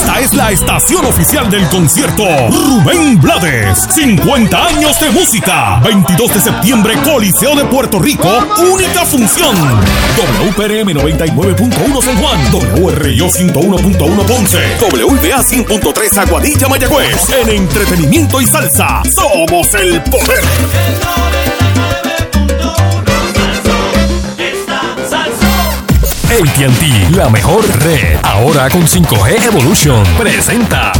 Esta es la estación oficial del concierto Rubén Blades. 50 años de música. 22 de septiembre, Coliseo de Puerto Rico. Única función. WPRM 99.1 San Juan. WRIO 101.1 Ponce. WBA 100.3 Aguadilla, Mayagüez. En entretenimiento y salsa, somos el poder. AT&T, la mejor red. Ahora con 5G Evolution. Presenta.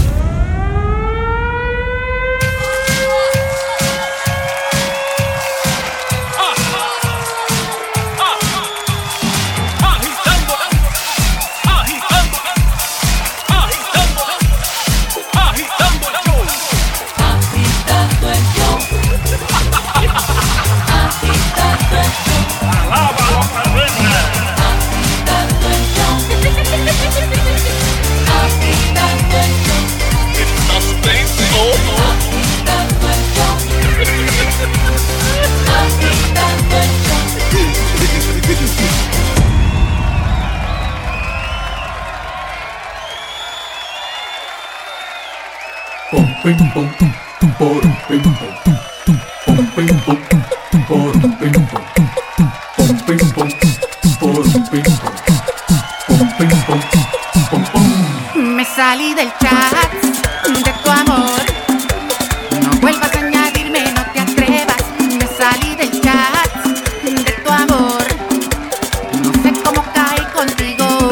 Me salí del chat de tu amor. No vuelvas a añadirme, no te atrevas. Me salí del chat de tu amor. No sé cómo caí contigo.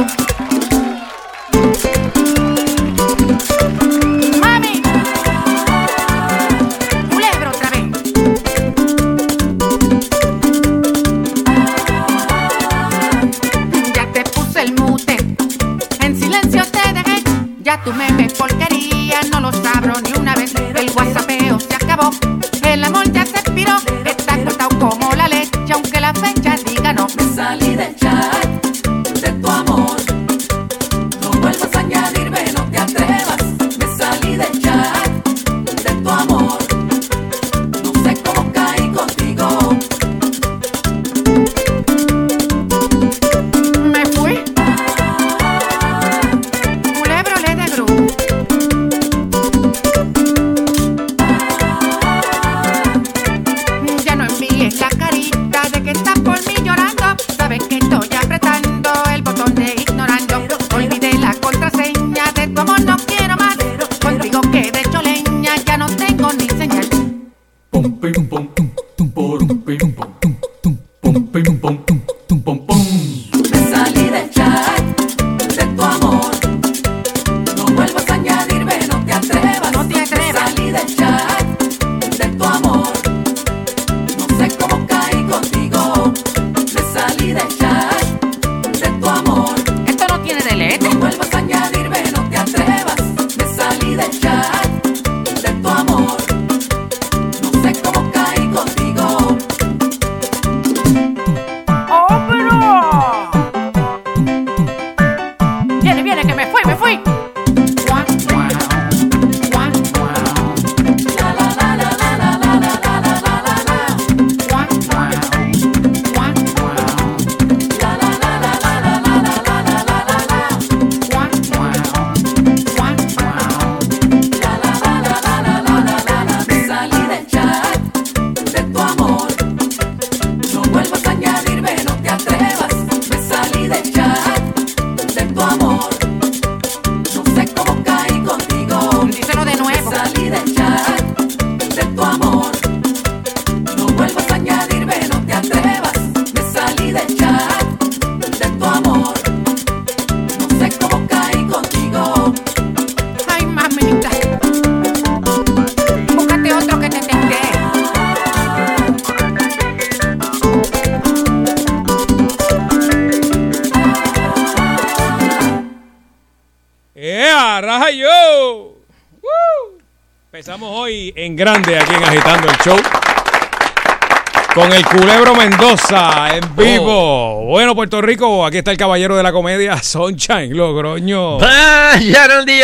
Mami, culebra otra vez. Ya te puse el mute. En silencio te dejé. Ya tú me ves porquería, no los abro ni una vez. El whatsappeo se acabó, el amor ya se expiró. Está cortado como la leche, aunque la fecha diga no. Me salí del chat de tu amor. No vuelvas a añadirme, no te atrevas. Me salí del chat de tu amor. No sé cómo caí contigo. Me fui. Culebro le de gru. Ya no envíes la carita de que estás por mí llorando. Sabes que estoy apretando el botón de ignorando. Olvidé la contraseña de tu amor, no quiero más. Contigo quedé hecho leña, ya no tengo ni señal. Me salí del chat de tu amor. No vuelvas a añadirme, no te atrevas. No te atrevas. Me salí del chat de tu amor. No sé cómo caí contigo. Me salí del chat de tu amor. Esto no tiene delete. No vuelvas a añadirme, no te atrevas. Me salí del chat de tu amor. No sé cómo caí contigo. ¡Oh, pero! Viene, que me fui. La la la la la la la la la la la la la. La la la la la la la la la la. Me salí del chat de tu amor. No vuelvas a añadirme, no te atrevas. Me salí del chat de tu amor. No sé cómo caí contigo. Díselo de nuevo. Me salí del chat de tu amor. No vuelvas a añadirme, no te atrevas. Me salí del chat de tu amor. No sé cómo caí contigo. Ay, mamita. Búscate otro que te tenté. ¡Raja yo! Empezamos hoy en grande aquí en Agitando el Show con el Culebro Mendoza en vivo. Bueno, Puerto Rico, aquí está el caballero de la comedia, Sunshine Logroño.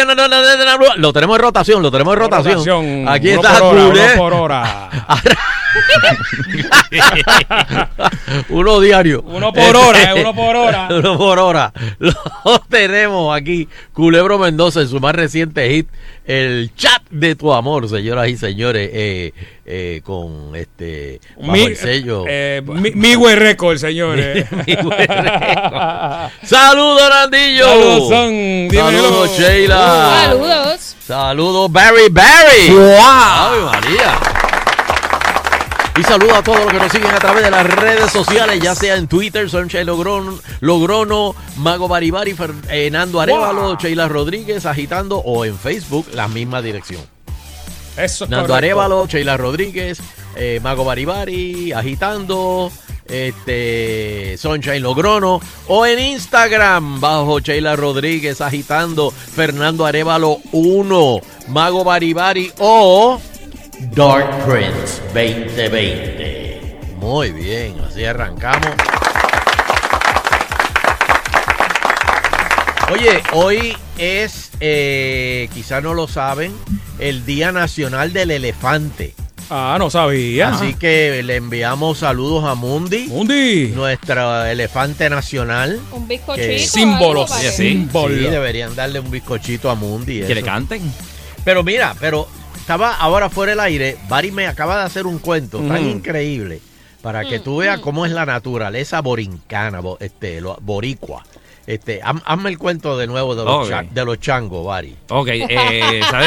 Lo tenemos en rotación, Aquí Uno está por hora, Culebro. uno por hora. Uno diario. Uno por hora, uno por hora. Uno por hora. Lo tenemos aquí, Culebro Mendoza, en su más reciente hit, el chat de tu amor, señoras y señores, con bajo el sello. Migüe Record, señores. Saludos, Nandillo. Saludos, son. Saludos, Sheila. Saludos. Saludos, Barry. ¡Wow! ¡Ave María! Y saludos a todos los que nos siguen a través de las redes sociales, ya sea en Twitter, Sunshine Logrono, Mago Baribari, Fernando Arévalo, Sheila Rodríguez, Agitando, o en Facebook, la misma dirección. Eso es Nando correcto. Arévalo, Sheila Rodríguez, Mago Baribari, Agitando, Sunshine Logrono, o en Instagram bajo Sheila Rodríguez, Agitando, Fernando Arévalo 1, Mago Baribari o Dark Prince 2020. Muy bien, así arrancamos. Oye, hoy es, quizás no lo saben, el Día Nacional del Elefante. Ah, no sabía. Así que le enviamos saludos a Mundi, Mundi. nuestro elefante nacional. Un bizcochito. Que- Símbolos. algo para que- Símbolos. Sí, deberían darle un bizcochito a Mundi. Que le eso. canten. Pero mira, estaba ahora fuera del aire. Bari me acaba de hacer un cuento tan increíble para que tú veas cómo es la naturaleza borincana, boricua. Hazme el cuento de nuevo de los, Ok. de los changos, Bari. Ok, ¿sabes?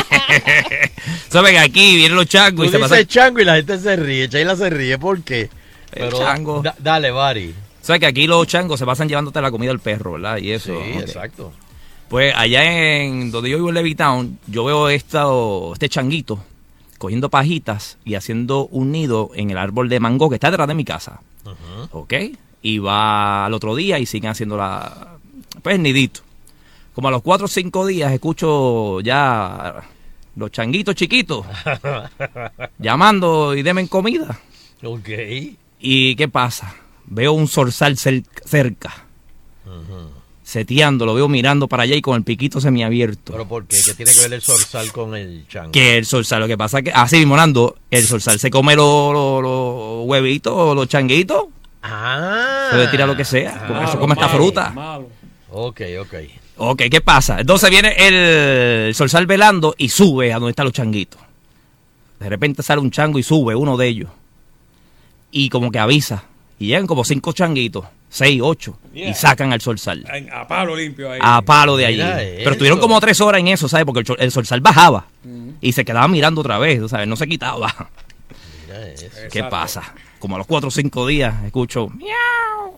Saben que aquí vienen los changos Tú y se dices pasan. chango y la gente se ríe. Sheila se ríe, ¿por qué? El chango. Dale, Bari. ¿Sabes que aquí los changos se pasan llevándote la comida al perro, ¿verdad? Y Sí, eso. ok. exacto. Pues allá en donde yo vivo en Levittown, yo veo este changuito cogiendo pajitas y haciendo un nido en el árbol de mango que está detrás de mi casa. ¿Ok? Y va al otro día y siguen haciendo el nidito. Como a los 4 o 5 días escucho ya los changuitos chiquitos llamando y denme comida. Ok. ¿Y qué pasa? Veo un zorzal cerca. Seteando, lo veo mirando para allá y con el piquito semiabierto. ¿Pero por qué? ¿Qué tiene que ver el zorzal con el chango? Que el zorzal, lo que pasa es que, así mismo, Nando, el zorzal se come los huevitos, los changuitos, Ah. puede tirar lo que sea, con eso come esta Malo, fruta. malo. Ok, ok. Ok, ¿qué pasa? Entonces viene el zorzal velando y sube a donde están los changuitos. De repente sale un chango y sube uno de ellos. Y como que avisa. Y llegan como 5 changuitos, 6, 8, Yeah. y sacan al zorzal. A palo limpio ahí. A palo de allí. Mira Pero estuvieron eso. como 3 horas en eso, ¿sabes? Porque el zorzal bajaba y se quedaba mirando otra vez, ¿sabes? No se quitaba. Mira eso. ¿Qué Exacto. pasa? Como a los 4 o 5 días escucho, miau,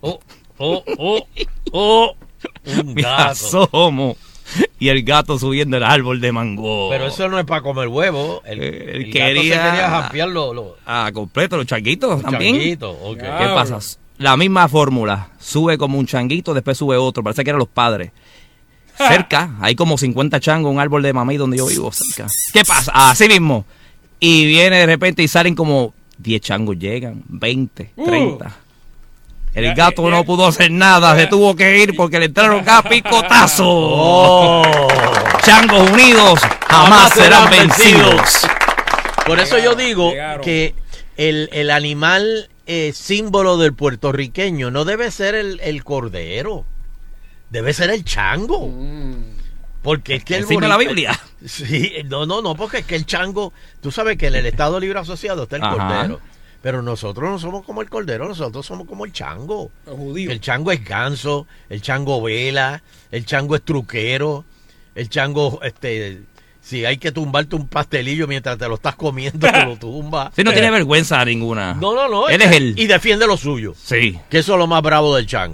Un me gato. asomo. Y el gato subiendo el árbol de mango. Pero eso no es para comer huevo. El Él gato quería- se quería jampear los Completo, los changuitos también. changuitos. Ok. Ya. ¿Qué pasa? La misma fórmula. Sube como un changuito, después sube otro. Parece que eran los padres. Cerca, hay como 50 changos, un árbol de mamey donde yo vivo, cerca. ¿Qué pasa? Así mismo. Y viene de repente y salen como 10 changos, llegan, 20, 30. El Ya, gato ya. no pudo hacer nada, se tuvo que ir porque le entraron a picotazo. Oh. Changos unidos jamás serán vencidos. Por eso yo digo Llegaron. que el animal símbolo del puertorriqueño no debe ser el cordero. Debe ser el chango. Porque es que el Encima de la Biblia. Sí, no, porque es que el chango, tú sabes que en el Estado Libre Asociado está el Ajá. cordero. Pero nosotros no somos como el cordero, nosotros somos como el chango. Los judíos. El chango es ganso, el chango vela, el chango es truquero, el chango, si hay que tumbarte un pastelillo mientras te lo estás comiendo, te lo tumba. Sí, no tiene vergüenza ninguna. No. Él es él. Y defiende lo suyo. Sí. Que eso es lo más bravo del chango.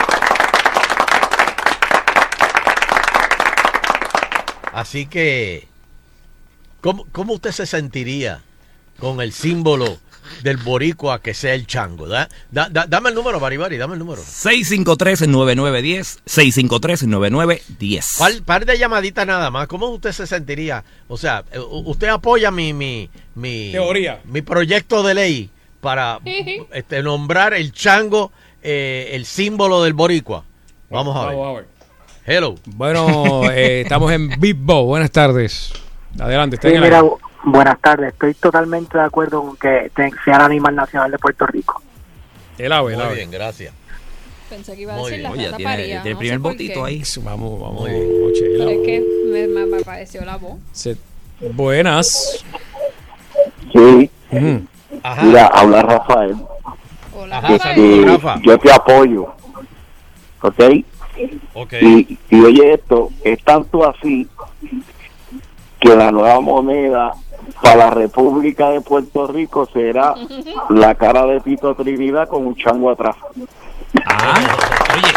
Así que, ¿cómo usted se sentiría con el símbolo del boricua que sea el chango? Dame el número, Baribari, dame el número. 653-9910, 653-9910. Par de llamaditas nada más. ¿Cómo usted se sentiría? O sea, usted apoya mi Teoría. mi proyecto de ley para nombrar el chango el símbolo del boricua. Vamos a ver. Vamos a ver. Hello. Bueno, estamos en Big Bo. Buenas tardes. Adelante, está Sí, en el mira, aire. Buenas tardes, estoy totalmente de acuerdo con que sea el animal nacional de Puerto Rico. El ave, el Muy ave. bien, gracias. Pensé que iba a Muy decir bien. la Oye, rata tiene paría. el no primer sé por botito qué. ahí. Vamos, Muy bien. Sheila. Pero es que me pareció la voz. Buenas. Sí, Ujú. Ajá. mira, habla Rafael. Hola, Ajá, Rafael. saludos, Y Rafa. yo te apoyo, ¿ok? Ok. Y oye esto, es tanto así que la nueva moneda para la República de Puerto Rico será la cara de Tito Trinidad con un chango atrás. Oye,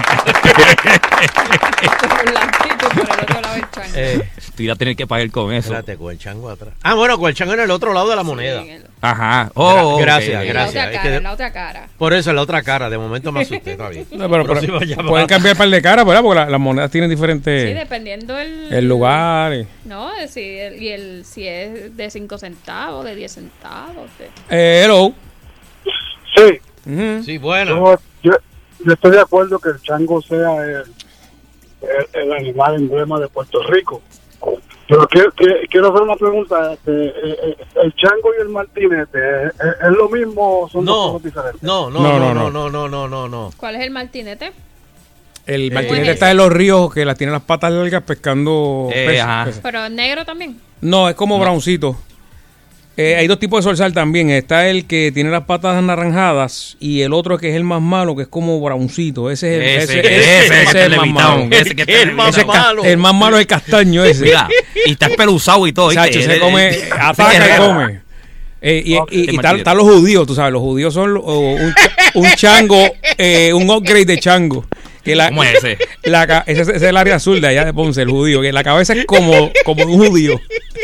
Por la actitud, por el otro lado del chango. tú irás a tener que pagar con eso. Espérate, con el chango atrás. Ah, bueno, con el chango en el otro lado de la Sí, moneda. en el- Ajá. Gracias, ok. en la gracias. otra Es cara, que- en la otra cara. Por eso, en la otra cara. De momento me asusté, está bien. No, pero Próxima llamada. pueden cambiar par de caras, ¿verdad? Porque las monedas tienen Sí, diferentes dependiendo el lugar. No, si es de 5 centavos, de 10 centavos. Hello. Sí, Ujú. Sí, bueno. yo estoy de acuerdo que el chango sea el animal emblema de Puerto Rico. Pero quiero hacer una pregunta. ¿El chango y el martinete es lo mismo o son dos No, cosas diferentes? no. ¿Cuál es el martinete? El ¿Cómo martinete es está en los ríos que las tiene las patas largas pescando peces. ajá. Pero negro también. No, es como browncito. Hay dos tipos de zorzal también. Está el que tiene las patas anaranjadas y el otro que es el más malo, que es como browncito. Ese es el más malo. Ese que El más Ese es malo. el más malo es el castaño ese. Mira, y está espeluzado y todo. Chacho, ¿viste? se come, ataca y come. Y están los judíos, tú sabes, los judíos son un chango, un upgrade de chango. Que ¿Cómo es ese? Ese es el área azul de allá de Ponce, el judío, que la cabeza es como un judío.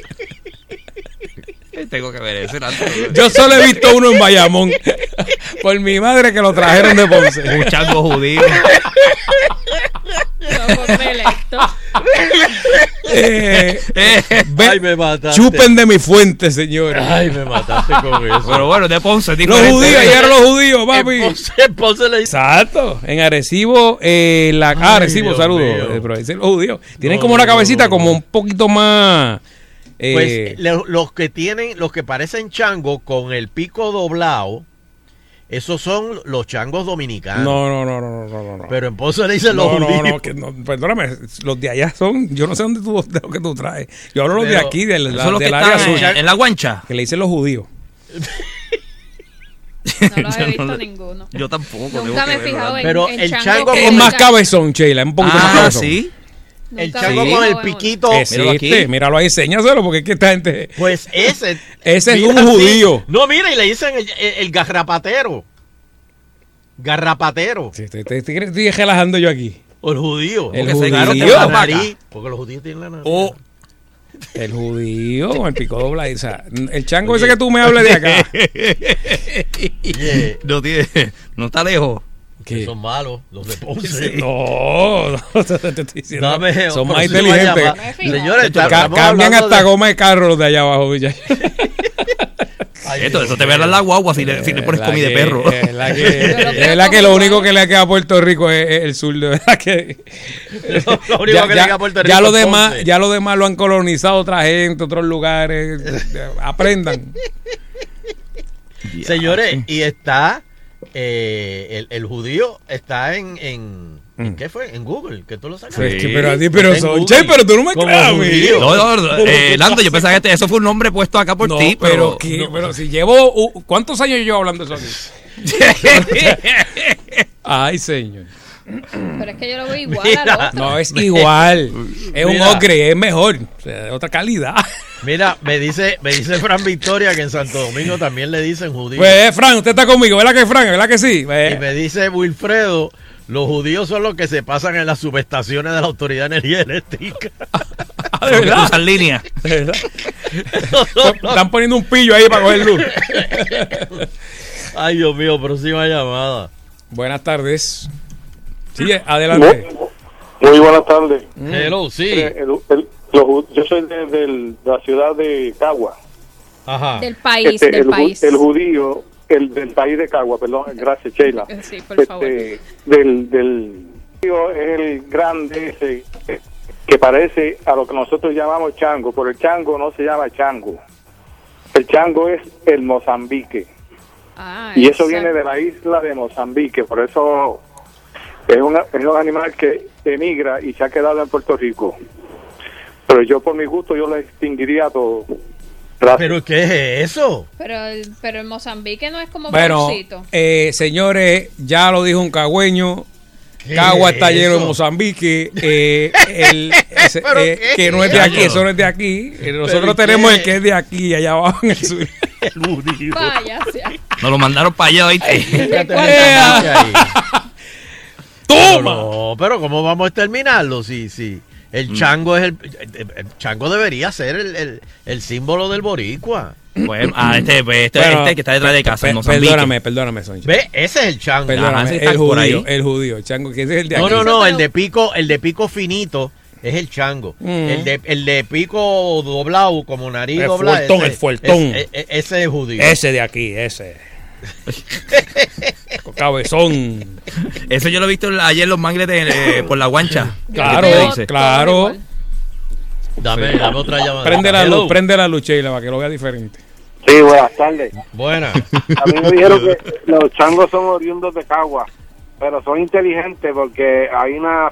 Tengo que ver ese. Yo solo he visto uno en Bayamón, por mi madre que lo trajeron de Ponce. Un chango judío. No, ponme electo. Ay, me mataste. Chupen de mi fuente, señores. Ay, me mataste con eso. Pero bueno, de Ponce. Los diferente. judíos, llegaron los judíos, papi. En Ponce le dice. Exacto, en Arecibo, Arecibo, Dios saludos, mío. pero dicen los judíos. Tienen No, como una no, cabecita no, no. como un poquito más. Pues los que parecen chango con el pico doblado, esos son los changos dominicanos. No. Pero en Ponce le dicen los judíos. Perdóname, los de allá son, yo no sé de lo que tú traes. Yo hablo los de Pero aquí, del Eso es lo que del área está azul, en la guancha. que le dicen los judíos. No los he Yo visto no- ninguno. Yo tampoco. Nunca me he fijado en, Pero en el chango chango con Es más esa- cabezón, Sheila, es un poquito más Ah, cabezón. sí. El Nunca chango me he con el fijado en uno. piquito. Míralo aquí. Existe, míralo ahí, enséñaselo, porque es que esta gente. Pues ese. Ese es mira, un sí. judío. No, mira, y le dicen el garrapatero. Garrapatero. Sí, estoy relajando yo aquí. O el judío. El Porque se judío. tiene la nariz. Porque los judíos tienen la nariz. O el judío con el pico doblado. O sea, el chango ese que tú me hables de acá. Yeah. No está lejos. ¿Qué? Son malos, los de Ponce. No, te estoy diciendo. Dame, Son próxima más inteligentes. llamada. Me he fijado. Señores, estamos Cambian hablando hasta de- goma de carro los de allá abajo, Villa. Ay, Eso Dios te ve mío. la guagua si le pones comida de perro. Es la Yo lo que, veo es la que como lo único igual. que le queda a Puerto Rico es el sur, de verdad que. Lo único que le queda a Puerto Rico ya lo es demás, Ponce. ya lo demás lo han colonizado otra gente, otros lugares. Aprendan. Señores, y está el judío está ¿en qué fue? En Google, que tú lo sacas. Pues, Sí. pero Está en Sonche, Google. pero tú no me Como creas a mí. judío. No, Lando, yo pensaba que eso fue un nombre puesto acá por No, ti, pero, pero. pero si llevo. ¿Cuántos años llevo hablando de eso aquí? Ay, señor. Pero es que yo lo veo igual Mira. al otro. No, es igual. Es un Mira. ocre, es mejor. O sea, de otra calidad. Mira, me dice Fran Victoria que en Santo Domingo también le dicen judío. Pues, Fran, usted está conmigo, ¿verdad que Fran? ¿Verdad que sí? Y me dice Wilfredo, los judíos son los que se pasan en las subestaciones de la Autoridad de Energía Eléctrica. ¿De Porque verdad? cruzan líneas. ¿De verdad? Están poniendo un pillo ahí para coger luz. Ay, Dios mío, próxima llamada. Buenas tardes. Sí, adelante. Muy buenas tardes. Hello, sí. Yo soy de la ciudad de Cagua. Ajá. Del país, del país. El judío, el del país de Cagua, perdón, gracias Sheila. Sí, por favor. Del judío es el grande ese que parece a lo que nosotros llamamos chango, pero el chango no se llama chango. El chango es el Mozambique. Ah, Y eso exacto. viene de la isla de Mozambique, por eso es un animal que emigra y se ha quedado en Puerto Rico. Pero yo por mi gusto yo lo extinguiría a todo. Gracias. ¿Pero qué es eso? Pero el Mozambique no es como Bueno, bolsito. señores, ya lo dijo un cagüeño. Cagua está es lleno eso? de Mozambique. ¿Pero qué? Que no es de aquí, eso no es de aquí. Nosotros ¿Pero tenemos qué? el que es de aquí, allá abajo en el sur. El judío. Vaya, sea. Nos lo mandaron para allá, ¿viste? Fíjate, ¿Cuál Mozambique ahí. ¡Toma! No, pero ¿cómo vamos a exterminarlo? Sí. El chango es el chango debería ser el símbolo del boricua. Pues, Bueno, este que está detrás de casa, en Mozambique. Perdóname, Soncha. ¿Ve? Ese es el chango. Perdóname, Ajá, ese está por ahí. el judío, el chango, que ese es el de aquí. No, el de pico finito es el chango. El de pico doblado, como nariz El doblada. fuertón, el fuertón. Ese es judío. Ese de aquí, ese. Cabezón. Eso yo lo he visto ayer en los mangles por la guancha. Claro, ¿Qué te dice? claro. Dame otra llamada. Prende la Hello. luz, prende la luz, Sheila, para que lo vea diferente. Sí, buenas tardes. Buena. A mí me dijeron que los changos son oriundos de Cagua, pero son inteligentes porque hay una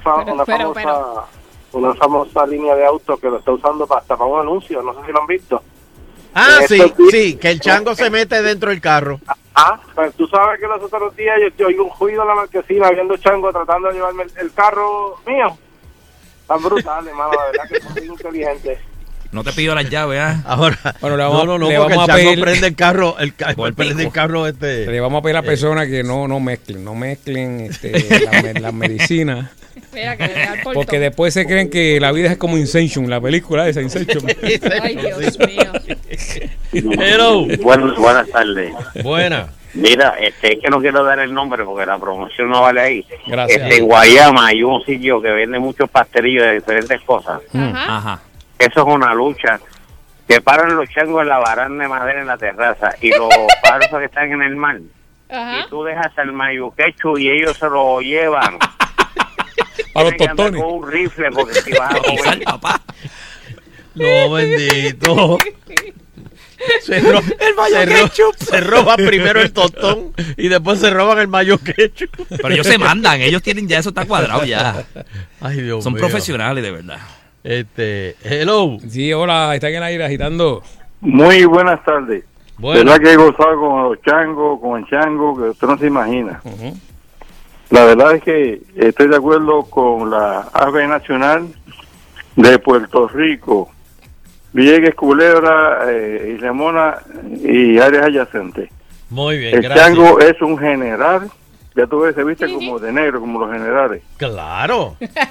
famosa línea de autos que lo está usando hasta para un anuncio, no sé si lo han visto. Ah, Esto sí, que el chango se mete dentro del carro. Pues tú sabes que los otros días yo oigo un ruido en la marquesina viendo chango tratando de llevarme el carro mío. Tan brutal, hermano, la verdad que son muy inteligentes. No te pido las llaves, ¿ah? Ahora, Bueno, le vamos- no, le porque el vamos a chango pedir- prende el carro, Por el prende el pico. carro Le vamos a pedir a las personas que no mezclen las medicinas. Mira, que le da el portón. Porque después se creen que la vida es como Inception, la película esa Inception. Ay, Dios mío. Hello. Buenas tardes. Buena. Mira, es que no quiero dar el nombre porque la promoción no vale ahí. Gracias. En Guayama hay un sitio que vende muchos pastelillos de diferentes cosas. Ajá. Ajá. Eso es una lucha. Que paran los changos en la baranda de madera en la terraza y los pájaros que están en el mar. Ajá. Y tú dejas el mayuquechu y ellos se lo llevan. A los Tienes que andar tostones. con un rifle porque si vas a Y sal, comer. papá. No, bendito. Se roban primero el tostón y después se roban el mayo ketchup. Pero ellos se mandan, ellos tienen ya eso está cuadrado ya. Ay, Dios Son mío. profesionales, de verdad. Hello. Sí, hola, está en el aire agitando. Muy buenas tardes. Bueno, verdad que he gozado con los changos, con el chango, que usted no se imagina. Ujú. La verdad es que estoy de acuerdo con la ave nacional de Puerto Rico, Vieques, Culebra, Isla Mona y áreas adyacentes. muy bien, El gracias. chango es un general, ya tú ves, se viste como de negro, como los generales. Claro.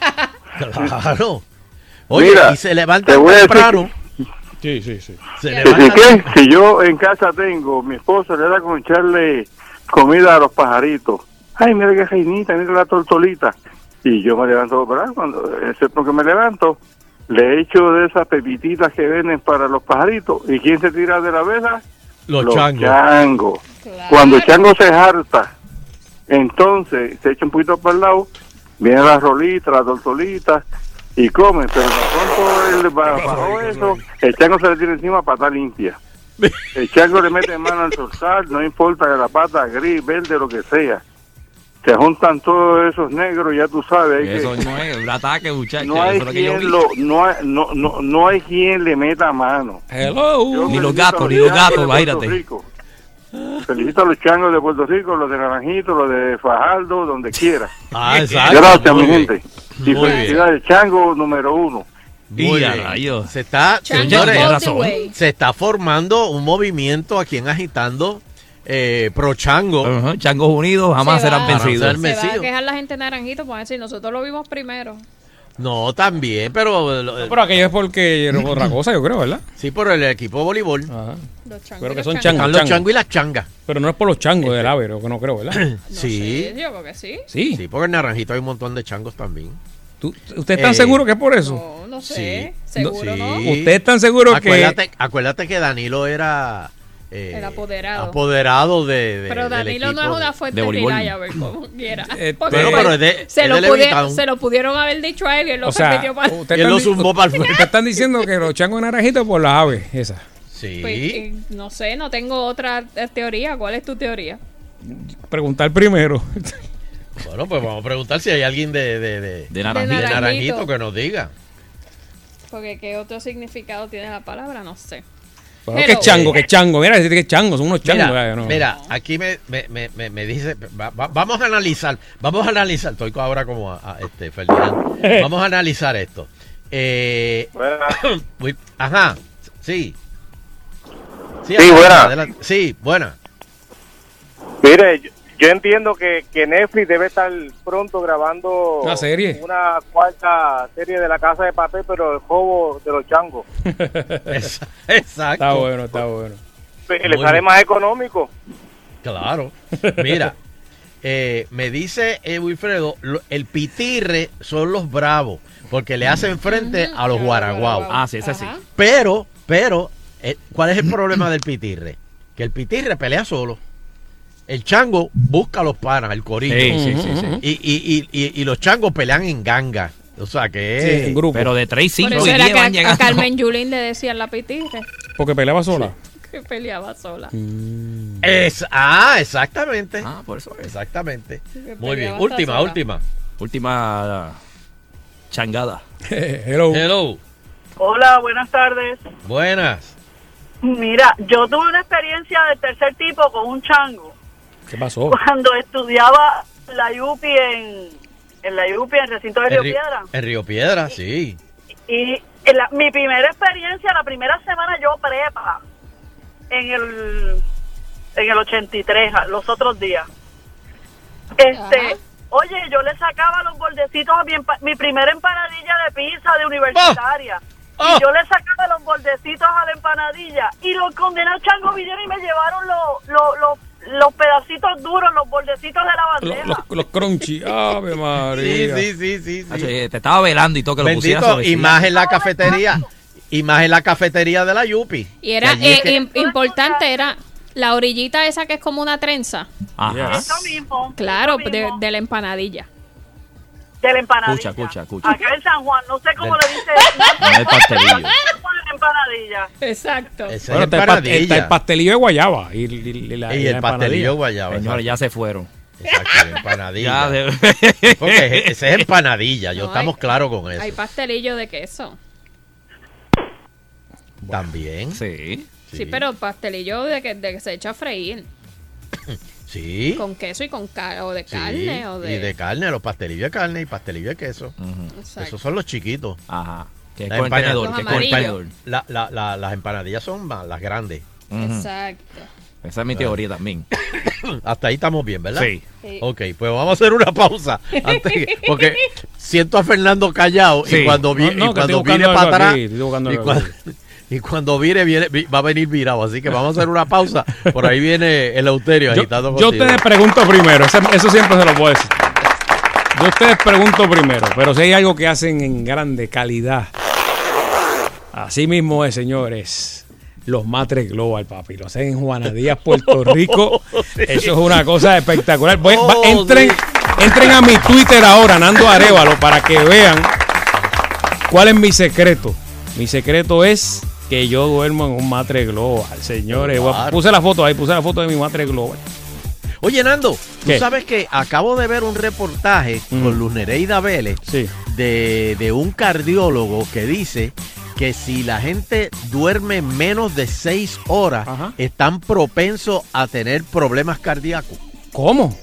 Claro. Oye, Mira, y se levanta te voy a decir temprano. Sí. Se Que si levanta qué, si yo en casa tengo, mi esposa le da con echarle comida a los pajaritos. Ay, mira qué reinita, mira la tortolita. Y yo me levanto, ¿verdad? Porque me levanto, le echo de esas pepititas que venden para los pajaritos. ¿Y quién se tira de la vela? los changos. changos. Claro. Cuando el chango se harta, entonces se echa un poquito para el lado, viene la rolita, la tortolita y come. Pero tan pronto él bajó eso, el chango se le tira encima pata limpia. El chango le mete mano al zorzal, no importa que la pata gris, verde, lo que sea. Se juntan todos esos negros, ya tú sabes. Hay Eso que, no es un ataque, muchachos. no hay Eso es lo que yo quien vi. no hay quien le meta mano. Hello. Yo Ni los felicito a gatos, ni los changos gatos, de Puerto váyate. Rico. Felicito a los changos de Puerto Rico, los de Naranjito, los de Fajardo, donde quiera. Ah, exacto. Gracias, Muy mi bien. gente. Y Muy bien. felicidades, chango número 1. Muy Y a bien. rayos. Se está, Chango señores, tiene all the razón. way. se está formando un movimiento aquí en Agitando pro chango. Ajá, Changos unidos jamás Se serán va. vencidos. Para Se va a Vencido. quejar la gente naranjito por decir, nosotros lo vimos primero. No, también, pero Pero aquello es porque era otra cosa, yo creo, ¿verdad? sí por el equipo de voleibol. Ajá. Los changos Pero y que los son changos. changos. Están los changos y las changas. Pero no es por los changos del Ávero, que no creo, ¿verdad? No Sí, sé, yo creo que sí. Sí. sí, porque en Naranjito hay un montón de changos también. ¿Ustedes están seguros que es por eso? No sé, Sí. seguro Sí. no. ¿Ustedes están seguros que...? Acuérdate que Danilo era El apoderado. apoderado de Pero del Danilo no equipo es una de fuente voleibol. reliable, como quiera. Pero, Porque pero pues, es de- se, es lo de Levittown. se lo pudieron haber dicho a él y él lo O sea, permitió para... ustedes Él lo están, zumbó para el ustedes están diciendo que los changos naranjitos por las aves, esas. Sí. Pues, no sé, no tengo otra teoría. ¿Cuál es tu teoría? Preguntar primero. Bueno, pues vamos a preguntar si hay alguien de Naranjito que nos diga. Porque ¿qué otro significado tiene la palabra? No sé. Bueno, que chango. Mira, decir que chango, son unos changos. Mira, aquí me dice, vamos a analizar, estoy ahora como Ferdinand. Vamos a analizar esto. Ajá, sí. Sí, buena. Adelante. Sí, buena. Mire, yo entiendo que Netflix debe estar pronto grabando una serie, una cuarta serie de La Casa de Papel, pero el juego de los changos. Exacto. Está bueno. Le sale más económico. Claro. Mira, me dice Wilfredo, el pitirre son los bravos, porque le hacen frente a los guaraguao. Ah, sí, es así. Pero, ¿cuál es el problema del pitirre? Que el pitirre pelea solo. El chango busca a los panas, el corillo. Sí. Y los changos pelean en ganga. O sea que en grupo. Pero de 3, 5 Por eso y era 10 van que a llegando. Carmen Yulín le decían la pitirre. Porque peleaba sola. Que peleaba sola. Exactamente. Por eso es. Exactamente. Que Muy bien. peleaba Última changada. Hello. Hola, buenas tardes. Buenas. Mira, yo tuve una experiencia del tercer tipo con un chango. ¿Qué pasó? Cuando estudiaba la UPI en el recinto de Río Piedra. En Río Piedra, sí. Y mi primera experiencia, la primera semana yo prepa, en el 83, los otros días. Oye, yo le sacaba los bordecitos a mi primera empanadilla de pizza de universitaria. Y yo le sacaba los bordecitos a la empanadilla. Y los condenados changos vinieron y me llevaron los pedacitos duros, los bordecitos de la bandeja. Los crunchy. Ave María. Sí. Te estaba velando y todo que lo pusieras sobre y más en la cafetería. Y más en la cafetería de la Yupi. Y era importante, era la orillita esa que es como una trenza. Ajá. Eso mismo. Claro, eso mismo. de la empanadilla. De la empanadilla. Escucha. Acá en San Juan, no sé cómo le dice. El pastelillo. Empanadilla. Exacto. Esa es está el pastelillo de guayaba. Y el pastelillo de guayaba. Señores, ya se fueron. Exacto, empanadilla. Porque ese es empanadilla, estamos claros con eso. Hay pastelillo de queso. También. Sí, pero pastelillo de que se echa a freír. Sí. Con queso y con o de carne. O de... Y de carne, los pastelillos de carne y pastelillos de queso. Esos son los chiquitos. Ajá. Que con el tenedor. Las empanadillas son las grandes. Exacto. Esa es mi teoría también. Hasta ahí estamos bien, ¿verdad? Sí. Ok, pues vamos a hacer una pausa. Porque siento a Fernando callado y cuando viene para atrás. Y cuando viene, va a venir virado. Así que vamos a hacer una pausa. Por ahí viene el Eleuterio agitando contigo. Yo te pregunto primero. Eso siempre se lo puedo decir. Yo ustedes pregunto primero. Pero si hay algo que hacen en grande calidad. Así mismo es, señores. Los Matres Global, papi. Lo hacen en Juana Díaz, Puerto Rico. Sí. Eso es una cosa espectacular. Entren a mi Twitter ahora, Nando Arévalo, para que vean cuál es mi secreto. Mi secreto es que yo duermo en un Matre Global, señores. Claro. Puse la foto de mi Matre Global. Oye, Nando, tú sabes que acabo de ver un reportaje con Luz Nereida Vélez de un cardiólogo que dice que si la gente duerme menos de 6 horas, están propensos a tener problemas cardíacos. ¿Cómo?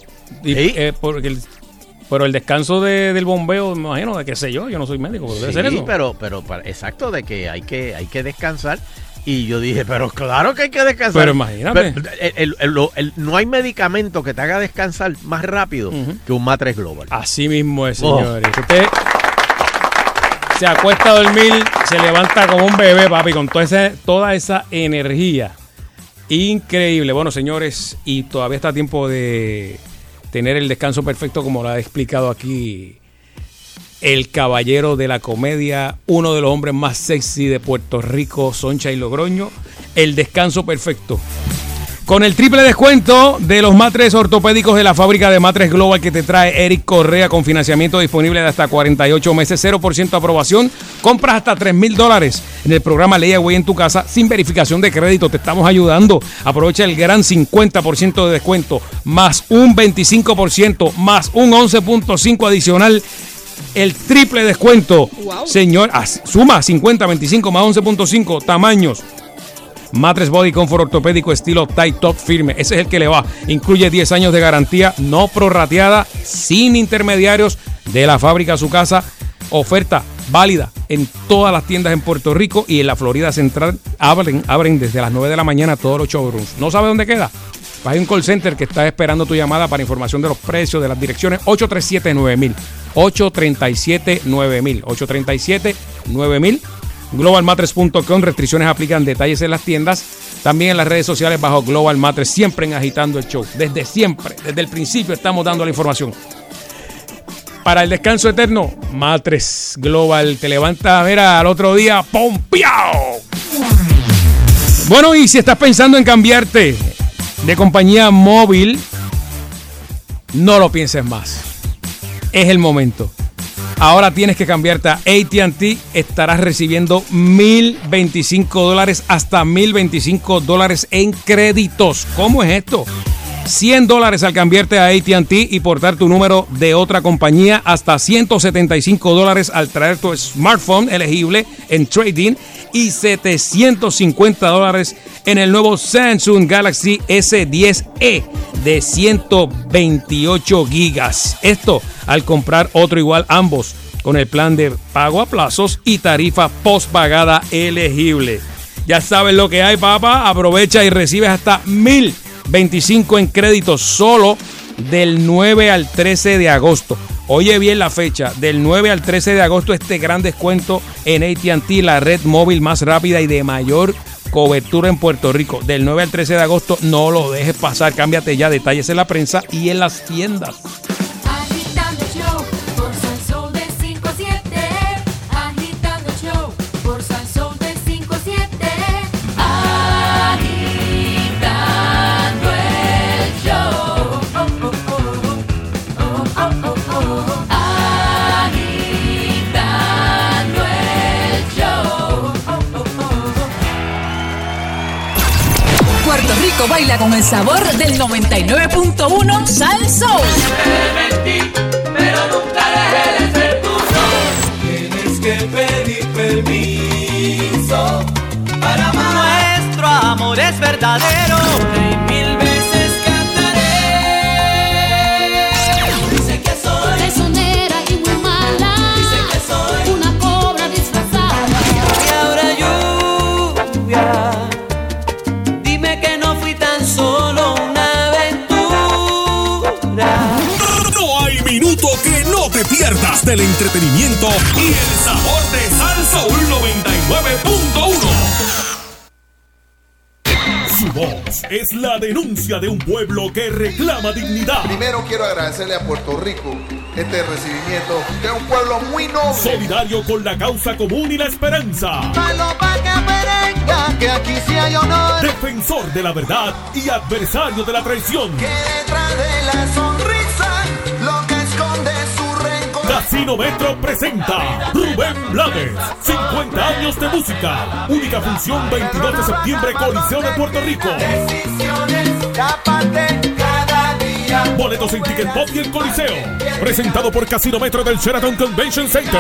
Pero el descanso del bombeo, me imagino, de qué sé yo no soy médico, pero debe ser eso. pero exacto, de que hay que descansar. Y yo dije, pero claro que hay que descansar. Pero imagínate. No hay medicamento que te haga descansar más rápido que un Matres Global. Así mismo es, señores. Usted se acuesta a dormir, se levanta como un bebé, papi, con toda esa energía. Increíble. Bueno, señores, y todavía está a tiempo de tener el descanso perfecto, como lo ha explicado aquí el caballero de la comedia, uno de los hombres más sexy de Puerto Rico, Soncha y Logroño. El descanso perfecto. Con el triple descuento de los matres ortopédicos de la fábrica de Matres Global que te trae Eric Correa, con financiamiento disponible de hasta 48 meses, 0% aprobación, compras hasta $3,000. en el programa Layaway en tu casa sin verificación de crédito. Te estamos ayudando. Aprovecha el gran 50% de descuento, más un 25%, más un 11.5 adicional. El triple descuento. Wow. Señor, suma 50, 25 más 11.5 tamaños. Mattress Body Comfort ortopédico estilo Tight Top firme. Ese es el que le va. Incluye 10 años de garantía no prorrateada, sin intermediarios, de la fábrica a su casa. Oferta válida en todas las tiendas en Puerto Rico y en la Florida Central. Abren desde las 9 de la mañana todos los showrooms. ¿No sabe dónde queda? Hay un call center que está esperando tu llamada para información de los precios, de las direcciones. 837-9000. 837-9000. 837-9000. globalmattress.com. Restricciones aplican, detalles en las tiendas. También en las redes sociales bajo Global Mattress, siempre en Agitando el Show. Desde siempre, desde el principio estamos dando la información. Para el descanso eterno, Mattress Global. Te levantas, mira, al otro día, ¡pompeado! Bueno, y si estás pensando en cambiarte de compañía móvil, no lo pienses más. Es el momento. Ahora tienes que cambiarte a AT&T. Estarás recibiendo $1,025 hasta $1,025 en créditos. ¿Cómo es esto? $100 al cambiarte a AT&T y portar tu número de otra compañía, hasta $175 al traer tu smartphone elegible en trading y $750 en el nuevo Samsung Galaxy S10e de 128 gigas. Esto al comprar otro igual, ambos con el plan de pago a plazos y tarifa postpagada elegible. Ya sabes lo que hay, papá. Aprovecha y recibes hasta $1,025 en créditos solo del 9 al 13 de agosto. Oye bien la fecha, del 9 al 13 de agosto, este gran descuento en AT&T, la red móvil más rápida y de mayor cobertura en Puerto Rico. Del 9 al 13 de agosto, no lo dejes pasar. Cámbiate ya, detalles en la prensa y en las tiendas. Agitando el show por Salsón de 5 a 7. Agitando el show por Salsón de 5 a 7. Agitando el show. Agitando el show. Puerto Rico baila con el sabor del 99.1 Sal Soul. Pero nunca dejé de ser tuyo. Tienes que pedir permiso para amar. Nuestro amor es verdadero y 1000 veces cantaré. Dice que soy traicionera y muy mala. Dice que soy una cobra disfrazada. Y ahora lluvia, dime que no fui tan solo una aventura. No hay minuto que no te pierdas del entretenimiento y el sabor de Sal Soul 99.1. Su voz es la denuncia de un pueblo que reclama dignidad. Primero quiero agradecerle a Puerto Rico este recibimiento de un pueblo muy noble. Solidario con la causa común y la esperanza. Que aquí sí hay honor. Defensor de la verdad y adversario de la traición. Que detrás de la sonrisa lo que esconde su rencor. Casino Metro presenta Rubén Blades, 50 años de música. Única función 22 de septiembre, Coliseo de Puerto Rico. Decisiones aparte cada día. Boletos en Ticket Pop y el Coliseo. Presentado por Casino Metro del Sheraton Convention Center.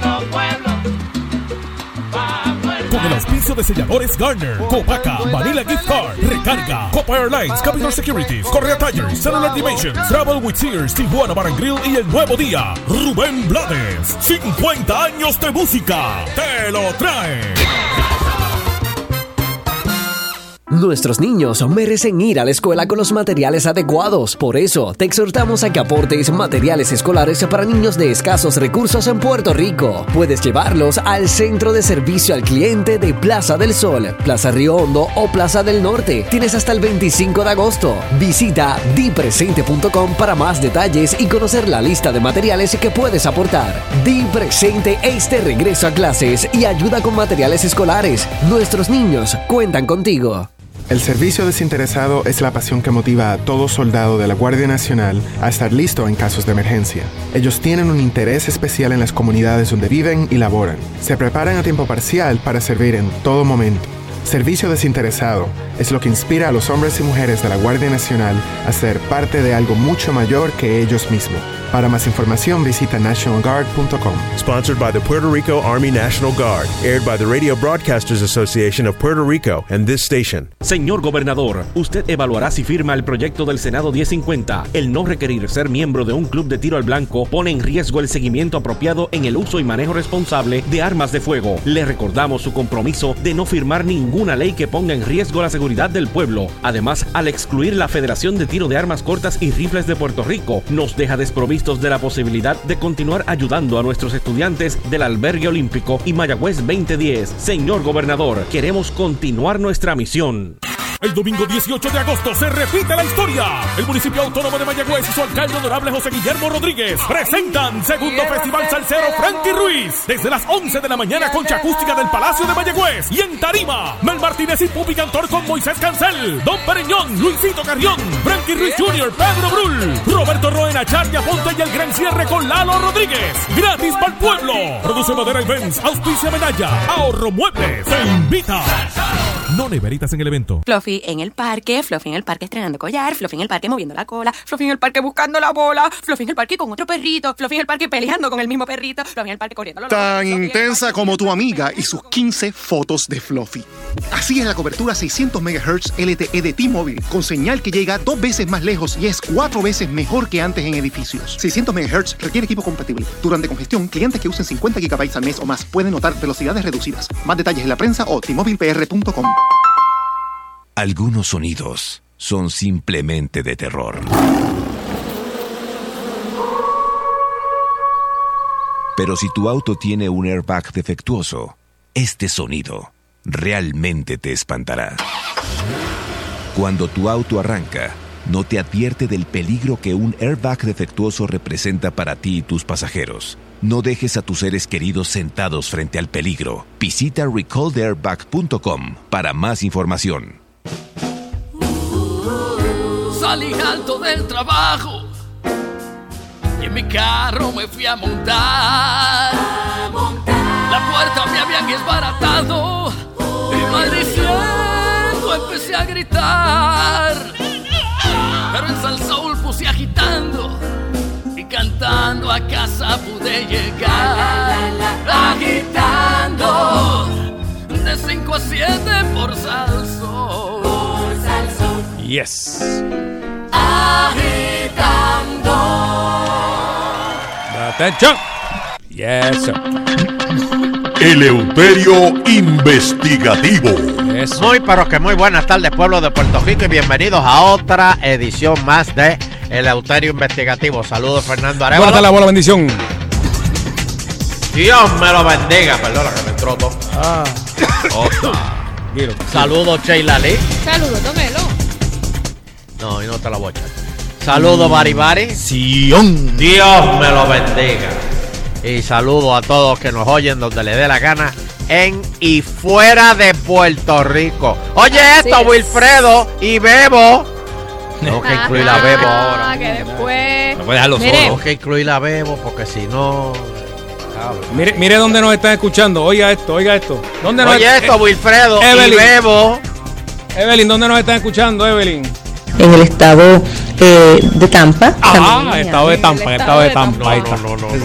Con el auspicio de selladores Garner, Copaca, Vanilla Gift Card, Recarga, Copa Airlines, Capital Securities, Correa Tires, Cellular Dimensions, Travel with Sears, Tijuana Bar and Grill y El Nuevo Día. Rubén Blades, 50 años de música, te lo trae. Nuestros niños merecen ir a la escuela con los materiales adecuados. Por eso, te exhortamos a que aportes materiales escolares para niños de escasos recursos en Puerto Rico. Puedes llevarlos al Centro de Servicio al Cliente de Plaza del Sol, Plaza Río Hondo o Plaza del Norte. Tienes hasta el 25 de agosto. Visita dipresente.com para más detalles y conocer la lista de materiales que puedes aportar. Di Presente este regreso a clases y ayuda con materiales escolares. Nuestros niños cuentan contigo. El servicio desinteresado es la pasión que motiva a todo soldado de la Guardia Nacional a estar listo en casos de emergencia. Ellos tienen un interés especial en las comunidades donde viven y laboran. Se preparan a tiempo parcial para servir en todo momento. Servicio desinteresado es lo que inspira a los hombres y mujeres de la Guardia Nacional a ser parte de algo mucho mayor que ellos mismos. Para más información visita nationalguard.com. Sponsored by the Puerto Rico Army National Guard. Aired by the Radio Broadcasters Association of Puerto Rico and this station. Señor gobernador, usted evaluará si firma el proyecto del Senado 1050. El no requerir ser miembro de un club de tiro al blanco pone en riesgo el seguimiento apropiado en el uso y manejo responsable de armas de fuego. Le recordamos su compromiso de no firmar ninguna ley que ponga en riesgo la seguridad del pueblo. Además, al excluir la Federación de Tiro de Armas Cortas y Rifles de Puerto Rico, nos deja desprovistos de la posibilidad de continuar ayudando a nuestros estudiantes del Albergue Olímpico y Mayagüez 2010. Señor gobernador, queremos continuar nuestra misión. El domingo 18 de agosto se repite la historia. El municipio autónomo de Mayagüez y su alcalde honorable José Guillermo Rodríguez presentan segundo Festival Salsero Frankie Ruiz desde las 11 de la mañana, concha acústica del Palacio de Mayagüez. Y en tarima, Mel Martínez y Pupi Cantor con Moisés Cancel, Don Pereñón, Luisito Carrión, Frankie Ruiz Jr., Pedro Brul, Roberto Roena, Charnia Ponte y el gran cierre con Lalo Rodríguez. Gratis para el pueblo. Produce Madera Events, auspicia Medalla, Ahorro Muebles, te invita. No neveritas en el evento. Fluffy en el parque estrenando collar, Fluffy en el parque moviendo la cola, Fluffy en el parque buscando la bola, Fluffy en el parque con otro perrito, Fluffy en el parque peleando con el mismo perrito, Fluffy en el parque corriendo. Tan intensa como tu amiga y sus 15 fotos de Fluffy. Así es la cobertura 600 MHz LTE de T-Mobile, con señal que llega 2 veces más lejos y es 4 veces mejor que antes en edificios. 600 MHz requiere equipo compatible. Durante congestión, clientes que usen 50 GB al mes o más pueden notar velocidades reducidas. Más detalles en la prensa o tmobilepr.com. Algunos sonidos son simplemente de terror. Pero si tu auto tiene un airbag defectuoso, este sonido realmente te espantará. Cuando tu auto arranca, no te advierte del peligro que un airbag defectuoso representa para ti y tus pasajeros. No dejes a tus seres queridos sentados frente al peligro. Visita recalltheairbag.com para más información. Salí alto del trabajo y en mi carro me fui a montar. La puerta me habían desbaratado y maldiciendo empecé a gritar. Pero en Salsoul puse agitando y cantando a casa pude llegar. Agitando de 5 a 7 por Salsoul. Yes. Agitando. Atención. Yes, sir. Eleuterio Investigativo. Eso. Muy pero que muy buenas tardes, pueblo de Puerto Rico, y bienvenidos a otra edición más de Eleuterio Investigativo. Saludos, Fernando Arevalo. Buenas tardes, buena bendición. Dios me lo bendiga. Perdona que me entró todo. Saludos, Sheila Lee. Saludos, tómelo. No, y no te la voy a echar. Saludos, Bari Bari. Dios me lo bendiga. Y saludos a todos que nos oyen donde le dé la gana en y fuera de Puerto Rico. Oye esto, Wilfredo y Bebo. Tengo que incluir a Bebo ahora. Que después. No voy a dejarlo solo. Tengo que incluir a Bebo porque si no. Mire dónde nos están escuchando. Oiga esto. ¿Dónde nos Oye esto, Wilfredo y Bebo. Evelyn, ¿dónde nos están escuchando, Evelyn? En el estado de Tampa. Estado de Tampa. Ahí está.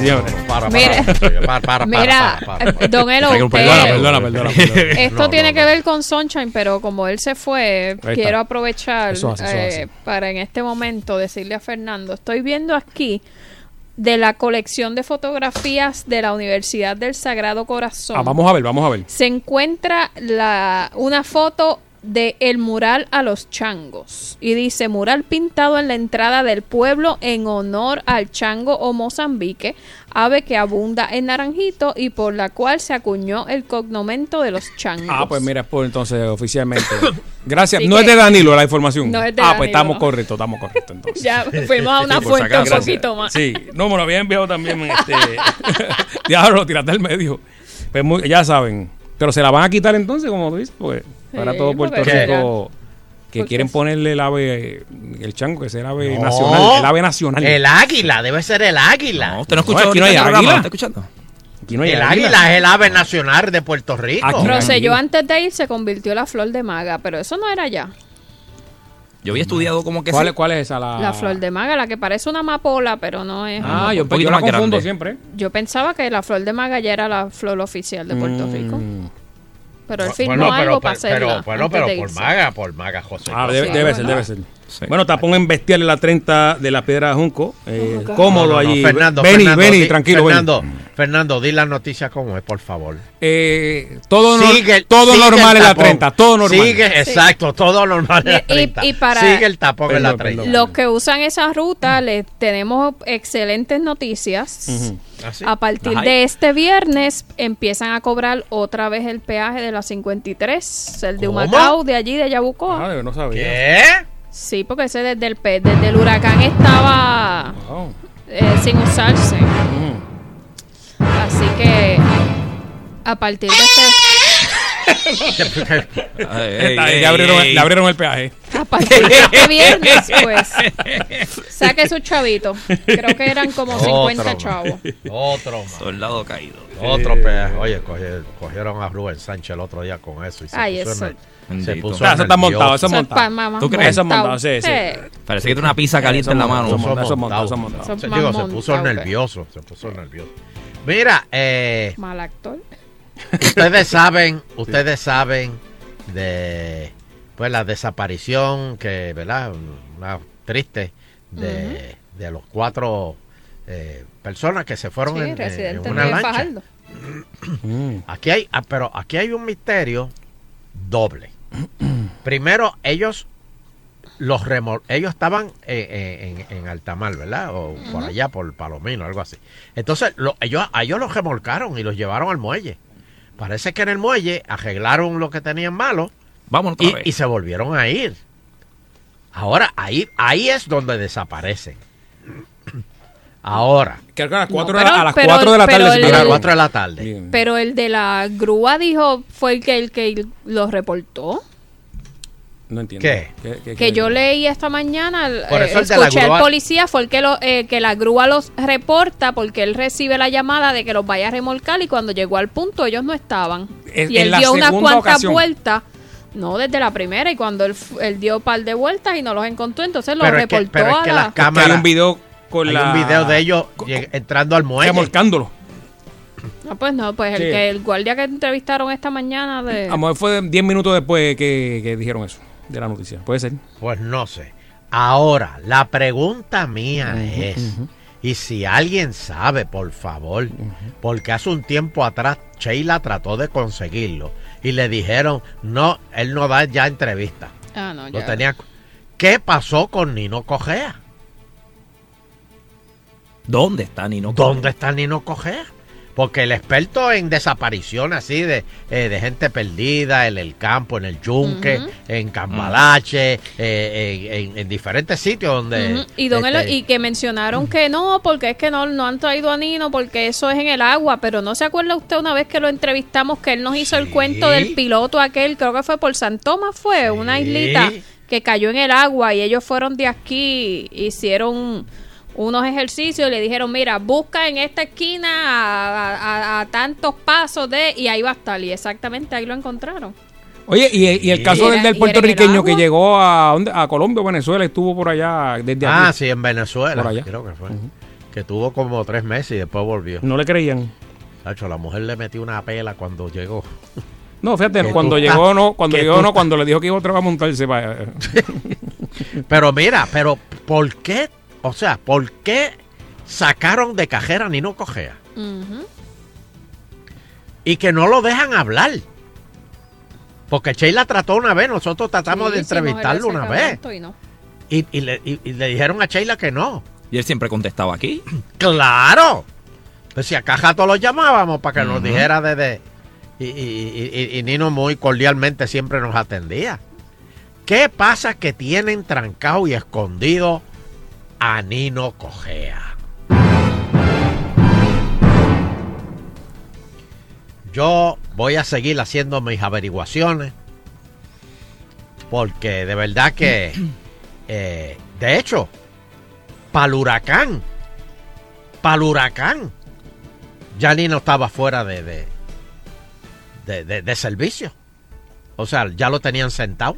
Mira, don Elo, perdona. Esto tiene que ver con Sunshine, pero como él se fue, quiero aprovechar eso hace. para en este momento decirle a Fernando, estoy viendo aquí de la colección de fotografías de la Universidad del Sagrado Corazón. Vamos a ver. Se encuentra una foto de el mural a los changos y dice: mural pintado en la entrada del pueblo en honor al chango o Mozambique, ave que abunda en Naranjito y por la cual se acuñó el cognomento de los changos. Pues mira, pues entonces oficialmente. Gracias. Así no es de Danilo la información. No es de pues Danilo. estamos correctos entonces. Ya fuimos a una fuente un poquito más. Sí, no, me lo había enviado también diablo, tírate al medio. Pues ya saben. Pero se la van a quitar entonces, como tú dices, pues para todo Puerto Rico Que quieren ponerle el chango, que es el ave No. nacional. El ave nacional. El águila, debe ser el águila. No, usted no escuchó aquí no hay ahorita el programa, águila. ¿está escuchando? Aquí no hay El águila es el ave nacional de Puerto Rico. Rosselló antes de ir se convirtió en la flor de maga, pero eso no era ya. Yo había estudiado como que ¿Cuál es esa? La flor de maga, la que parece una amapola, pero no es. Yo la confundo siempre. Yo pensaba que la flor de maga ya era la flor oficial de Puerto Rico. Pero él firmó Bueno, algo para hacerla. pero antes de por maga, José. Debe ser. Bueno, tapón en bestial en la 30 de la Piedra de Junco. Cómodo allí. Fernando, tranquilo. Fernando, di las noticias como es, por favor. Todo normal en la 30. Todo normal. Exacto, todo normal en la 30. Y para sigue el tapón en la 30. los que usan esa ruta, les tenemos excelentes noticias. A partir de este viernes empiezan a cobrar otra vez el peaje de la 53, el de Humacao, de allí, de Yabucoa. No sabía. ¿Qué? Sí, porque ese desde el huracán estaba sin usarse. Así que a partir de Le abrieron el peaje. A partir de este viernes, pues, saque su chavito. Creo que eran como 50 chavos. Otro más. Soldado caído. Otro peaje. Oye, cogieron a Rubén Sánchez el otro día con eso. Y se puso eso está montado, eso es montado. ¿Tú crees? Eso es montado, sí. Parece que tiene una pizza caliente en la mano. Eso es montado. Se puso nervioso. Mira, mal actor. Ustedes saben de pues la desaparición que, ¿verdad? Una triste de los 4 personas que se fueron en una lancha. Aquí hay un misterio doble. Primero, ellos estaban en Altamar, ¿verdad? O por allá, por Palomino, algo así. Entonces, a ellos los remolcaron y los llevaron al muelle. Parece que en el muelle arreglaron lo que tenían malo. Vámonos otra vez. Y se volvieron a ir. Ahora, ahí es donde desaparecen. Ahora. Que a las 4 de la tarde. A las 4 de la tarde. Pero el de la grúa fue el que los reportó. No entiendo. ¿Qué? Que yo leí esta mañana, escuché al policía, fue el que la grúa los reporta porque él recibe la llamada de que los vaya a remolcar y cuando llegó al punto ellos no estaban. Y él dio unas cuantas vueltas, no desde la primera, y cuando él dio un par de vueltas y no los encontró, entonces los reportó a las cámaras. Hay un video un video de ellos entrando al muelle. Remolcándolo. No, pues Sí. el guardia que entrevistaron esta mañana A lo mejor fue 10 minutos después que dijeron eso, de la noticia. Puede ser. Pues no sé. Ahora, la pregunta mía es, y si alguien sabe, por favor, porque hace un tiempo atrás Sheila trató de conseguirlo y le dijeron, no, él no da ya entrevista. No, Lo ya. tenía. ¿Qué pasó con Nino Cogea? ¿Dónde está Nino Cogea? Porque el experto en desaparición así de gente perdida en el campo, en el yunque, en Cambalache, en diferentes sitios donde... Y que mencionaron que no, porque es que no han traído a Nino, porque eso es en el agua, pero ¿no se acuerda usted una vez que lo entrevistamos que él nos hizo el cuento del piloto aquel, creo que fue por San Tomás, una islita que cayó en el agua y ellos fueron de aquí, hicieron unos ejercicios y le dijeron, mira, busca en esta esquina a tantos pasos y ahí va a estar, y exactamente ahí lo encontraron. Oye, y el caso del puertorriqueño que llegó a Colombia o Venezuela, estuvo por allá desde aquí. Sí, en Venezuela, por allá. creo que fue. Que tuvo como 3 meses y después volvió. No le creían. Tacho, la mujer le metió una pela cuando llegó. No, fíjate, cuando le dijo que iba otra vez a montarse para... Pero mira, ¿por qué? O sea, ¿por qué sacaron de cajera a Nino Cogea? Y que no lo dejan hablar. Porque Sheila trató una vez, nosotros tratamos de entrevistarlo una vez. Y le dijeron a Sheila que no. Y él siempre contestaba aquí. ¡Claro! Pues si a Cajato lo llamábamos para que nos dijera y Nino muy cordialmente siempre nos atendía. ¿Qué pasa que tienen trancado y escondido a Nino Cogea? Yo voy a seguir haciendo mis averiguaciones Porque de verdad que, de hecho, para el huracán, ya Nino estaba fuera de servicio. O sea, ya lo tenían sentado.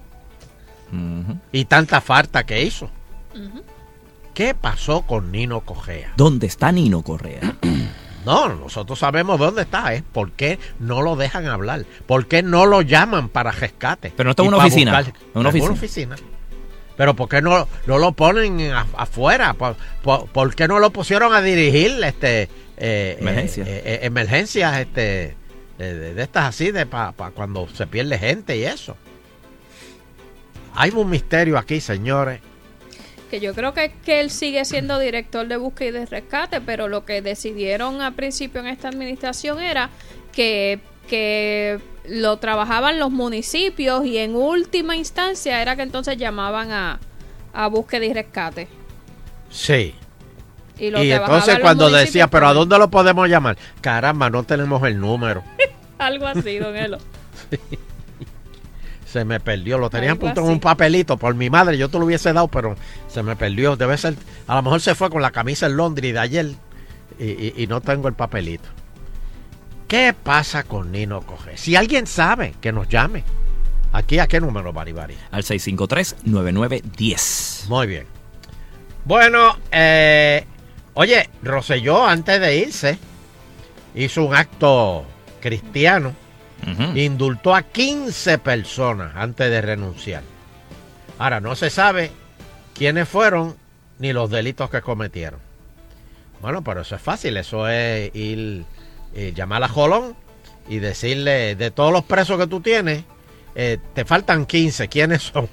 Y tanta falta que hizo. ¿Qué pasó con Nino Correa? ¿Dónde está Nino Correa? No, nosotros sabemos dónde está, ¿eh? ¿Por qué no lo dejan hablar? ¿Por qué no lo llaman para rescate? Pero no está en una oficina. En una oficina. Pero ¿por qué no lo ponen afuera? ¿Por qué no lo pusieron a dirigir emergencias de estas así para cuando se pierde gente y eso? Hay un misterio aquí, señores. Que yo creo que él sigue siendo director de búsqueda y de rescate, pero lo que decidieron al principio en esta administración era que lo trabajaban los municipios y en última instancia era que entonces llamaban a búsqueda y rescate. Sí. Y entonces cuando decía, ¿pero a dónde lo podemos llamar? Caramba, no tenemos el número. Algo así, don Elo. Sí. Se me perdió, lo tenían puesto en un papelito por mi madre, yo te lo hubiese dado, pero se me perdió. Debe ser, a lo mejor se fue con la camisa en Londres de ayer y no tengo el papelito. ¿Qué pasa con Nino Correa? Si alguien sabe, que nos llame. ¿Aquí a qué número, Baribari? Al 653-9910. Muy bien. Bueno, oye, Rosselló antes de irse hizo un acto cristiano. Indultó a 15 personas antes de renunciar. Ahora, no se sabe quiénes fueron ni los delitos que cometieron. Bueno, pero eso es fácil. Eso es ir, llamar a Jolón y decirle, de todos los presos que tú tienes, te faltan 15. ¿Quiénes son?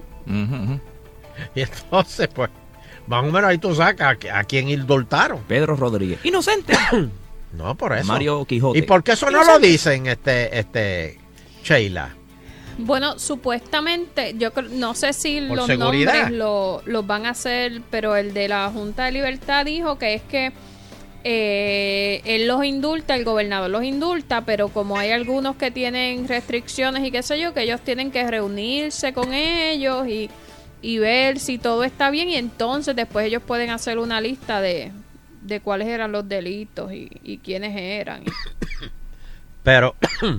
Y entonces, pues, más o menos ahí tú sacas a quién indultaron. Pedro Rodríguez. Inocente. No, por eso. Mario Quijote. ¿Y por qué eso no lo dicen, Sheila? Bueno, supuestamente, yo no sé si ¿Por los seguridad? nombres los van a hacer, pero el de la Junta de Libertad dijo que es que él los indulta, el gobernador los indulta, pero como hay algunos que tienen restricciones y qué sé yo, que ellos tienen que reunirse con ellos y ver si todo está bien, y entonces después ellos pueden hacer una lista de cuáles eran los delitos y quiénes eran. Pero,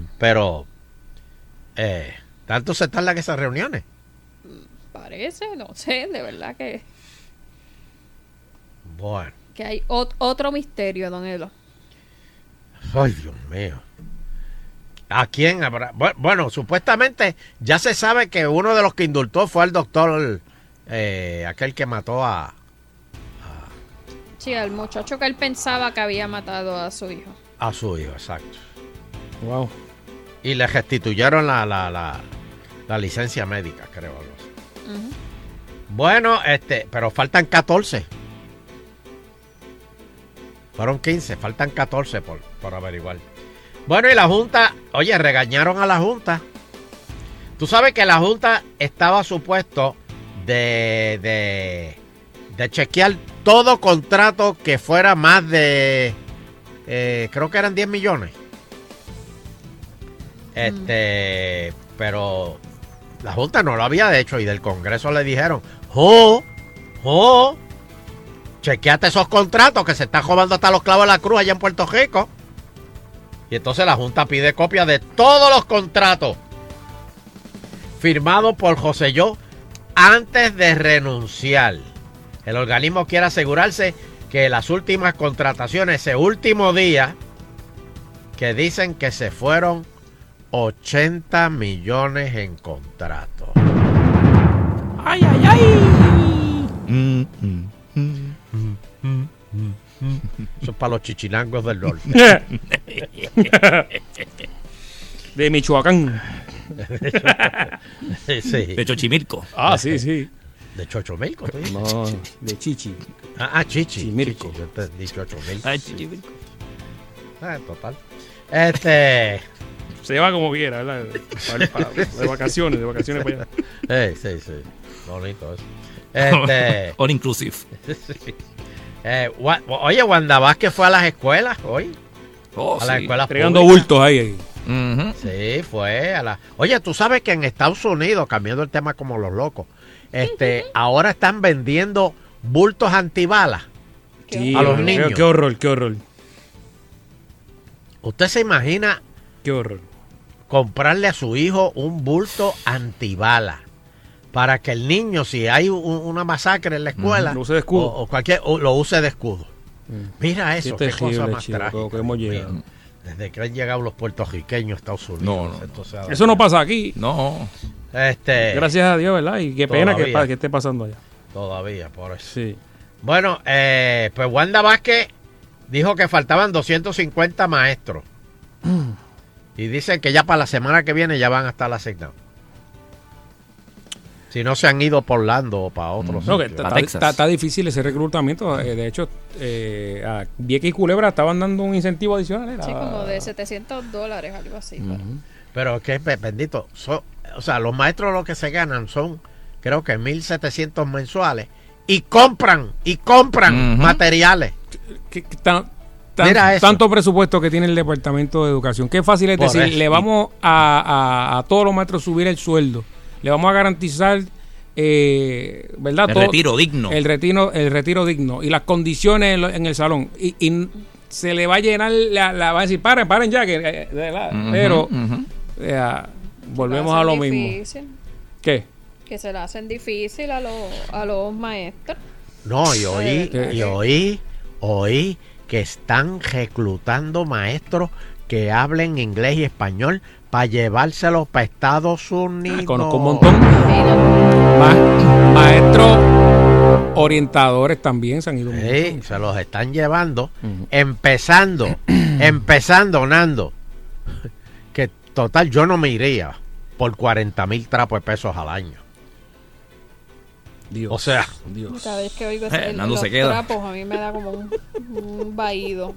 ¿tanto se tardan esas reuniones? Parece, no sé, de verdad que... Bueno. Que hay otro misterio, don Elo. Ay, Dios mío. ¿A quién habrá? Bueno, supuestamente ya se sabe que uno de los que indultó fue al doctor, aquel que mató a... Sí, al muchacho que él pensaba que había matado a su hijo. A su hijo, exacto. Wow. Y le restituyeron la licencia médica, creo. Algo así. Bueno, pero faltan 14. Fueron 15, faltan 14 por averiguar. Bueno, y la Junta, oye, regañaron a la Junta. Tú sabes que la Junta estaba supuesto de chequear todo contrato que fuera más de, creo que eran 10 millones. Pero la Junta no lo había hecho y del Congreso le dijeron, chequeate esos contratos que se están robando hasta los clavos de la cruz allá en Puerto Rico. Y entonces la Junta pide copia de todos los contratos firmados por Rosselló antes de renunciar. El organismo quiere asegurarse que las últimas contrataciones, ese último día, que dicen que se fueron 80 millones en contratos. ¡Ay, ay, ay! Eso es para los chichilangos del norte. De Michoacán. Sí. De Xochimilco. Ah, sí, sí. ¿De Xochimilco? No, de Chichi. Chichi. Chimirco. Chichi, yo te he dicho Xochimilco. Chimirco. Total. Se llama como quiera, ¿verdad? De vacaciones para allá. Sí. Bonito eso. All inclusive. Sí. Oye, Wanda Vázquez fue a las escuelas hoy. Oh, a las sí. escuelas entregando públicas. bultos ahí. Sí, fue a la... Oye, tú sabes que en Estados Unidos, cambiando el tema como los locos, ahora están vendiendo bultos antibalas a los niños. Qué horror, qué horror. ¿Usted se imagina qué horror comprarle a su hijo un bulto antibala para que el niño, si hay una masacre en la escuela, lo use de escudo. o lo use de escudo? Mira eso, qué cosa más chico, trágica. que hemos llegado. Desde que han llegado los puertorriqueños a Estados Unidos. Eso no pasa aquí. No. Gracias a Dios, ¿verdad? Y qué pena que esté pasando allá. Todavía, por eso. Sí. Bueno, pues Wanda Vázquez dijo que faltaban 250 maestros. Y dicen que ya para la semana que viene ya van a estar asignados. Si no se han ido por Orlando o para otros sitios. Está difícil ese reclutamiento. De hecho, a Vieques y Culebra estaban dando un incentivo adicional. Sí, como de $700, algo así. Pero es que, bendito, o sea, los maestros lo que se ganan son, creo que 1.700 mensuales. Y compran materiales. Mira eso. Tanto presupuesto que tiene el Departamento de Educación. Qué fácil es decir, le vamos a todos los maestros subir el sueldo. Le vamos a garantizar, ¿verdad? El retiro digno. El retiro digno. Y las condiciones en el salón. Y se le va a llenar, va a decir, paren ya. Pero volvemos a lo mismo. ¿Qué? Que se le hacen difícil a los maestros. No, y oí que están reclutando maestros que hablen inglés y español para llevárselos para Estados Unidos. Conozco un montón. Maestros orientadores también se han ido. Sí, se los están llevando. Empezando, Nando. Que total, yo no me iría por 40,000 trapos de pesos al año. Dios. O sea, cada vez que oigo Nando los se queda. trapos, a mí me da como un vaído.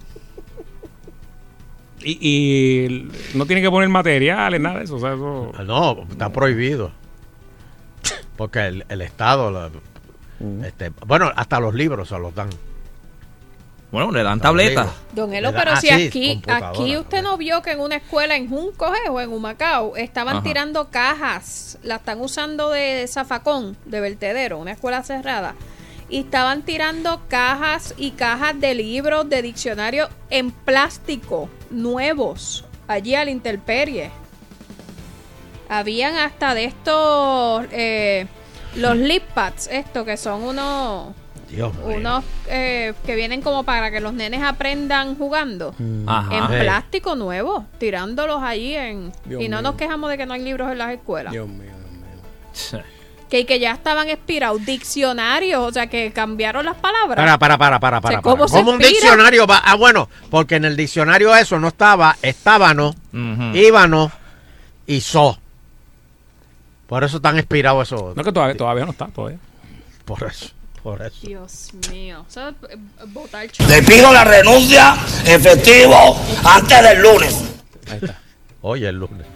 Y no tiene que poner materiales, nada de eso. O sea, eso... No, está prohibido. Porque el Estado, bueno, hasta los libros se los dan. Bueno, le dan tabletas. Don Elo, pero si aquí usted no vio que en una escuela en Junco o en Humacao estaban tirando cajas, la están usando de zafacón, de vertedero, una escuela cerrada. Y estaban tirando cajas y cajas de libros, de diccionarios en plástico, nuevos, allí a la intemperie. Habían hasta de estos, los lip pads, que son unos que vienen como para que los nenes aprendan jugando. En plástico nuevo, tirándolos allí y no nos quejamos de que no hay libros en las escuelas. Dios mío. Que ya estaban expirados, diccionarios, o sea que cambiaron las palabras. Para. ¿Cómo un diccionario va? Bueno, porque en el diccionario eso no estaba, estábano, íbano y so. Por eso están expirados esos. No, que todavía no está, todavía. Por eso. Dios mío. O sea, botar le pido la renuncia efectivo antes del lunes. Ahí está. Oye, el lunes.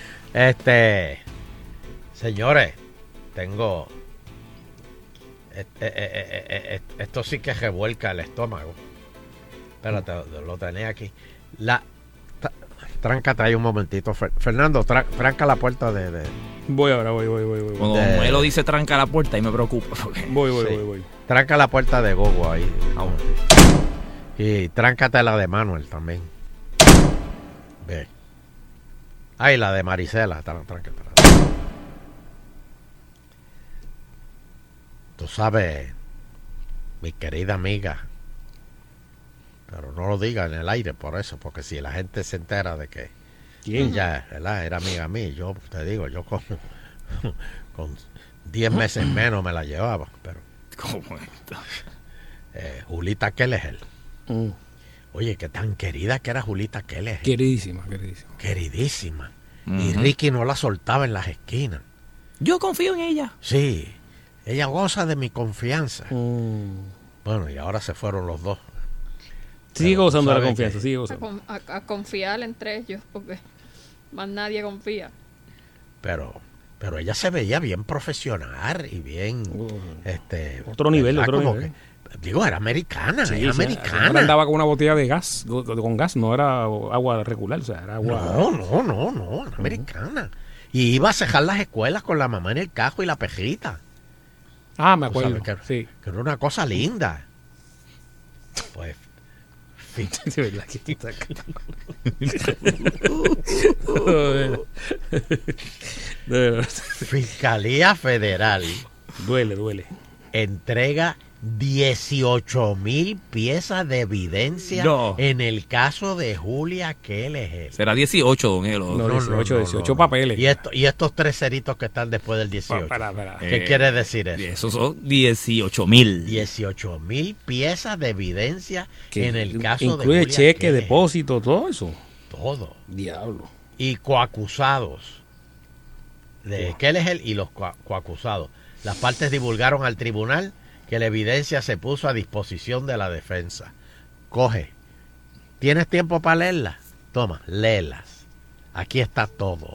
Señores, tengo esto sí que revuelca el estómago. Espérate, lo tenía aquí. Tráncate ahí un momentito, Fernando, tranca la puerta de... Voy ahora. Cuando él lo dice tranca la puerta y me preocupa. Voy. Tranca la puerta de Gogo ahí. Y tráncate la de Manuel también. Ve. Ahí la de Marisela, tráncate. Tú sabes, mi querida amiga, pero no lo diga en el aire por eso, porque si la gente se entera de que ella, ¿verdad?, era amiga mía, yo te digo, yo con 10 meses menos me la llevaba, pero ¿cómo está? Julita Kelleher. Oye, qué tan querida que era Julita Kelleher. Queridísima. Y Ricky no la soltaba en las esquinas. Yo confío en ella. Sí. Ella goza de mi confianza. Bueno, y ahora se fueron los dos. Sigue gozando de la confianza, sigue gozando. A confiar entre ellos, porque más nadie confía. Pero ella se veía bien profesional y bien... otro nivel. Digo, era americana, Sí, era sí, americana. andaba con una botella de gas, con gas, no era agua regular, o sea, era agua. No, era americana. Y iba a cejar las escuelas con la mamá en el cajo y la pejita. Ah, me Tú acuerdo. sabes Sí. que era una cosa linda. Pues, De verdad que está De verdad. Fiscalía Federal Duele. entrega 18,000 piezas de evidencia No. en el caso de Julia Keller. Será 18, don Elo. No, 18 papeles. Y estos 3 ceritos que están después del 18. Para. ¿Qué quiere decir eso? Esos son 18,000. 18,000 piezas de evidencia en el caso de incluye Julia cheque, Keller. depósito, todo eso. Todo. Diablo. Y coacusados de Keller y los coacusados. Las partes divulgaron al tribunal que la evidencia se puso a disposición de la defensa. Coge. ¿Tienes tiempo para leerlas? Toma, léelas. Aquí está todo.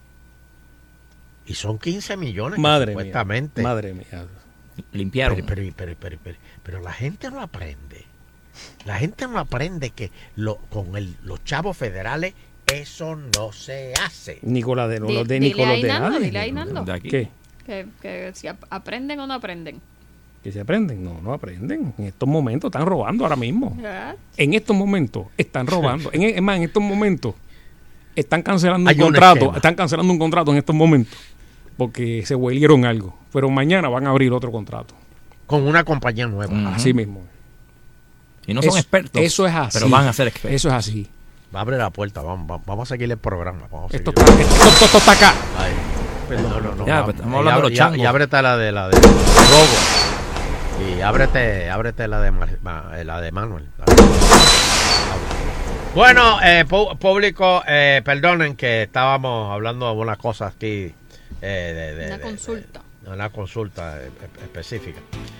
Y son 15 millones Madre supuestamente. mía. Madre mía. Limpiaron. Pero la gente no aprende. La gente no aprende que los chavos federales eso no se hace. Nicolás de los de Dile Nicolás ahí, de Nando, nadie. dile ahí, Nando. De aquí. ¿Qué? Que si aprenden o no aprenden. ¿Que se aprenden? No aprenden. En estos momentos están robando ahora mismo. ¿Verdad? En estos momentos están robando. Es más, en estos momentos están cancelando Hay un un contrato. esquema. Están cancelando un contrato en estos momentos porque se huelieron algo. Pero mañana van a abrir otro contrato. Con una compañía nueva. Así mismo. Y no son Eso- expertos. Eso es así. Pero van a ser expertos. Eso es así. Abre la puerta, vamos a seguir el programa. Vamos a Esto seguir. esto está acá. Ay, no. Ya, pues, estamos hablando de los changos. Y ábrete la de Rogo. Y ábrete la de Manuel. Bueno, público, perdonen que estábamos hablando de una cosa aquí. Una consulta. Una consulta específica.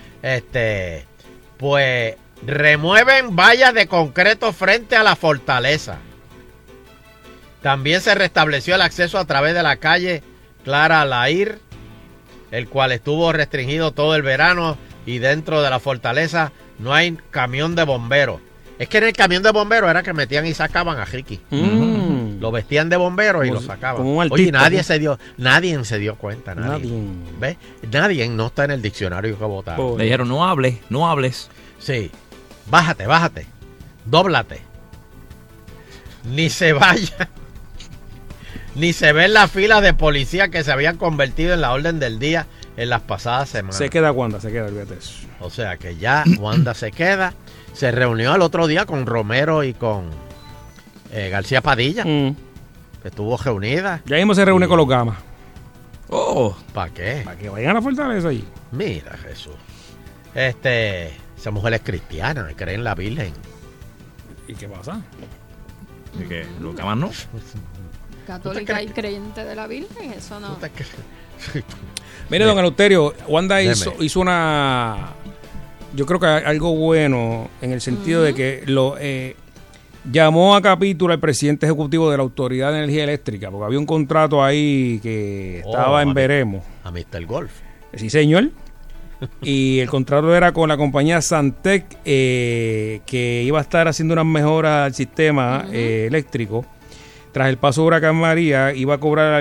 Pues remueven vallas de concreto frente a la fortaleza. También se restableció el acceso a través de la calle Clara Lair, el cual estuvo restringido todo el verano, y dentro de la fortaleza no hay camión de bomberos. Es que en el camión de bomberos era que metían y sacaban a Ricky. Lo vestían de bomberos y Como- lo sacaban. como un Oye, artista, nadie ¿no? se dio cuenta. Nadie. ¿Ves? Nadie no está en el diccionario que votaron. Le dijeron, no hables. Sí. Bájate. Dóblate. Ni se vaya. Ni se ven las filas de policía que se habían convertido en la orden del día en las pasadas semanas. Se queda Wanda, olvídate eso. O sea que ya Wanda se queda. Se reunió el otro día con Romero y con García Padilla. Que estuvo reunida. Ya mismo se reúne con los gamas. ¿Para qué? Para que vayan a la fortaleza allí. Mira, Jesús. Esa mujer es cristiana, cree en la Virgen. ¿Y qué pasa? ¿Y qué? ¿Los gamas no? Católica y creyente de la Virgen, eso no. Mire, don Eleuterio, Wanda Deme. hizo una... Yo creo que algo bueno en el sentido de que llamó a capítulo al presidente ejecutivo de la Autoridad de Energía Eléctrica, porque había un contrato ahí que estaba en veremos. A Mr. Golf. Sí, señor. Y el contrato era con la compañía Santec, que iba a estar haciendo unas mejoras al sistema eléctrico. Tras el paso de Huracán María, iba a cobrar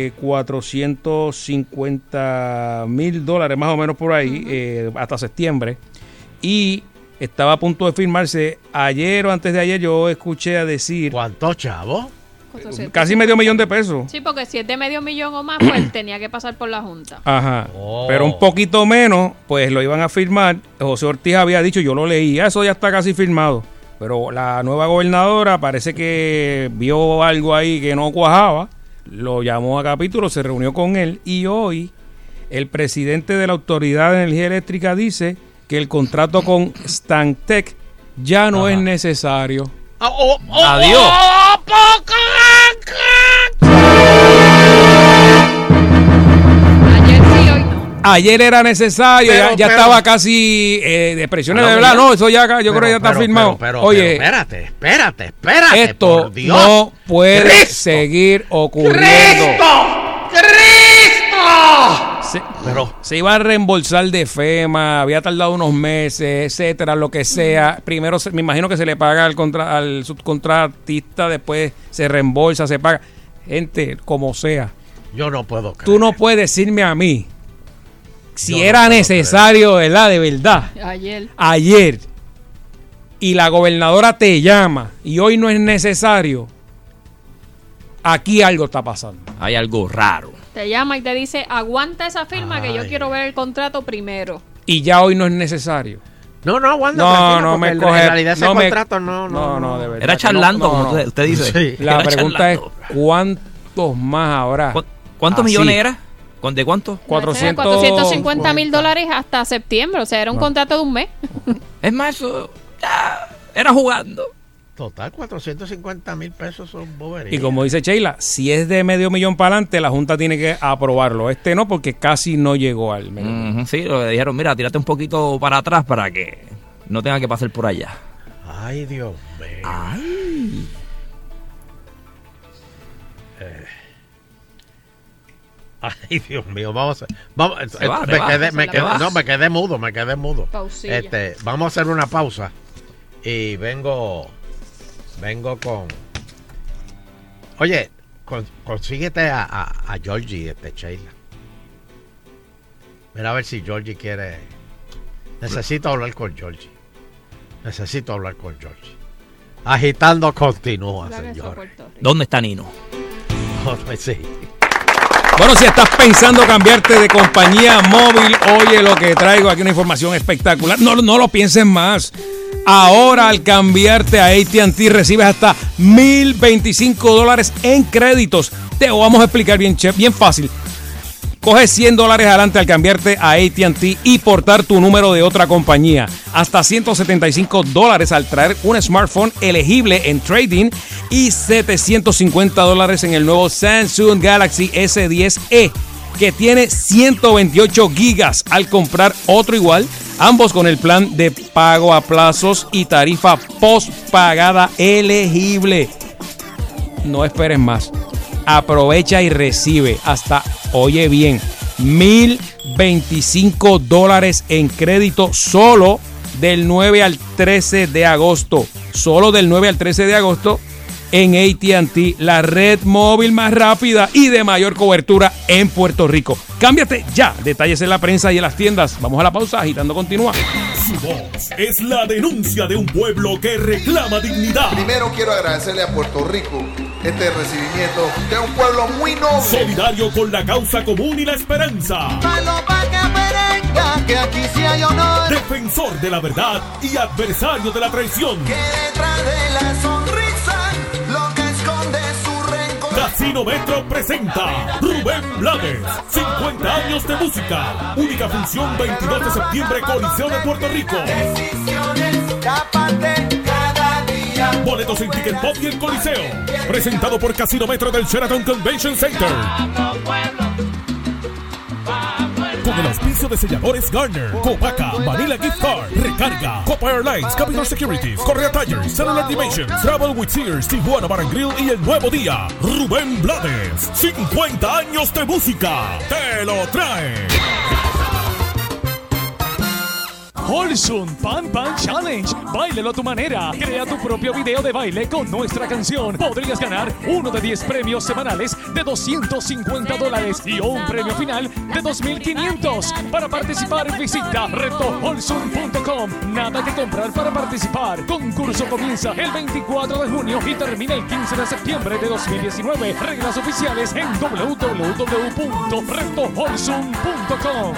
$450,000 más o menos por ahí, hasta septiembre. Y estaba a punto de firmarse. Ayer o antes de ayer yo escuché a decir... ¿Cuánto, chavo? Casi $500,000. Sí, porque si es de $500,000 o más, pues tenía que pasar por la Junta. Ajá. Pero un poquito menos, pues lo iban a firmar. José Ortiz había dicho, yo lo leí, eso ya está casi firmado. Pero la nueva gobernadora parece que vio algo ahí que no cuajaba, lo llamó a capítulo, se reunió con él y hoy el presidente de la Autoridad de Energía Eléctrica dice que el contrato con Stantec ya no es necesario. Adiós. Ayer era necesario, Pero, ya pero- estaba casi de presiones Ah, de no, verdad. ya. No, eso ya yo creo que ya está firmado. Oye, espérate. Esto por Dios. no puede ¡Cristo! seguir ocurriendo. ¡Cristo! Pero se iba a reembolsar de FEMA, había tardado unos meses, etcétera, lo que sea. Primero me imagino que se le paga al subcontratista, después se reembolsa, se paga. Gente, como sea. Yo no puedo creer. Tú no puedes decirme a mí si Yo era no puedo necesario, ¿verdad? De verdad. Ayer. Y la gobernadora te llama y hoy no es necesario. Aquí algo está pasando. Hay algo raro. Te llama y te dice, aguanta esa firma que yo quiero ver el contrato primero. Y ya hoy no es necesario. No, aguanta. No me en coge. realidad ese no me- contrato no, de verdad. Era charlando, No, como no. usted dice. Sí. La Era pregunta charlando. es, ¿cuántos más habrá? ¿Cuántos Así. millones era? ¿De cuánto? 450 mil dólares hasta septiembre. O sea, era un contrato de un mes. Es más, eso ya era jugando. Total, 450,000 pesos son boberías. Y como dice Sheila, si es de $500,000 para adelante, la Junta tiene que aprobarlo. Este no, porque casi no llegó al medio. Sí, le dijeron, mira, tírate un poquito para atrás para que no tenga que pasar por allá. Ay, Dios mío. Ay. Ay, Dios mío, vamos a... me quedé mudo. Pausilla. Vamos a hacer una pausa y vengo con... Oye, consíguete a Georgie, Sheila. Mira a ver si Georgie quiere... Necesito hablar con Georgie. Agitando continúa, señor. ¿Dónde está Nino? Sí. Bueno, si estás pensando cambiarte de compañía móvil, oye lo que traigo aquí, una información espectacular. No lo pienses más. Ahora al cambiarte a AT&T recibes hasta $1,025 en créditos. Te lo vamos a explicar bien fácil. Coges $100 adelante al cambiarte a AT&T y portar tu número de otra compañía. Hasta $175 al traer un smartphone elegible en trading y $750 en el nuevo Samsung Galaxy S10e, que tiene 128 gigas al comprar otro igual, ambos con el plan de pago a plazos y tarifa postpagada elegible. No esperes más. Aprovecha y recibe hasta, oye bien, $1,025 en crédito solo del 9 al 13 de agosto. Solo del 9 al 13 de agosto en AT&T, la red móvil más rápida y de mayor cobertura en Puerto Rico. Cámbiate ya. Detalles en la prensa y en las tiendas. Vamos a la pausa. Agitando continúa. Su voz es la denuncia de un pueblo que reclama dignidad. Primero quiero agradecerle a Puerto Rico este recibimiento de un pueblo muy noble. Solidario con la causa común y la esperanza. Que aquí sí hay honor. Defensor de la verdad y adversario de la traición. Que detrás de la sonrisa lo que esconde su rencor. Casino Metro presenta Rubén Blades, 50 años de música. Única función 22 de septiembre, Coliseo de Puerto Rico. Decisiones, tápate cada día. Boletos en Ticket Pop y el Coliseo. Presentado por Casino Metro del Sheraton Convention Center. Con el auspicio de selladores Garner, Copaca, Manila Gift Card, Recarga, Copa Airlines, Capital Securities, Correa Tires, Cellular Dimensions, Travel with Sears, Tijuana Bar and Grill y El Nuevo Día. Rubén Blades, 50 años de música. Te lo trae. Holsun Pan Pan Challenge. Báilelo a tu manera. Crea tu propio video de baile con nuestra canción. Podrías ganar uno de 10 premios semanales de $250 y un premio final de $2,500. Para participar, visita retoholsun.com. Nada que comprar para participar. Concurso comienza el 24 de junio y termina el 15 de septiembre de 2019. Reglas oficiales en www.retoholsun.com.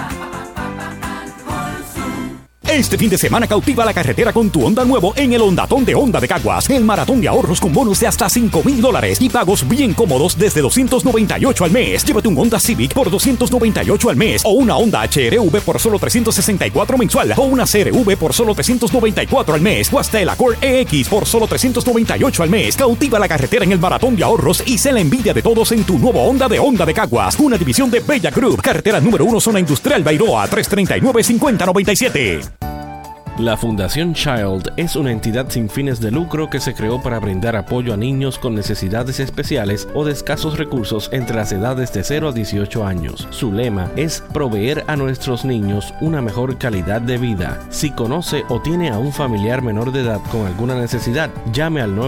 Este fin de semana cautiva la carretera con tu Honda nuevo en el Hondatón de Honda de Caguas. El maratón de ahorros con bonus de hasta $5,000 y pagos bien cómodos desde $298 al mes. Llévate un Honda Civic por $298 al mes o una Honda HR-V por solo $364 mensual o una CR-V por solo $394 al mes o hasta el Accord EX por solo $398 al mes. Cautiva la carretera en el maratón de ahorros y sé la envidia de todos en tu nuevo Honda de Honda de Caguas. Una división de Bella Group. Carretera número 1, zona industrial Bairoa, 339-5097. La Fundación Child es una entidad sin fines de lucro que se creó para brindar apoyo a niños con necesidades especiales o de escasos recursos entre las edades de 0 a 18 años. Su lema es proveer a nuestros niños una mejor calidad de vida. Si conoce o tiene a un familiar menor de edad con alguna necesidad, llame al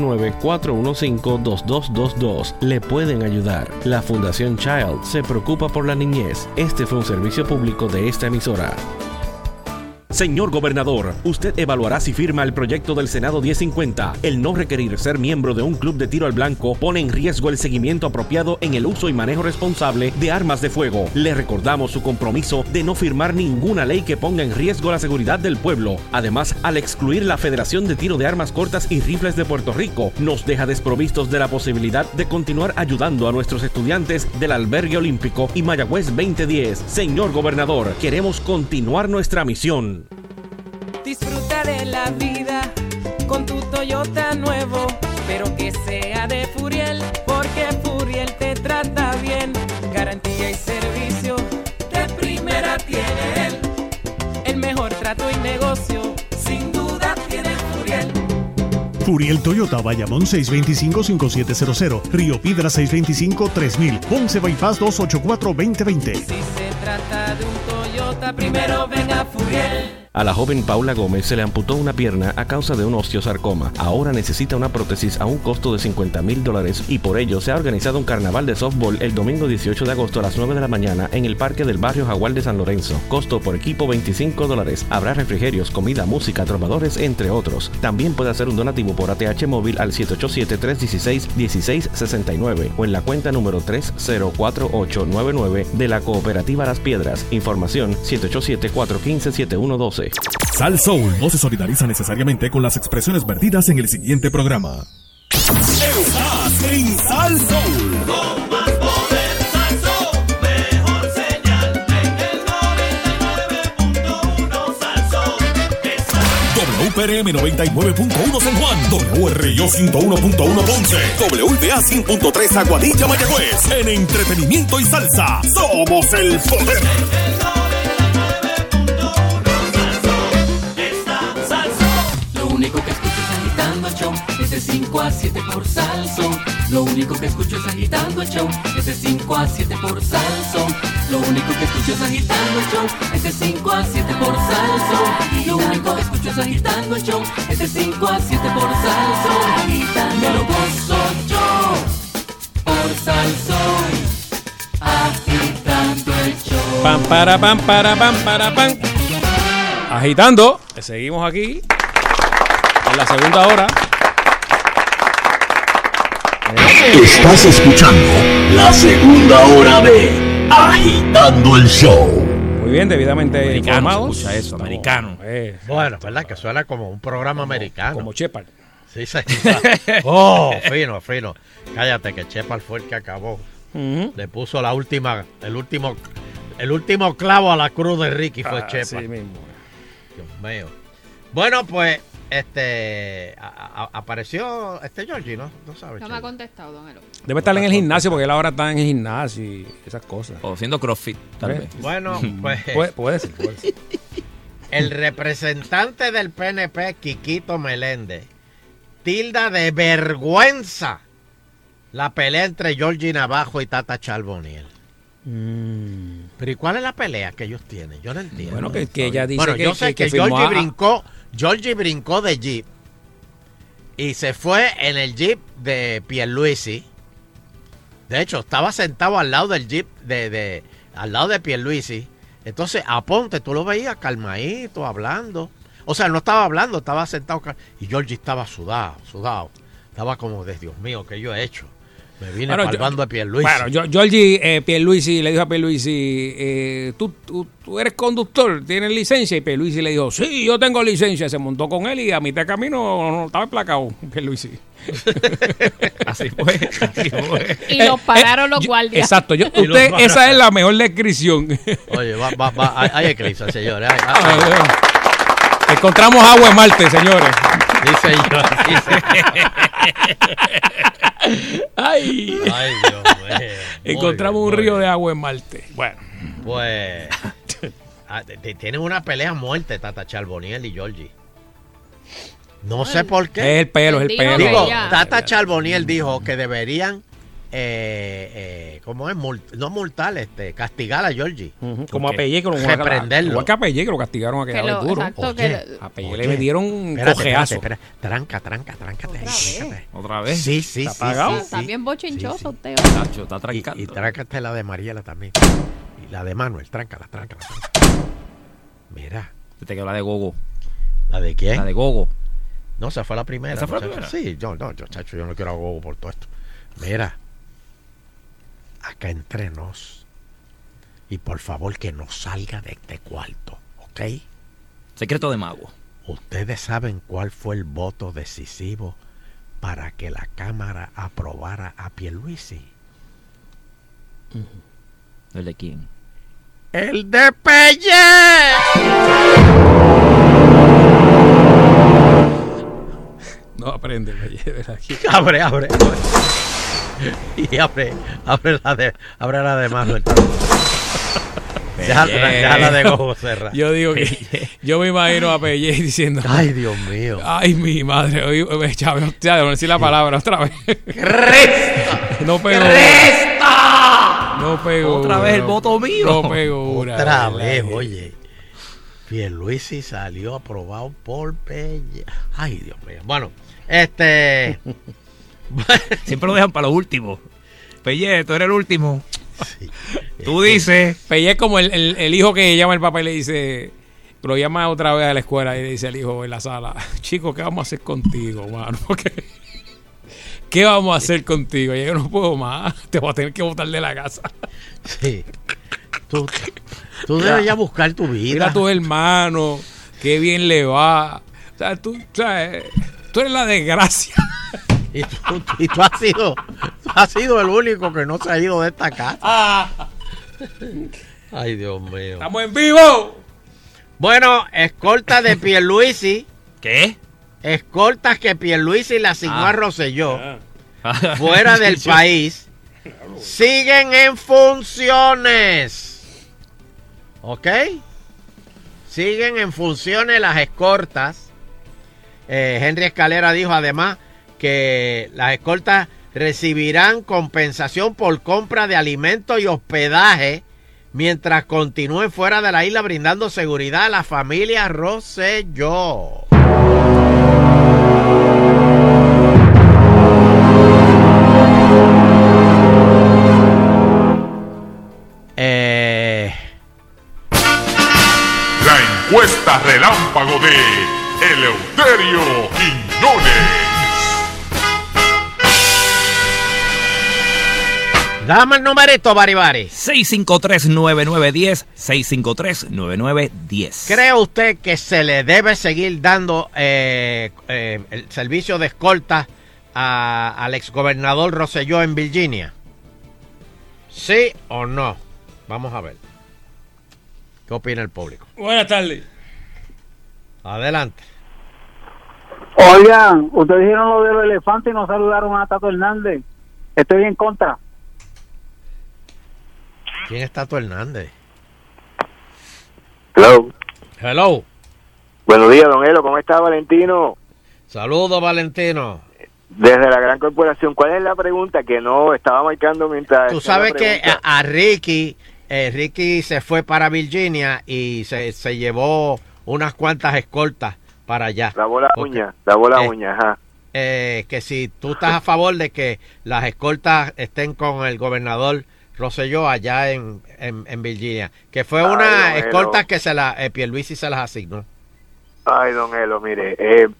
939-415-2222. Le pueden ayudar. La Fundación Child se preocupa por la niñez. Este fue un servicio público de esta emisora. Señor gobernador, usted evaluará si firma el proyecto del Senado 1050. El no requerir ser miembro de un club de tiro al blanco pone en riesgo el seguimiento apropiado en el uso y manejo responsable de armas de fuego. Le recordamos su compromiso de no firmar ninguna ley que ponga en riesgo la seguridad del pueblo. Además, al excluir la Federación de Tiro de Armas Cortas y Rifles de Puerto Rico, nos deja desprovistos de la posibilidad de continuar ayudando a nuestros estudiantes del Albergue Olímpico y Mayagüez 2010. Señor gobernador, queremos continuar nuestra misión. Disfruta de la vida con tu Toyota nuevo, pero que sea de Furiel, porque Furiel te trata bien. Garantía y servicio de primera tiene él. El mejor trato y negocio, sin duda tiene Furiel. Furiel Toyota, Bayamón 625-5700, Río Piedra 625-3000, Ponce Bypass 284-2020. Si se trata de un Toyota, primero ven a Furiel. A la joven Paula Gómez se le amputó una pierna a causa de un osteosarcoma. Ahora necesita una prótesis a un costo de $50,000 y por ello se ha organizado un carnaval de softball el domingo 18 de agosto a las 9 de la mañana en el parque del barrio Jaguar de San Lorenzo. Costo por equipo $25. Habrá refrigerios, comida, música, trovadores, entre otros. También puede hacer un donativo por ATH móvil al 787-316-1669 o en la cuenta número 304899 de la Cooperativa Las Piedras. Información 787-415-7112. Sal Soul no se solidariza necesariamente con las expresiones vertidas en el siguiente programa. Estás en Sal Soul. Con más poder, Sal Soul, mejor señal en el 99.1 Sal Soul. WPRM 99.1 San Juan, WRIO 101.1 Ponce, WIBA 100.3 Aguadilla Mayagüez. En entretenimiento y salsa, somos el poder. Lo único que escucho es agitando el show, es de 5 a 7 por Salsón. Lo único que escucho es agitando el show, es de 5 a 7 por Salsón. Lo único que escucho es agitando el show, es de 5 a 7 por Salsón. Lo único que escucho es agitando el show, es de 5 a 7 por Salsón. Me lo gozo yo por Salsón, agitando el show. Pam, para, pam, para, pam, para, pam. Agitando, seguimos aquí en la segunda hora. Estás escuchando la segunda hora de Agitando el Show. Muy bien, debidamente informados. Escucha eso, americano. Bueno, ¿verdad? Que suena como un programa americano. Como Shepard. Sí, sí. Oh, fino, fino. Cállate, que Shepard fue el que acabó. Le puso el último clavo a la cruz de Ricky fue Shepard. Sí mismo. Dios mío. Bueno, pues, apareció Georgie, ¿no? No sabes. No me ha contestado, don Elo. Debe estar en el gimnasio porque él ahora está en el gimnasio y esas cosas. O haciendo CrossFit, tal vez. Bueno, pues. Puede ser. El representante del PNP, Quiquito Meléndez, tilda de vergüenza la pelea entre Georgie Navajo y Tata Charbonnier. Pero ¿y cuál es la pelea que ellos tienen? Yo no entiendo. Bueno, que ella dice yo sé que Georgie brincó de Jeep y se fue en el Jeep de Pierluisi. De hecho, estaba sentado al lado del Jeep al lado de Pierluisi. Entonces, a Ponte, tú lo veías calmadito, hablando. O sea, no estaba hablando, estaba sentado. Y Georgie estaba sudado. Estaba como de Dios mío, ¿qué yo he hecho? Me vine para el bando de Pierluisi. Bueno, Georgie, Pierluisi le dijo a Pierluisi, ¿tú eres conductor, tienes licencia? Y Pierluisi le dijo, sí, yo tengo licencia. Se montó con él y a mitad de camino no estaba emplacado Pierluisi. Así fue. Y los pararon los guardias. Exacto. Esa es la mejor descripción. Oye, hay eclipse, señores. Encontramos agua en Marte, señores. Sí, señor. Ay, Dios mío. Encontramos un río de agua en Marte. Bueno. Pues tienen una pelea a muerte, Tata Charbonnier y Georgie. No sé por qué. Es el pelo. Digo, Tata Charbonnier dijo que deberían, ¿cómo es? No multar, castigar a Georgie. Como a Pelle, que reprenderlo. Igual que a Pelle, que lo castigaron a que duro. Exacto, A Pelle le metieron cojeazo. Espera. Tráncate ahí. ¿Otra vez? Sí. ¿Está apagado? Está bien bochinchoso usted. Nacho, está trancando. Y tráncate la de Mariela también. Y la de Manuel, tráncala. Mira. Te quedó la de Gogo. ¿La de quién? La de Gogo. No, esa fue la primera. ¿Esa fue la primera? Sí, yo no quiero a Gogo por todo esto. Mira, acá entre nos. Y por favor que no salga de este cuarto, ¿ok? Secreto de mago. Ustedes saben cuál fue el voto decisivo para que la Cámara aprobara a Pierluisi. ¿El de quién? ¡El de Pelle! No aprende, Pelle, aquí. Abre. Y abre la de Manuel. Déjala de Gogo cerra. Yo digo que yo me imagino a Pelle diciendo: ay, Dios mío. Ay, mi madre. Oye, Chávez, ya no decir la palabra otra vez. ¡Cresta! No pegó. ¡Cresta! No pegó. Otra vez el voto mío. No pegó. Otra vez, oye. Pierluisi salió aprobado por Pelle. Ay, Dios mío. Bueno, siempre lo dejan para lo último. Pelle, tú eres el último. Sí. Tú dices. Pelle es como el hijo que llama al papá y le dice, lo llama otra vez a la escuela y le dice al hijo en la sala: chico, ¿qué vamos a hacer contigo, mano? ¿Qué vamos a hacer contigo? Yo no puedo más. Te voy a tener que botar de la casa. Sí. Tú debes ya buscar tu vida. Mira a tu hermano, qué bien le va. O sea, tú eres la desgracia. Y tú has sido el único que no se ha ido de esta casa. Ay, Dios mío. ¡Estamos en vivo! Bueno, escolta de Pierluisi. ¿Qué? Escoltas que Pierluisi le asignó a Rosselló fuera del país siguen en funciones. ¿Ok? Siguen en funciones las escoltas. Henry Escalera dijo además que las escoltas recibirán compensación por compra de alimentos y hospedaje mientras continúen fuera de la isla brindando seguridad a la familia Rosselló. La encuesta relámpago de Eleuterio Quiñones. Dame el numerito, Baribari. 653-9910, 653-9910. ¿Cree usted que se le debe seguir dando el servicio de escolta al exgobernador Rosselló en Virginia? ¿Sí o no? Vamos a ver. ¿Qué opina el público? Buenas tardes. Adelante. Oigan, ustedes dijeron lo de los elefantes y no saludaron a Tato Hernández. Estoy en contra. ¿Quién es Tato Hernández? Hello. Hello. Buenos días, don Elo. ¿Cómo está, Valentino? Saludos, Valentino. Desde la gran corporación. ¿Cuál es la pregunta que no estaba marcando mientras... Tú sabes que a Ricky se fue para Virginia y se llevó unas cuantas escoltas para allá. Lavó la uña, ajá. Que si tú estás a favor de que las escoltas estén con el gobernador Rosselló allá en Virginia, que fue una escolta que Pierluisi se las asignó. Ay, don Elo, mire,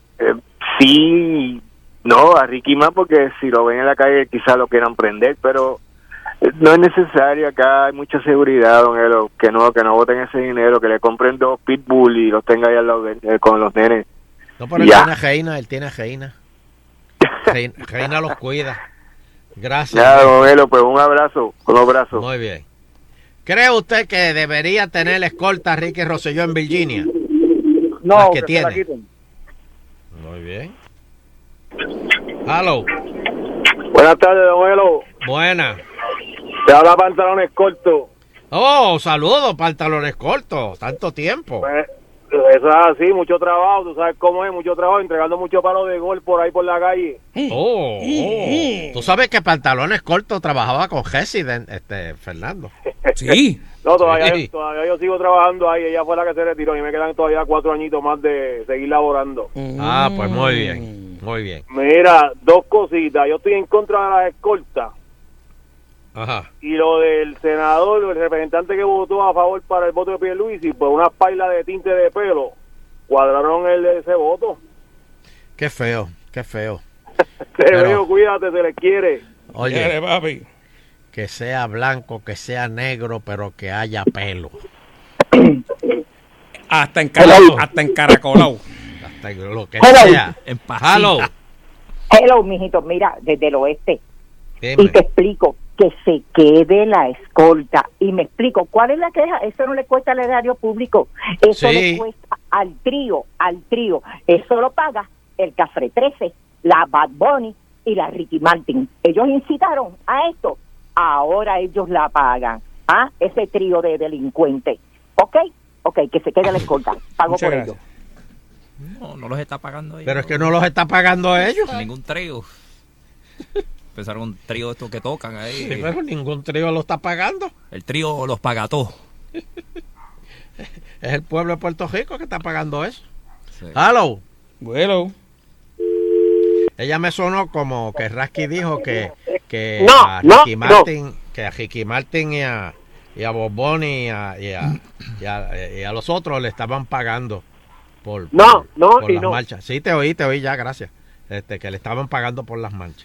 sí, no, a Ricky más, porque si lo ven en la calle quizás lo quieran prender, pero no es necesario. Acá hay mucha seguridad, don Elo, que no boten ese dinero, que le compren 2 pitbull y los tenga ahí al lado con los nenes. No, pero él tiene a Reina. Reina los cuida. Gracias. Ya, don Elo, pues un abrazo. Muy bien. ¿Cree usted que debería tener la escolta Ricky Rosselló en Virginia? No, las que se la tiene. quiten. Muy bien. Hello. Buenas tardes, don Elo. Buena. Te habla Pantalones Cortos. Oh, saludos, pantalones cortos. Tanto tiempo. Pues, eso es así, mucho trabajo, tú sabes cómo es, mucho trabajo, entregando mucho palo de gol por ahí por la calle. Oh. Tú sabes que pantalones cortos trabajaba con Jessy, Fernando. Sí. No, todavía yo sigo trabajando ahí, ella fue la que se retiró y me quedan todavía 4 añitos más de seguir laborando. Ah, pues muy bien, muy bien. Mira, 2 cositas, yo estoy en contra de las escoltas. Ajá. Y lo del senador, el representante que votó a favor para el voto de Pierluisi, pues unas pailas de tinte de pelo cuadraron ese voto. Qué feo, qué feo. Te veo, cuídate, se le quiere. Oye, papi. Que sea blanco, que sea negro, pero que haya pelo. Hasta encaracolado. Hasta lo que Hello. sea. Hello. Hello, mijito, mira, desde el oeste. Dime. Y te explico, que se quede la escolta. Y me explico, ¿cuál es la queja? Eso no le cuesta al erario público. Eso Sí. le cuesta al trío. Eso lo paga el Cafre 13, la Bad Bunny y la Ricky Martin. Ellos incitaron a esto. Ahora ellos la pagan. Ese trío de delincuentes. ¿Ok? Que se quede la escolta. Pago Muchas por gracias. ellos. No los está pagando ellos. Pero es que no los está pagando ellos. Ningún trío. Pensaron un trío de estos que tocan ahí. Sí, pero ningún trío lo está pagando. El trío los paga todos. Es el pueblo de Puerto Rico que está pagando eso. Sí. Hello. Bueno. Ella me sonó como que Rasky dijo que No, a Ricky Martin, que a Ricky Martin y a Bob Bunny y a los otros le estaban pagando por las marchas. Sí, te oí ya, gracias. Que le estaban pagando por las marchas.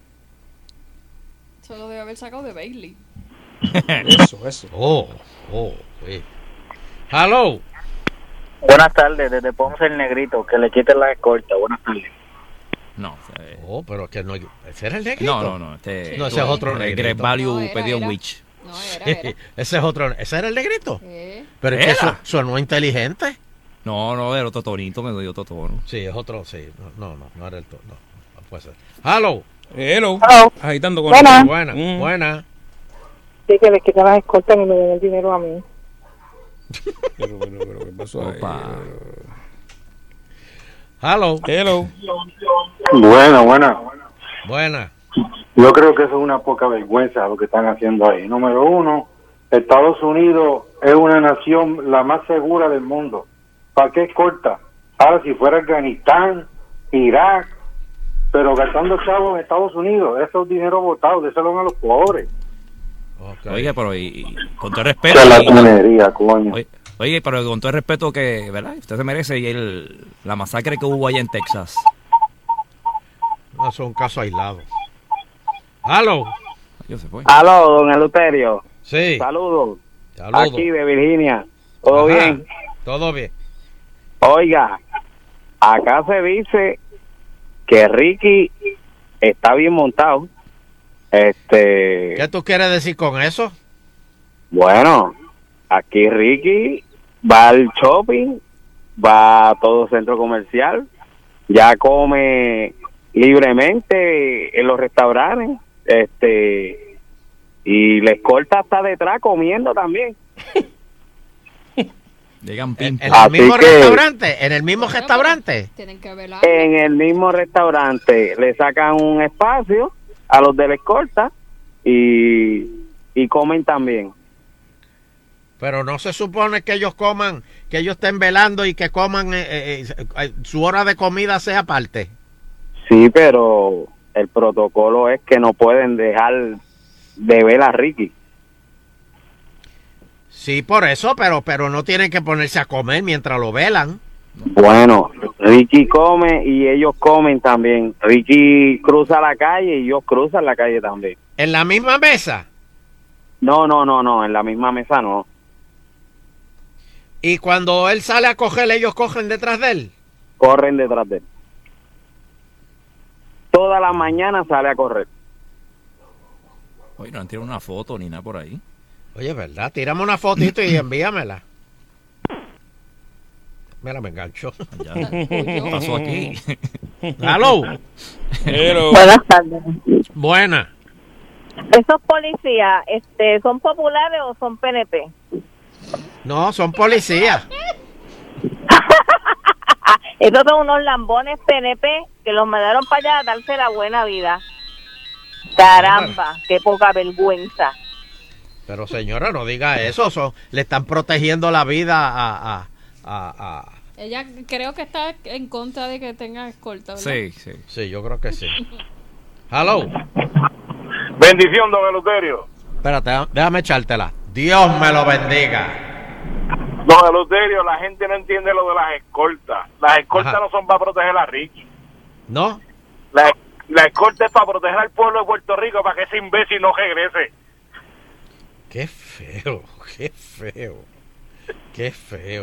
Se lo debe haber sacado de Bailey. Eso. Oh, sí. Hello. Buenas tardes, desde Ponce el Negrito, que le quiten la escolta. Buenas tardes. No. Oh, pero que no. ¿Ese era el negrito? No. No, ese es otro negrito. Great Value pedía un witch. Ese es otro. ¿Ese era el negrito? Sí. Pero es que sonó inteligente. No, era otro tonito, me dio otro tono. Sí, es otro, sí. No era el tono. No puede ser. Hello. Agitando con Buena. Sí, que les quitan las escoltas y me den el dinero a mí. Pero, ¿qué pasó ahí? Hello. Buena. Yo creo que eso es una poca vergüenza lo que están haciendo ahí. Número 1, Estados Unidos es una nación la más segura del mundo. ¿Para qué escolta? Ahora, si fuera Afganistán, Irak, pero gastando chavos en Estados Unidos, eso es dinero votado, déselo a los pobres. Okay. Oiga, pero y con todo el respeto. Coño. Oye, pero con todo el respeto que, ¿verdad? Usted se merece la masacre que hubo allá en Texas. No, eso es un caso aislado. Hello. Aló, don Eleuterio. Sí. Saludos. Aquí de Virginia. ¿Todo bien? Todo bien. Oiga, acá se dice que Ricky está bien montado. ¿Qué tú quieres decir con eso? Bueno, aquí Ricky va al shopping, va a todo centro comercial, ya come libremente en los restaurantes, y la escolta está detrás comiendo también. Llegan pim. ¿En el mismo restaurante? ¿En el mismo restaurante? Tienen que velar. En el mismo restaurante le sacan un espacio a los de la escolta y comen también. Pero no se supone que ellos coman, que ellos estén velando y que coman, su hora de comida sea aparte. Sí, pero el protocolo es que no pueden dejar de ver a Ricky. Sí, por eso, pero no tienen que ponerse a comer mientras lo velan. Bueno, Ricky come y ellos comen también. Ricky cruza la calle y ellos cruzan la calle también. ¿En la misma mesa? No, en la misma mesa no. ¿Y cuando él sale a coger, ellos cogen detrás de él? Corren detrás de él. Toda la mañana sale a correr. Oye, no han tirado una foto ni nada por ahí. Oye, ¿verdad? Tírame una fotito y envíamela. Mira, me enganchó. ¿Qué pasó aquí? ¡Aló! Buenas tardes. Buena. ¿Esos policías son populares o son PNP? No, son policías. Estos son unos lambones PNP que los mandaron para allá a darse la buena vida. Caramba, qué poca vergüenza. Pero señora, no diga eso. Le están protegiendo la vida a... Ella creo que está en contra de que tenga escolta, ¿verdad? Sí. Sí, yo creo que sí. Hello. Bendición, don Eleuterio. Espérate, déjame echártela. Dios me lo bendiga. Don Eleuterio, la gente no entiende lo de las escoltas. Las escoltas Ajá. no son para proteger a Ricky. ¿No? La escolta es para proteger al pueblo de Puerto Rico, para que ese imbécil no regrese. Qué feo, qué feo. Qué feo.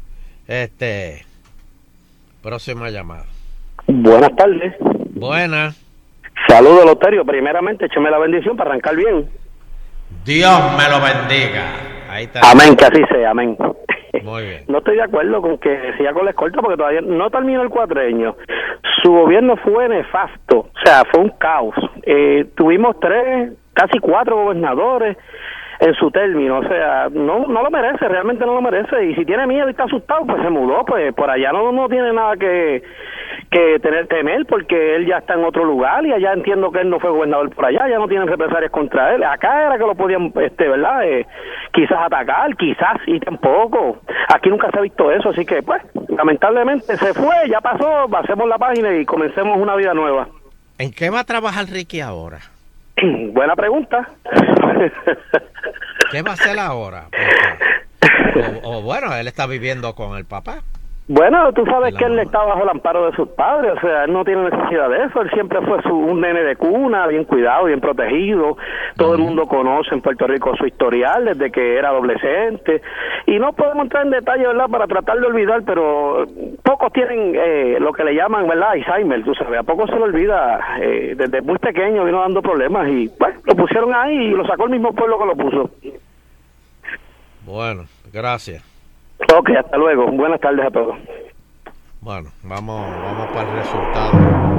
Próxima llamada. Buenas tardes. Buenas. Saludos, Loterio. Primeramente, écheme la bendición para arrancar bien. Dios me lo bendiga. Ahí está. Amén, que así sea, amén. Muy bien. No estoy de acuerdo con que siga con la escolta porque todavía no terminó el cuatrenio. Su gobierno fue nefasto, o sea, fue un caos. Tuvimos 3, casi 4 gobernadores en su término, o sea, no lo merece, realmente no lo merece. Y si tiene miedo y está asustado, pues se mudó, pues por allá no tiene nada que temer, porque él ya está en otro lugar y allá entiendo que él no fue gobernador por allá, ya no tienen represalias contra él. Acá era que lo podían, ¿verdad? Quizás atacar, quizás, y tampoco. Aquí nunca se ha visto eso, así que, pues, lamentablemente se fue, ya pasó, pasemos la página y comencemos una vida nueva. ¿En qué va a trabajar Ricky ahora? Buena pregunta. ¿Qué va a hacer ahora? O bueno, él está viviendo con el papá. Bueno, tú sabes que él está bajo el amparo de sus padres, o sea, él no tiene necesidad de eso, él siempre fue un nene de cuna, bien cuidado, bien protegido, todo el mundo conoce en Puerto Rico su historial desde que era adolescente, y no podemos entrar en detalle, ¿verdad?, para tratar de olvidar, pero pocos tienen lo que le llaman, ¿verdad?, Alzheimer, tú sabes, a pocos se le olvida, desde muy pequeño vino dando problemas, y bueno, lo pusieron ahí y lo sacó el mismo pueblo que lo puso. Bueno, gracias. Ok, hasta luego. Buenas tardes a todos. Bueno, vamos para el resultado.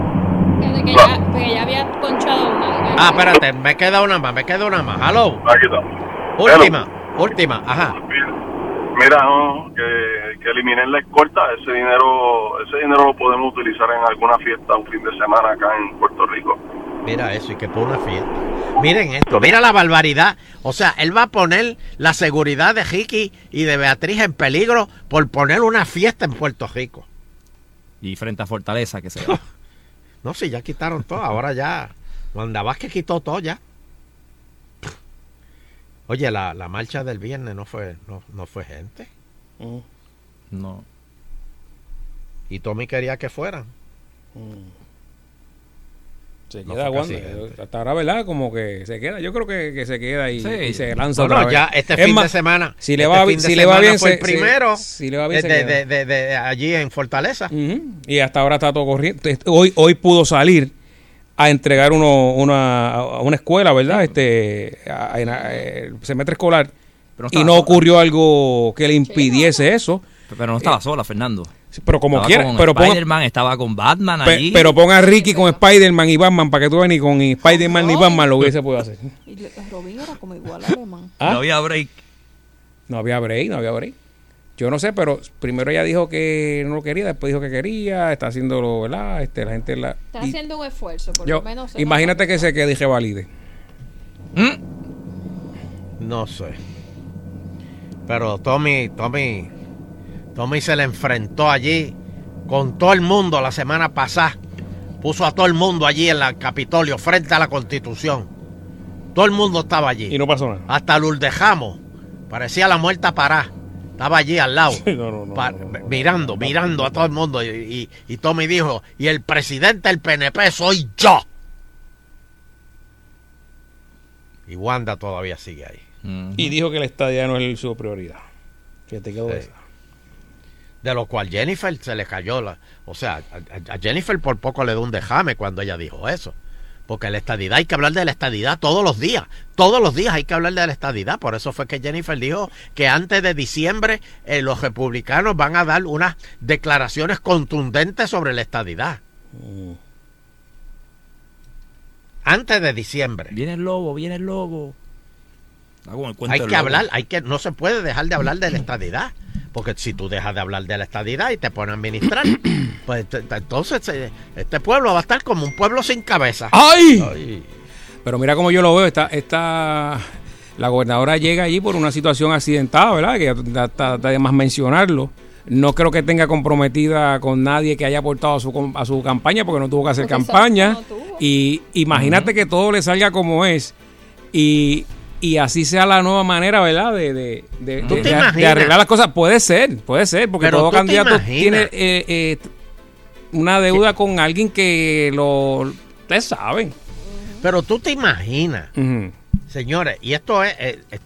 Que ya había ponchado una. Ah, espérate, me queda una más. Hello. Aquí está. Última, ajá. Mira, no, que eliminen la escolta. Ese dinero lo podemos utilizar en alguna fiesta un fin de semana acá en Puerto Rico. Mira eso, y que por una fiesta. Miren esto, mira la barbaridad. O sea, él va a poner la seguridad de Ricky y de Beatriz en peligro por poner una fiesta en Puerto Rico. Y frente a Fortaleza, que se va. No, si ya quitaron todo, ahora ya. Wanda Vázquez quitó todo ya. Oye, la marcha del viernes no fue gente. No. Y Tommy quería que fueran. Se No queda fue Wanda. casi Hasta ahora, ¿verdad? Como que se queda. Yo creo que se queda y, Sí. y se lanza Bueno, otra vez. ya este Es fin más, de semana. Si le va bien, fue el primero. si le va bien, se queda. de allí en Fortaleza. Y hasta ahora está todo corriendo. Hoy pudo salir a entregar a una escuela, ¿verdad? Semestre escolar. Pero Y no ocurrió algo que le impidiese eso. Pero no estaba sola, Fernando. Pero como Estaba quiera. con Pero ponga, Spider-Man, estaba con Batman allí. pero ponga a Ricky con Spider-Man y Batman para que tú veas ni con Spider-Man ni Batman lo hubiese podido hacer. Y Robin era como igual alemán. ¿Ah? No había break. No había break. Yo no sé, pero primero ella dijo que no lo quería, después dijo que quería, está haciéndolo, ¿verdad? La gente Está haciendo un esfuerzo, por yo, lo menos. imagínate que se quede y revalide. No sé. Pero Tommy se le enfrentó allí con todo el mundo la semana pasada. Puso a todo el mundo allí en el Capitolio frente a la Constitución. Todo el mundo estaba allí. Y no pasó nada. Hasta Lourdes Jamos. Parecía la muerta parada. Estaba allí al lado. Mirando a todo el mundo. Y Tommy dijo, y el presidente del PNP soy yo. Y Wanda todavía sigue ahí. Y dijo que el estadía no es su prioridad. Fíjate que Sí. De lo cual Jennifer se le cayó o sea, a Jennifer por poco le dio un dejame cuando ella dijo eso. Porque la estadidad, hay que hablar de la estadidad todos los días hay que hablar de la estadidad. Por eso fue que Jennifer dijo que antes de diciembre los republicanos van a dar unas declaraciones contundentes sobre la estadidad. Antes de diciembre. Viene el lobo, viene el lobo. Hay que hablar, no se puede dejar de hablar de la estadidad. Porque si tú dejas de hablar de la estadidad y te pones a administrar, pues entonces este pueblo va a estar como un pueblo sin cabeza. ¡Ay! Pero mira cómo yo lo veo, la gobernadora llega allí por una situación accidentada, ¿verdad? Que está de más mencionarlo. No creo que tenga comprometida con nadie que haya aportado a su campaña, porque no tuvo que hacer campaña. Y imagínate que todo le salga como es. Y así sea la nueva manera, ¿verdad? De arreglar las cosas. Puede ser, porque pero todo candidato tiene una deuda con alguien que ustedes saben. Pero tú te imaginas, señores, y esto es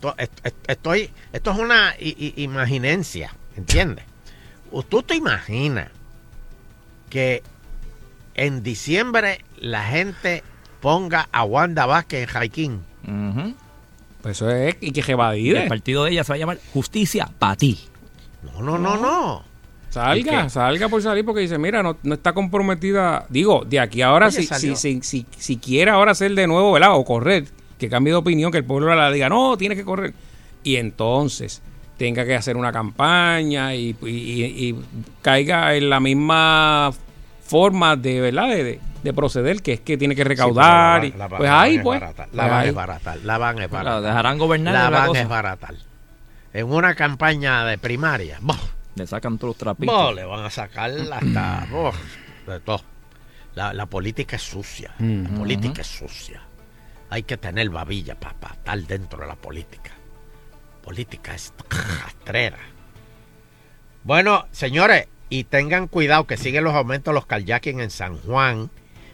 una imaginencia, ¿entiendes? Tú te imaginas que en diciembre la gente ponga a Wanda Vázquez en Jaiquín. Pues eso es, y que evadire. El partido de ella se va a llamar Justicia para ti. No. Salga por salir, porque dice, mira, no está comprometida. Digo, de aquí a ahora, si quiere ahora hacer de nuevo, ¿verdad? O correr, que cambie de opinión, que el pueblo la diga, no, tiene que correr. Y entonces tenga que hacer una campaña y caiga en la misma forma de, ¿verdad? De proceder, que es que tiene que recaudar. Sí, la pues ahí, pues. La van a desbaratar. La dejarán gobernar. La van a desbaratar. En una campaña de primaria. Le sacan todos los trapitos. Le van a sacar hasta de todo. La política es sucia. La política es sucia. Hay que tener babilla para estar dentro de la política. Política es rastrera. Bueno, señores, y tengan cuidado que siguen los aumentos de los carjacking en San Juan.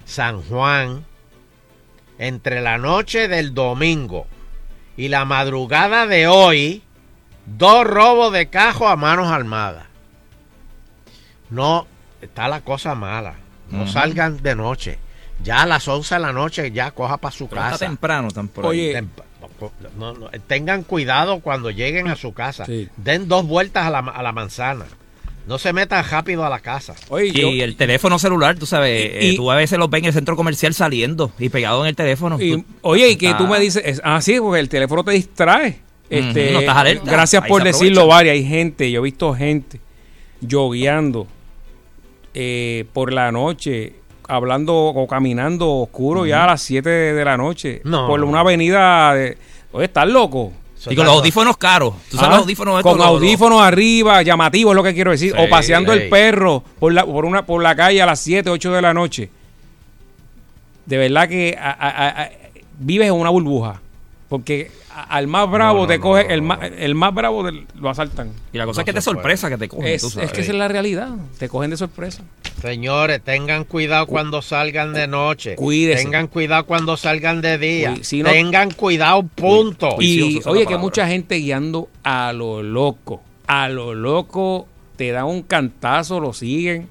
Entre la noche del domingo y la madrugada de hoy, 2 robos de cajo a manos armadas. No, está la cosa mala. No salgan de noche. Ya a las 11 de la noche ya coja para su casa. Está temprano, Oye, tengan cuidado cuando lleguen a su casa. Sí. Den 2 vueltas a la manzana. No se metan rápido a la casa. Y el teléfono celular, tú sabes, tú a veces los ves en el centro comercial saliendo y pegado en el teléfono. Pues, y que tú me dices, sí, porque el teléfono te distrae. No estás alerta. Gracias por decirlo, varias. Hay gente, yo he visto gente yogueando por la noche, hablando o caminando oscuro ya a las 7 de la noche por una avenida. Oye, ¿estás loco? Y con los audífonos caros. ¿Tú sabes los audífonos con audífonos arriba, llamativos es lo que quiero decir. O paseando el perro por la calle a las 7, 8 de la noche. De verdad que vives en una burbuja. Porque al más bravo te coge, el más bravo lo asaltan. Y la cosa es que te sorpresa que te cogen. Es que esa es la realidad. Te cogen de sorpresa. Señores, tengan cuidado cuando salgan de noche. Cuídense. Tengan cuidado cuando salgan de día. Tengan cuidado, punto. Y oye, que mucha gente guiando a lo loco. A lo loco, te dan un cantazo, lo siguen.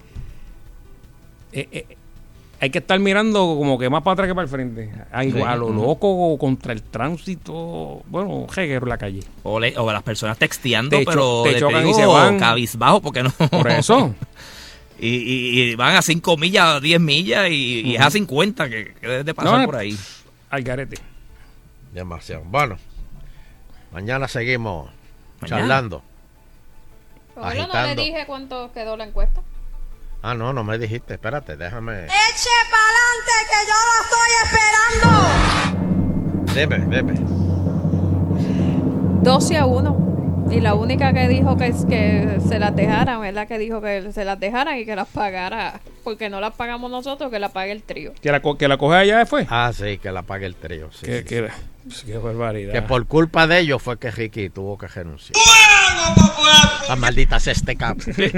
Hay que estar mirando como que más para atrás que para el frente. A lo loco contra el tránsito. Bueno, jeguero en la calle. O las personas texteando, te chocan y se van cabizbajo porque no. Por eso. y van a 5 millas, 10 millas y es a 50 que debes de pasar por ahí. Al garete. Demasiado. Bueno, mañana seguimos charlando. Pero no le dije cuánto quedó la encuesta. No me dijiste. Espérate, déjame. ¡Eche pa'lante que yo lo estoy esperando! Deme. 12-1. Y la única que dijo que se las dejaran, ¿verdad? Que dijo que se las dejaran y que las pagara. Porque no las pagamos nosotros, que la pague el trío. ¿Que la coge allá fue? Sí, que la pague el trío. Sí, qué barbaridad. Que por culpa de ellos fue que Ricky tuvo que renunciar. La maldita cesteca.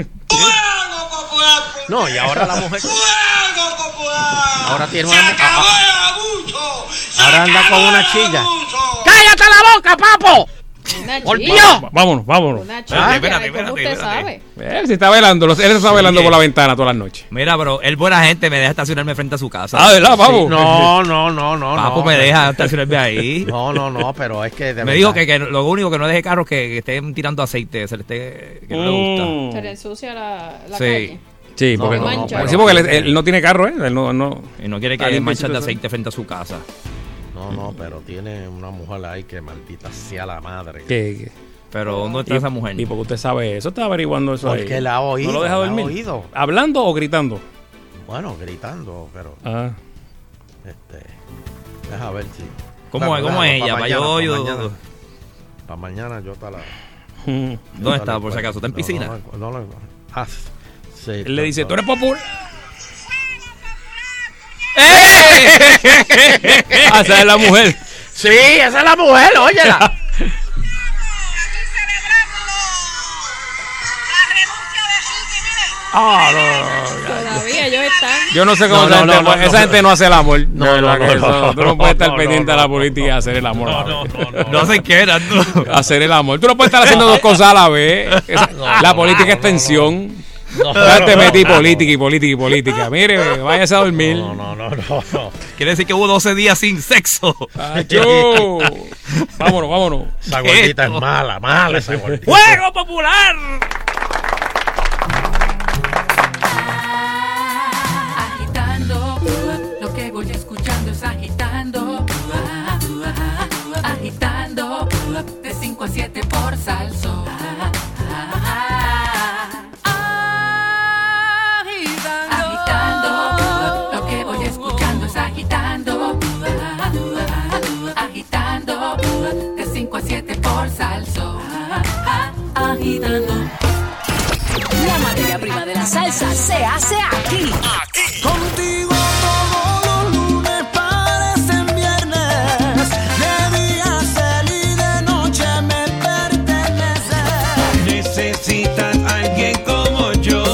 No, y ahora la mujer. Ahora tiene una. Ahora anda con una chilla. ¡Cállate la boca, papo! ¡Por Dios! Vámonos. Una chilla, ¿cómo usted sabe? Él está velando por la ventana todas las noches. Mira, pero él buena gente, me deja estacionarme frente a su casa. ¿Verdad, papo? No. Papo me deja estacionarme ahí. No, pero es que me dijo que lo único que no deje carro es que estén tirando aceite, que no le gusta. Se le ensucia la calle. Sí, porque, sí, porque él no tiene carro, ¿eh? Él no quiere que manchas de aceite frente a su casa. No, pero tiene una mujer ahí que maldita sea la madre. ¿Qué? Pero ¿dónde está esa mujer? ¿Y por qué usted sabe eso? Está averiguando eso ahí. Porque la ha oído. ¿No lo deja dormir? Oído. ¿Hablando o gritando? Bueno, gritando, pero... deja ver si... ¿Cómo es ella? Para mañana yo te la... ¿Dónde está, por si acaso? ¿Está en piscina? Sí, él le dice, tú eres popular. Esa es la mujer. Sí, esa es la mujer, óyela. Todavía ellos están. Yo no sé cómo esa gente no hace el amor. Tú no puedes estar pendiente de la política y hacer el amor. No se quieran. Hacer el amor. Tú no puedes estar haciendo dos cosas a la vez. La política es tensión. Te metí política. Mire, váyase a dormir. No. Quiere decir que hubo 12 días sin sexo. Vámonos. Esa gordita es mala esa gordita. ¡Juego popular! Agitando, lo que voy escuchando es agitando. Agitando, de 5 a 7 por Salsón. Agitando, lo que voy escuchando es agitando. Agitando, de 5 a 7 por Salsón. Agitando. La materia prima de la salsa se hace aquí. Contigo todos los lunes parecen viernes. De día ser y de noche me pertenece. Necesitas a alguien como yo.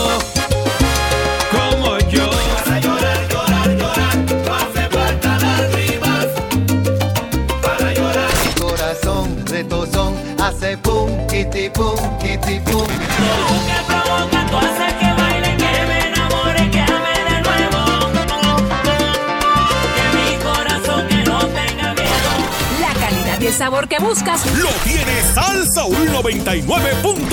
Para llorar. No hace falta lágrimas. Para llorar. Mi corazón retozón hace pum, kitty pum, kitty pum. Tú haces que baile, que me enamore, que ame de nuevo. Que mi corazón que no tenga miedo. La calidad y el sabor que buscas lo tiene Salsa 99.1.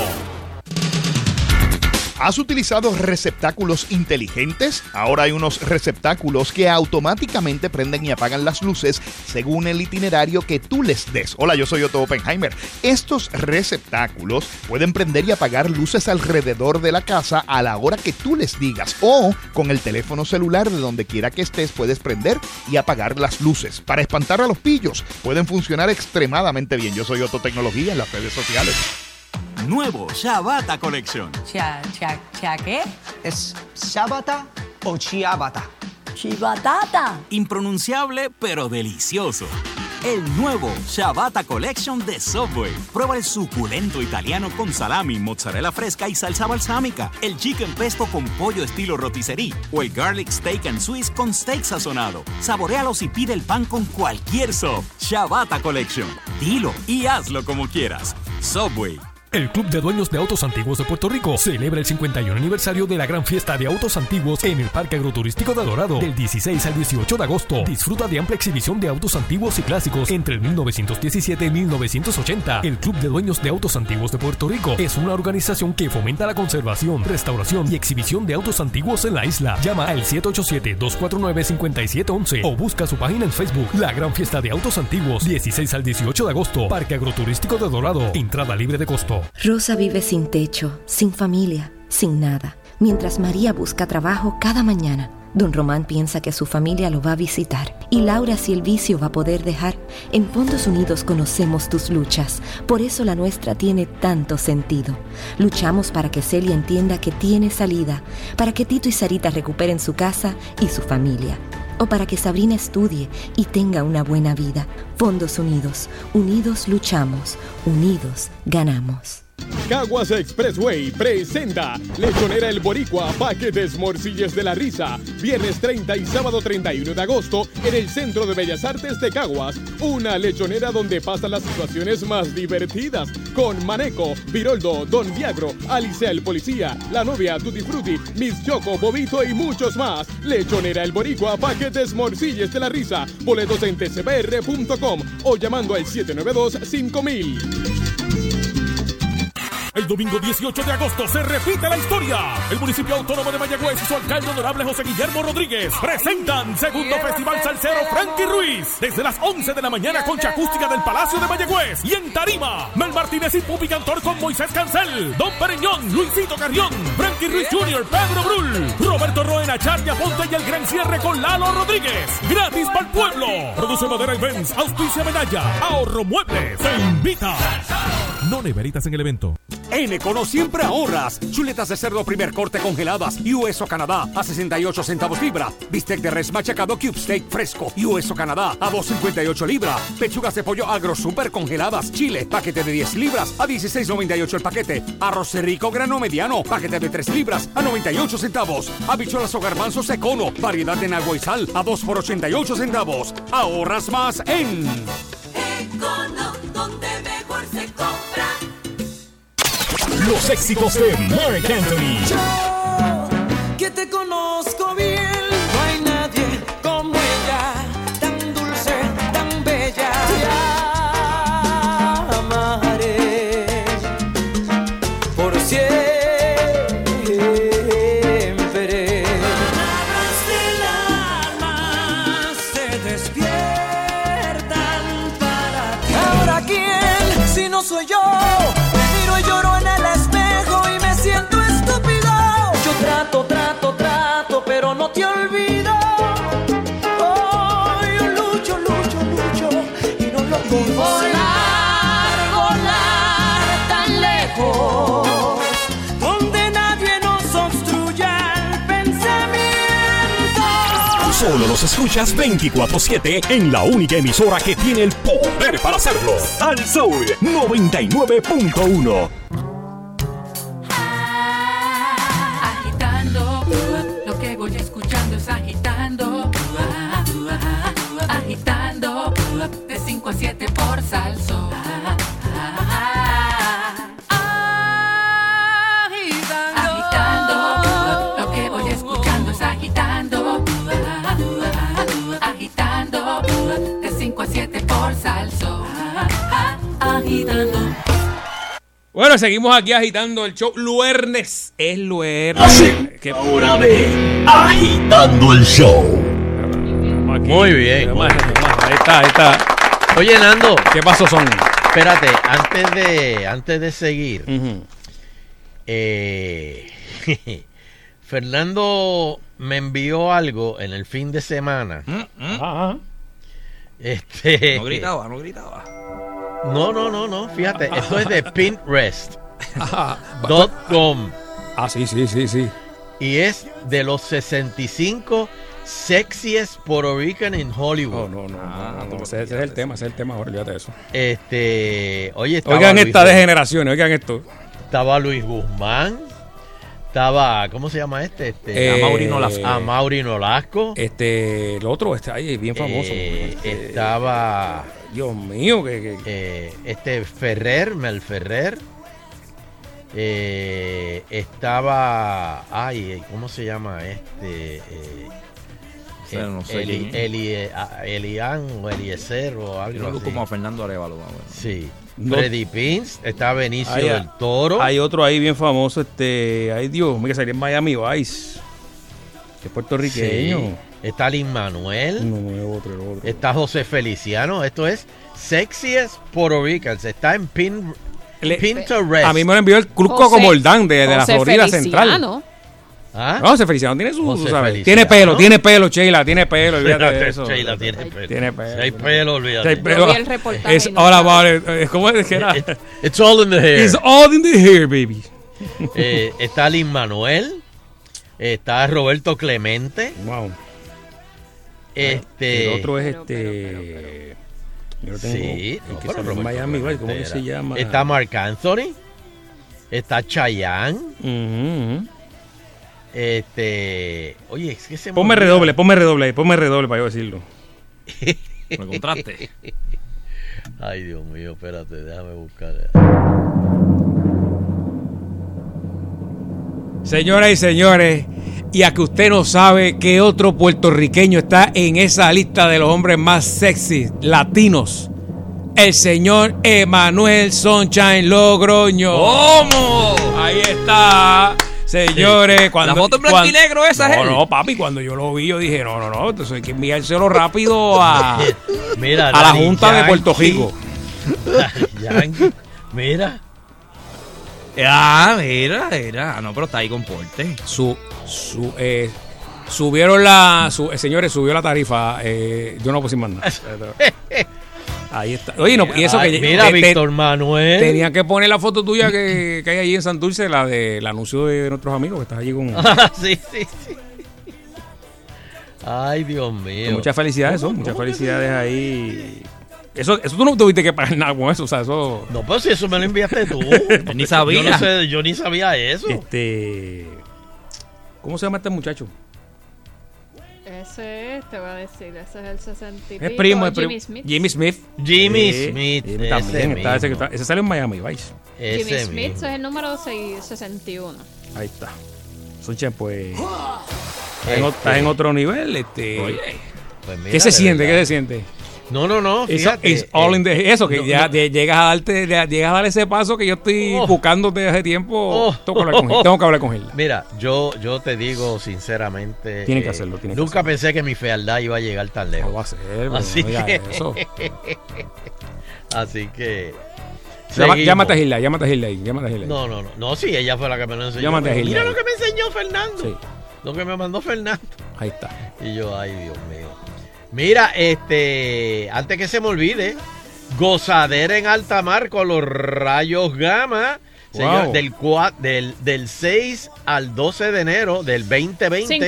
¿Has utilizado receptáculos inteligentes? Ahora hay unos receptáculos que automáticamente prenden y apagan las luces según el itinerario que tú les des. Hola, yo soy Otto Oppenheimer. Estos receptáculos pueden prender y apagar luces alrededor de la casa a la hora que tú les digas, o con el teléfono celular de donde quiera que estés puedes prender y apagar las luces. Para espantar a los pillos, pueden funcionar extremadamente bien. Yo soy Otto Tecnología en las redes sociales. Nuevo Shabata Collection. ¿Qué? ¿Es Shabata o Chiabata? Chibatata. Impronunciable pero delicioso. El nuevo Shabata Collection de Subway. Prueba el suculento italiano con salami, mozzarella fresca y salsa balsámica. El chicken pesto con pollo estilo rotisserie. O el garlic steak and Swiss con steak sazonado. Saboréalos y pide el pan con cualquier sub. Shabata Collection. Dilo y hazlo como quieras. Subway. El Club de Dueños de Autos Antiguos de Puerto Rico celebra el 51 aniversario de la gran fiesta de autos antiguos en el Parque Agroturístico de Dorado del 16 al 18 de agosto. Disfruta de amplia exhibición de autos antiguos y clásicos entre el 1917 y 1980. El Club de Dueños de Autos Antiguos de Puerto Rico es una organización que fomenta la conservación, restauración y exhibición de autos antiguos en la isla. Llama al 787-249-5711 o busca su página en Facebook. La gran fiesta de autos antiguos, 16 al 18 de agosto, Parque Agroturístico de Dorado. Entrada libre de costo. Rosa vive sin techo, sin familia, sin nada. Mientras María busca trabajo cada mañana, Don Román piensa que su familia lo va a visitar. Y Laura, si el vicio va a poder dejar. En Fondos Unidos conocemos tus luchas. Por eso la nuestra tiene tanto sentido. Luchamos para que Celia entienda que tiene salida. Para que Tito y Sarita recuperen su casa y su familia. O para que Sabrina estudie y tenga una buena vida. Fondos Unidos. Unidos luchamos. Unidos ganamos. Caguas Expressway presenta Lechonera El Boricua, paquetes morcillas de la risa. Viernes 30 y sábado 31 de agosto en el Centro de Bellas Artes de Caguas. Una lechonera donde pasan las situaciones más divertidas. Con Maneco, Viroldo, Don Viagro, Alicia el Policía, La Novia, Tutti Frutti, Miss Choco, Bobito y muchos más. Lechonera El Boricua, paquetes morcillas de la risa. Boletos en tcbr.com o llamando al 792-5000. El domingo 18 de agosto se repite la historia. El municipio autónomo de Mayagüez y su alcalde honorable José Guillermo Rodríguez presentan segundo Festival Salsero Frankie Ruiz desde las 11 de la mañana, concha acústica del Palacio de Mayagüez. Y en tarima, Mel Martínez y Pupi Cantor con Moisés Cancel, Don Pereñón, Luisito Carrión, Frankie Ruiz Jr., Pedro Brul, Roberto Roena, Charlia Ponte y el gran cierre con Lalo Rodríguez. Gratis para el pueblo. Produce Madera Events, auspicia Medalla, Ahorro Muebles, te invita. No neveritas en el evento. En Econo siempre ahorras. Chuletas de cerdo primer corte congeladas, US o Canadá, a 68 centavos libra. Bistec de res machacado Cube Steak fresco, US o Canadá, a 2.58 libra. Pechugas de pollo agro super congeladas, Chile, paquete de 10 libras, a 16.98 el paquete. Arroz rico grano mediano, paquete de 3 libras, a 98 centavos. Habichuelas o garbanzos Econo, variedad en agua y sal, a 2 por 88 centavos. Ahorras más en Econo, donde mejor se compra. Los éxitos de Marc Anthony. Yo, que te conozco bien, no hay nadie como ella, tan dulce, tan bella. Te amaré por siempre. Palabras del alma se despiertan para ti. Ahora quién, si no soy yo. Y lloro en el espejo y me siento estúpido. Yo trato, pero no te olvido. Oh, yo lucho y no lo consigo. Volar tan lejos, donde nadie nos obstruya el pensamiento. Solo los escuchas 24/7 en la única emisora que tiene el poder para hacerlo. Al Soul 99.1. Agitando, lo que voy escuchando es agitando. Agitando, de 5 a 7 por Salso. Agitando, lo que voy escuchando es agitando. Agitando, de 5 a 7 por Salso. Agitando. Bueno, seguimos aquí agitando el show. Luernes. Es luernes. Ahora ve, agitando el show. Muy bien. Ahí está. Oye, Nando. ¿Qué pasos son? Espérate, antes de seguir. Fernando me envió algo en el fin de semana. No gritaba. No, fíjate, esto es de Pinterest.com. Sí. Y es de los 65 sexiest Puerto Rican in Hollywood. No. Ese es el tema, ahora, olvídate de eso. Oye, oigan esta degeneración, oigan esto. Estaba Luis Guzmán. Estaba, ¿cómo se llama este? Amaury Nolasco. El otro, ahí bien famoso. Estaba, Dios mío, Mel Ferrer. Estaba, ¿cómo se llama no sé. Elian o Eliezer o algo así. Como Fernando Arevalo. Sí. Freddy Pins, está Benicio del Toro. Hay otro ahí bien famoso, ay Dios, mira, salió en Miami Vice, que es puertorriqueño. Sí. Está Lin Manuel. Otro. Está José Feliciano. Esto es Sexiest Puerto Ricans. Está en Pinterest. A mí me lo envió el Cruzco Comordán de la Florida Central. ¿Ah? No, José Feliciano tiene su, ¿sabes? Tiene pelo, Sheila, tiene pelo, olvídate de eso. Sheila tiene pelo. Tiene pelo. Si hay pelo, olvídate. Yo vi el reportaje. Ahora vale, ¿cómo es que era? It's all in the hair. It's all in the hair, baby. Está Lin Manuel. Está Roberto Clemente. Wow. El otro es Yo lo tengo. Sí, que salió en Miami, ¿cómo que se llama? Está Marc Anthony. Está Chayanne. Oye, es que se ponme redoble para yo decirlo. Me contraste. Ay, Dios mío, espérate, déjame buscar. Señoras y señores, y a que usted no sabe qué otro puertorriqueño está en esa lista de los hombres más sexy latinos, el señor Emanuel Sunshine Logroño. ¿Cómo? Ahí está. Señores, cuando... La foto en blanco y negro esa es él. No, papi, cuando yo lo vi, yo dije, no, entonces hay que enviárselo rápido a Mira, la Junta de Puerto Rico. Mira. Mira. No, pero está ahí con porte. Subieron señores, subió la tarifa. Yo no puse más nada. Ahí está. Oye, no, y eso que mira, Víctor Manuel. Tenía que poner la foto tuya que hay ahí en Santurce, la del anuncio de nuestros amigos, que estás allí con. Sí. Ay, Dios mío. Muchas felicidades, muchas felicidades ahí. Eso tú no tuviste que pagar nada con eso, o sea, eso. No, pero si eso me lo enviaste tú. Ni sabía. Yo ni sabía eso. ¿Cómo se llama este muchacho? Ese es, te voy a decir, ese es el 60 y Es pico, primo. Jimmy Smith. Jimmy Smith. También está ese sale en Miami Vice. Jimmy Smith es el número 661. Ahí está. Sunshine, pues. Estás en otro nivel. Oye, pues mira, ¿Qué se siente? ¿Qué se siente? No, fíjate. Eso, que ya llegas a dar ese paso que yo estoy buscando desde hace tiempo. Tengo que hablar con él. Mira, yo te digo sinceramente. Tiene que hacerlo. Nunca pensé que mi fealdad iba a llegar tan lejos. No va a ser, así no que. Eso. Así que. Llámate a Hilda. No, sí, ella fue la que me lo enseñó. Llámate a Hilda. Mira lo que me enseñó Fernando. Sí. Lo que me mandó Fernando. Ahí está. Y yo, ay, Dios mío. Mira, antes que se me olvide, gozadera en alta mar con los rayos gamma. Wow. Señor, del 6 al 12 de enero del 2020.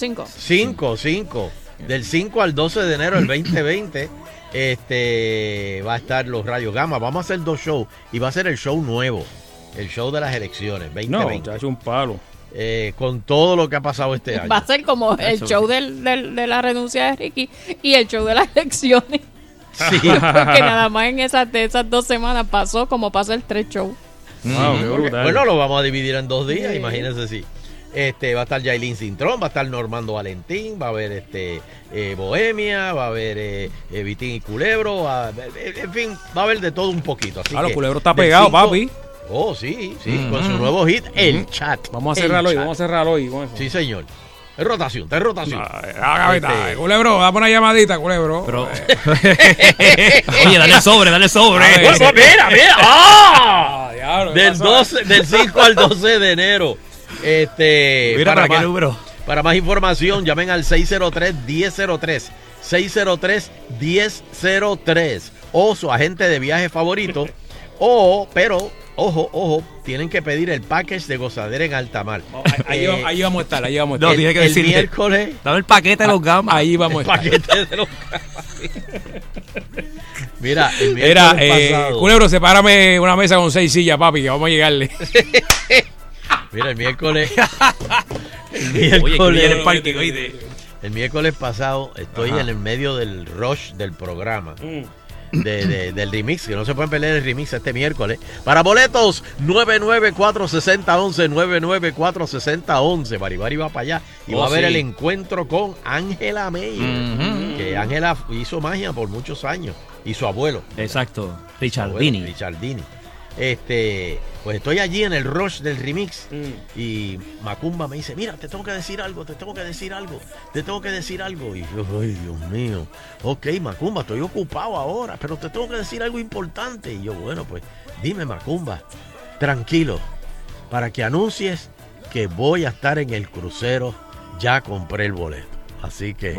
5. Del 5 al 12 de enero del 2020 va a estar los rayos gamma. Vamos a hacer 2 shows y va a ser el show nuevo, el show de las elecciones 2020. No, ha hecho un palo. Con todo lo que ha pasado este año. Va a ser como el show de la renuncia de Ricky y el show de las elecciones. Sí. Porque nada más en esas 2 semanas pasó como pasa el 3 show. Wow, qué brutal. Bueno, lo vamos a dividir en 2 días, imagínense si. Va a estar Yailin Cintrón, va a estar Normando Valentín, va a haber Bohemia, va a haber Vitín y Culebro, en fin, va a haber de todo un poquito. Así los Culebro está pegado, papi. Oh, sí, con su nuevo hit, El Chat. Vamos a cerrarlo hoy con eso. Sí, señor. Es rotación. Culebro, dame una llamadita, Culebro. Pero... Oye, dale sobre. Mira. Del 5 al 12 de enero. Mira, ¿para qué número? Para más información, llamen al 603-1003. 603-1003. O su agente de viaje favorito. Pero, ojo, tienen que pedir el package de gozadera en alta mar. Ahí vamos a estar. No, tiene que decir. El miércoles. Dame el paquete de los gamas. Ahí vamos a estar. Paquete de los gamas. Mira, el miércoles pasado. Culebro, sepárame una mesa con 6 sillas, papi, que vamos a llegarle. Mira, el miércoles. Oye, que viene el parque, oíste. El miércoles pasado estoy en el medio del rush del programa. Del remix, que no se pueden perder el remix este miércoles. Para boletos, 994-6011, 994-6011. Baribari va para allá y va a ver el encuentro con Ángela Meyer, que Ángela hizo magia por muchos años, y su abuelo. Exacto, Richardini. Pues estoy allí en el rush del remix y Macumba me dice, mira, te tengo que decir algo. Y yo, ay, Dios mío. Ok, Macumba, estoy ocupado ahora, pero te tengo que decir algo importante. Y yo, bueno, pues dime, Macumba, tranquilo, para que anuncies que voy a estar en el crucero. Ya compré el boleto, así que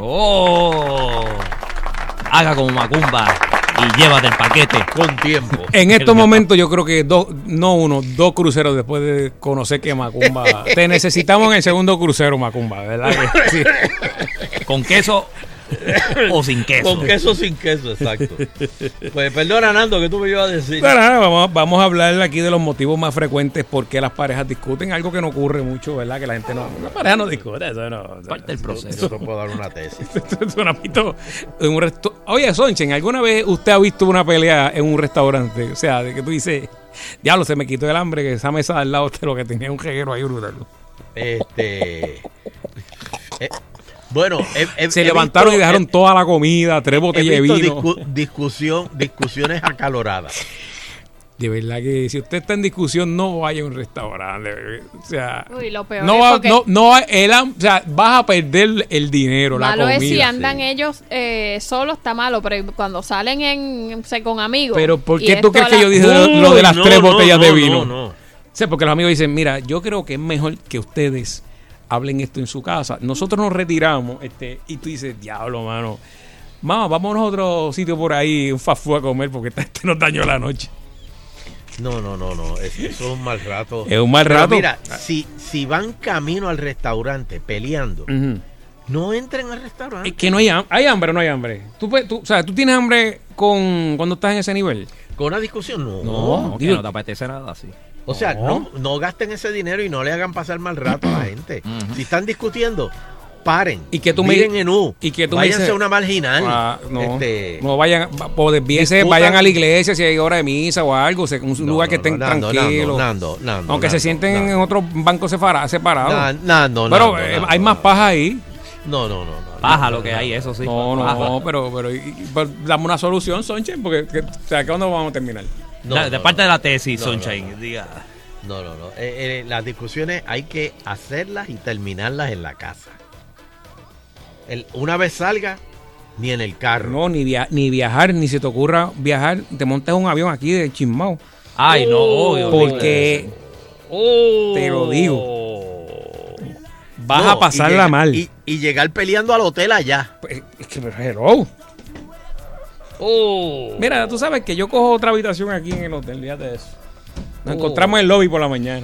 haga como Macumba y llévate el paquete con tiempo. En estos momentos yo creo que 2 cruceros después de conocer que Macumba. Te necesitamos en el segundo crucero, Macumba, ¿verdad? Sí. Con queso o sin queso. Con queso o sin queso, exacto. Pues perdona, Nando, que tú me ibas a decir. Vamos a hablar aquí de los motivos más frecuentes por qué las parejas discuten. Algo que no ocurre mucho, ¿verdad? Que la gente la pareja no discute. Eso no. Parte del proceso. Yo puedo dar una tesis. Oye, Sonchen, ¿alguna vez usted ha visto una pelea en un restaurante? O sea, de que tú dices, diablo, se me quitó el hambre, que esa mesa al lado de lo que tenía un reguero ahí brutal. Bueno, se levantaron y dejaron toda la comida, 3 botellas de vino. Discusiones acaloradas. De verdad que si usted está en discusión, no vaya a un restaurante. O sea, Uy, lo peor no es va, porque o sea, vas a perder el dinero, la malo comida. es si andan ellos solos, está malo, pero cuando salen con amigos. Pero ¿por y qué tú esto crees a que la- yo dije lo de las 3 botellas de vino? No. O sea, porque los amigos dicen, mira, yo creo que es mejor que ustedes hablen esto en su casa. Nosotros nos retiramos, y tú dices, diablo, mano. Mamá, vámonos a otro sitio por ahí, un fast food a comer, porque este nos dañó la noche. No. Eso es un mal rato. Es un mal Pero rato. mira, si van camino al restaurante peleando, no entren al restaurante. Es que no hay hambre o no hay hambre. O sea, ¿tú tienes hambre cuando estás en ese nivel? ¿Con una discusión? No. No, que no te apetece nada así. O sea, no gasten ese dinero y no le hagan pasar mal rato a la gente. Si están discutiendo, paren. Y que tú miren en U. Y que tú váyanse dices, a una marginal. No vayan, o desvíense, vayan a la iglesia si hay hora de misa o algo, un lugar que estén tranquilos. Aunque se sienten en otros bancos separados. Pero hay más paja ahí. No. Paja lo que hay, eso sí. No, pero dame una solución, Sonchen, porque o sea, ¿cuándo vamos a terminar? De parte de la tesis, Sunshine, diga. No. Las discusiones hay que hacerlas y terminarlas en la casa. Una vez salga, ni en el carro. No, ni viajar, ni se te ocurra viajar. Te montas un avión aquí de Chismao. Ay, no, obvio. Porque te lo digo. Vas a pasarla mal. Y llegar peleando al hotel allá. Es que hello. Mira, tú sabes que yo cojo otra habitación aquí en el hotel, fíjate de eso. Nos encontramos en el lobby por la mañana.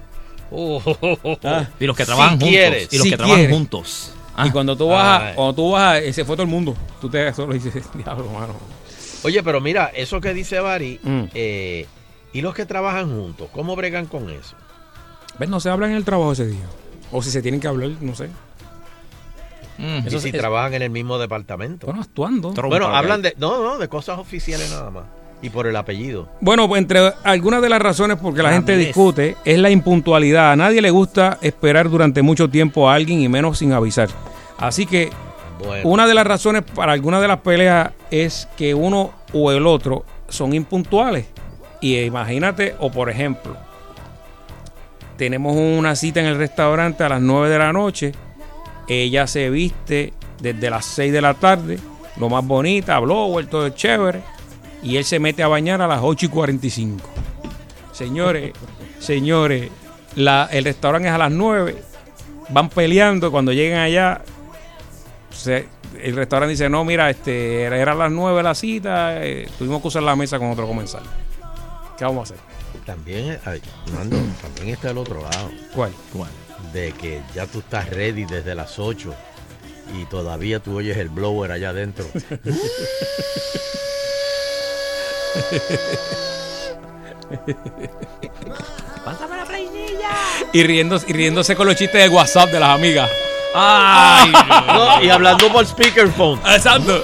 Y los que trabajan juntos. Y los que trabajan juntos. Y cuando tú vas, se fue todo el mundo. Tú te das solo y dices, diablo, mano. Oye, pero mira, eso que dice Bari, y los que trabajan juntos, ¿cómo bregan con eso? ¿Ves? No se habla en el trabajo ese día. O si se tienen que hablar, no sé. Y si trabajan en el mismo departamento. Bueno, actuando. Bueno, hablan de cosas oficiales nada más. Y por el apellido. Bueno, pues entre algunas de las razones por que la gente discute es la impuntualidad. A nadie le gusta esperar durante mucho tiempo a alguien y menos sin avisar. Así que una de las razones para algunas de las peleas es que uno o el otro son impuntuales. Y imagínate, o por ejemplo, tenemos una cita en el restaurante a las 9 de la noche. Ella se viste desde las 6 de la tarde, lo más bonita, blower, todo es chévere. Y él se mete a bañar a las 8:45. Señores, el restaurante es a las 9. Van peleando. Cuando llegan allá, el restaurante dice, no, mira, era a las 9 la cita. Tuvimos que usar la mesa con otro comensal. ¿Qué vamos a hacer? También, Nando, también está el otro lado. ¿Cuál? De que ya tú estás ready desde las 8 y todavía tú oyes el blower allá adentro. Pásame la playilla. Y riéndose con los chistes de WhatsApp de las amigas. ¡Ay! No, y hablando por speakerphone. Exacto.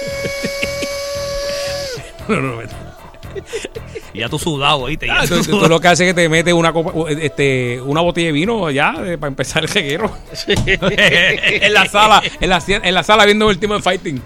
No. Y ya tú sudado, ¿oíste? Tú lo que haces es que te metes una botella de vino ya para empezar el reguero. Sí. en la sala viendo el Ultimate Fighting.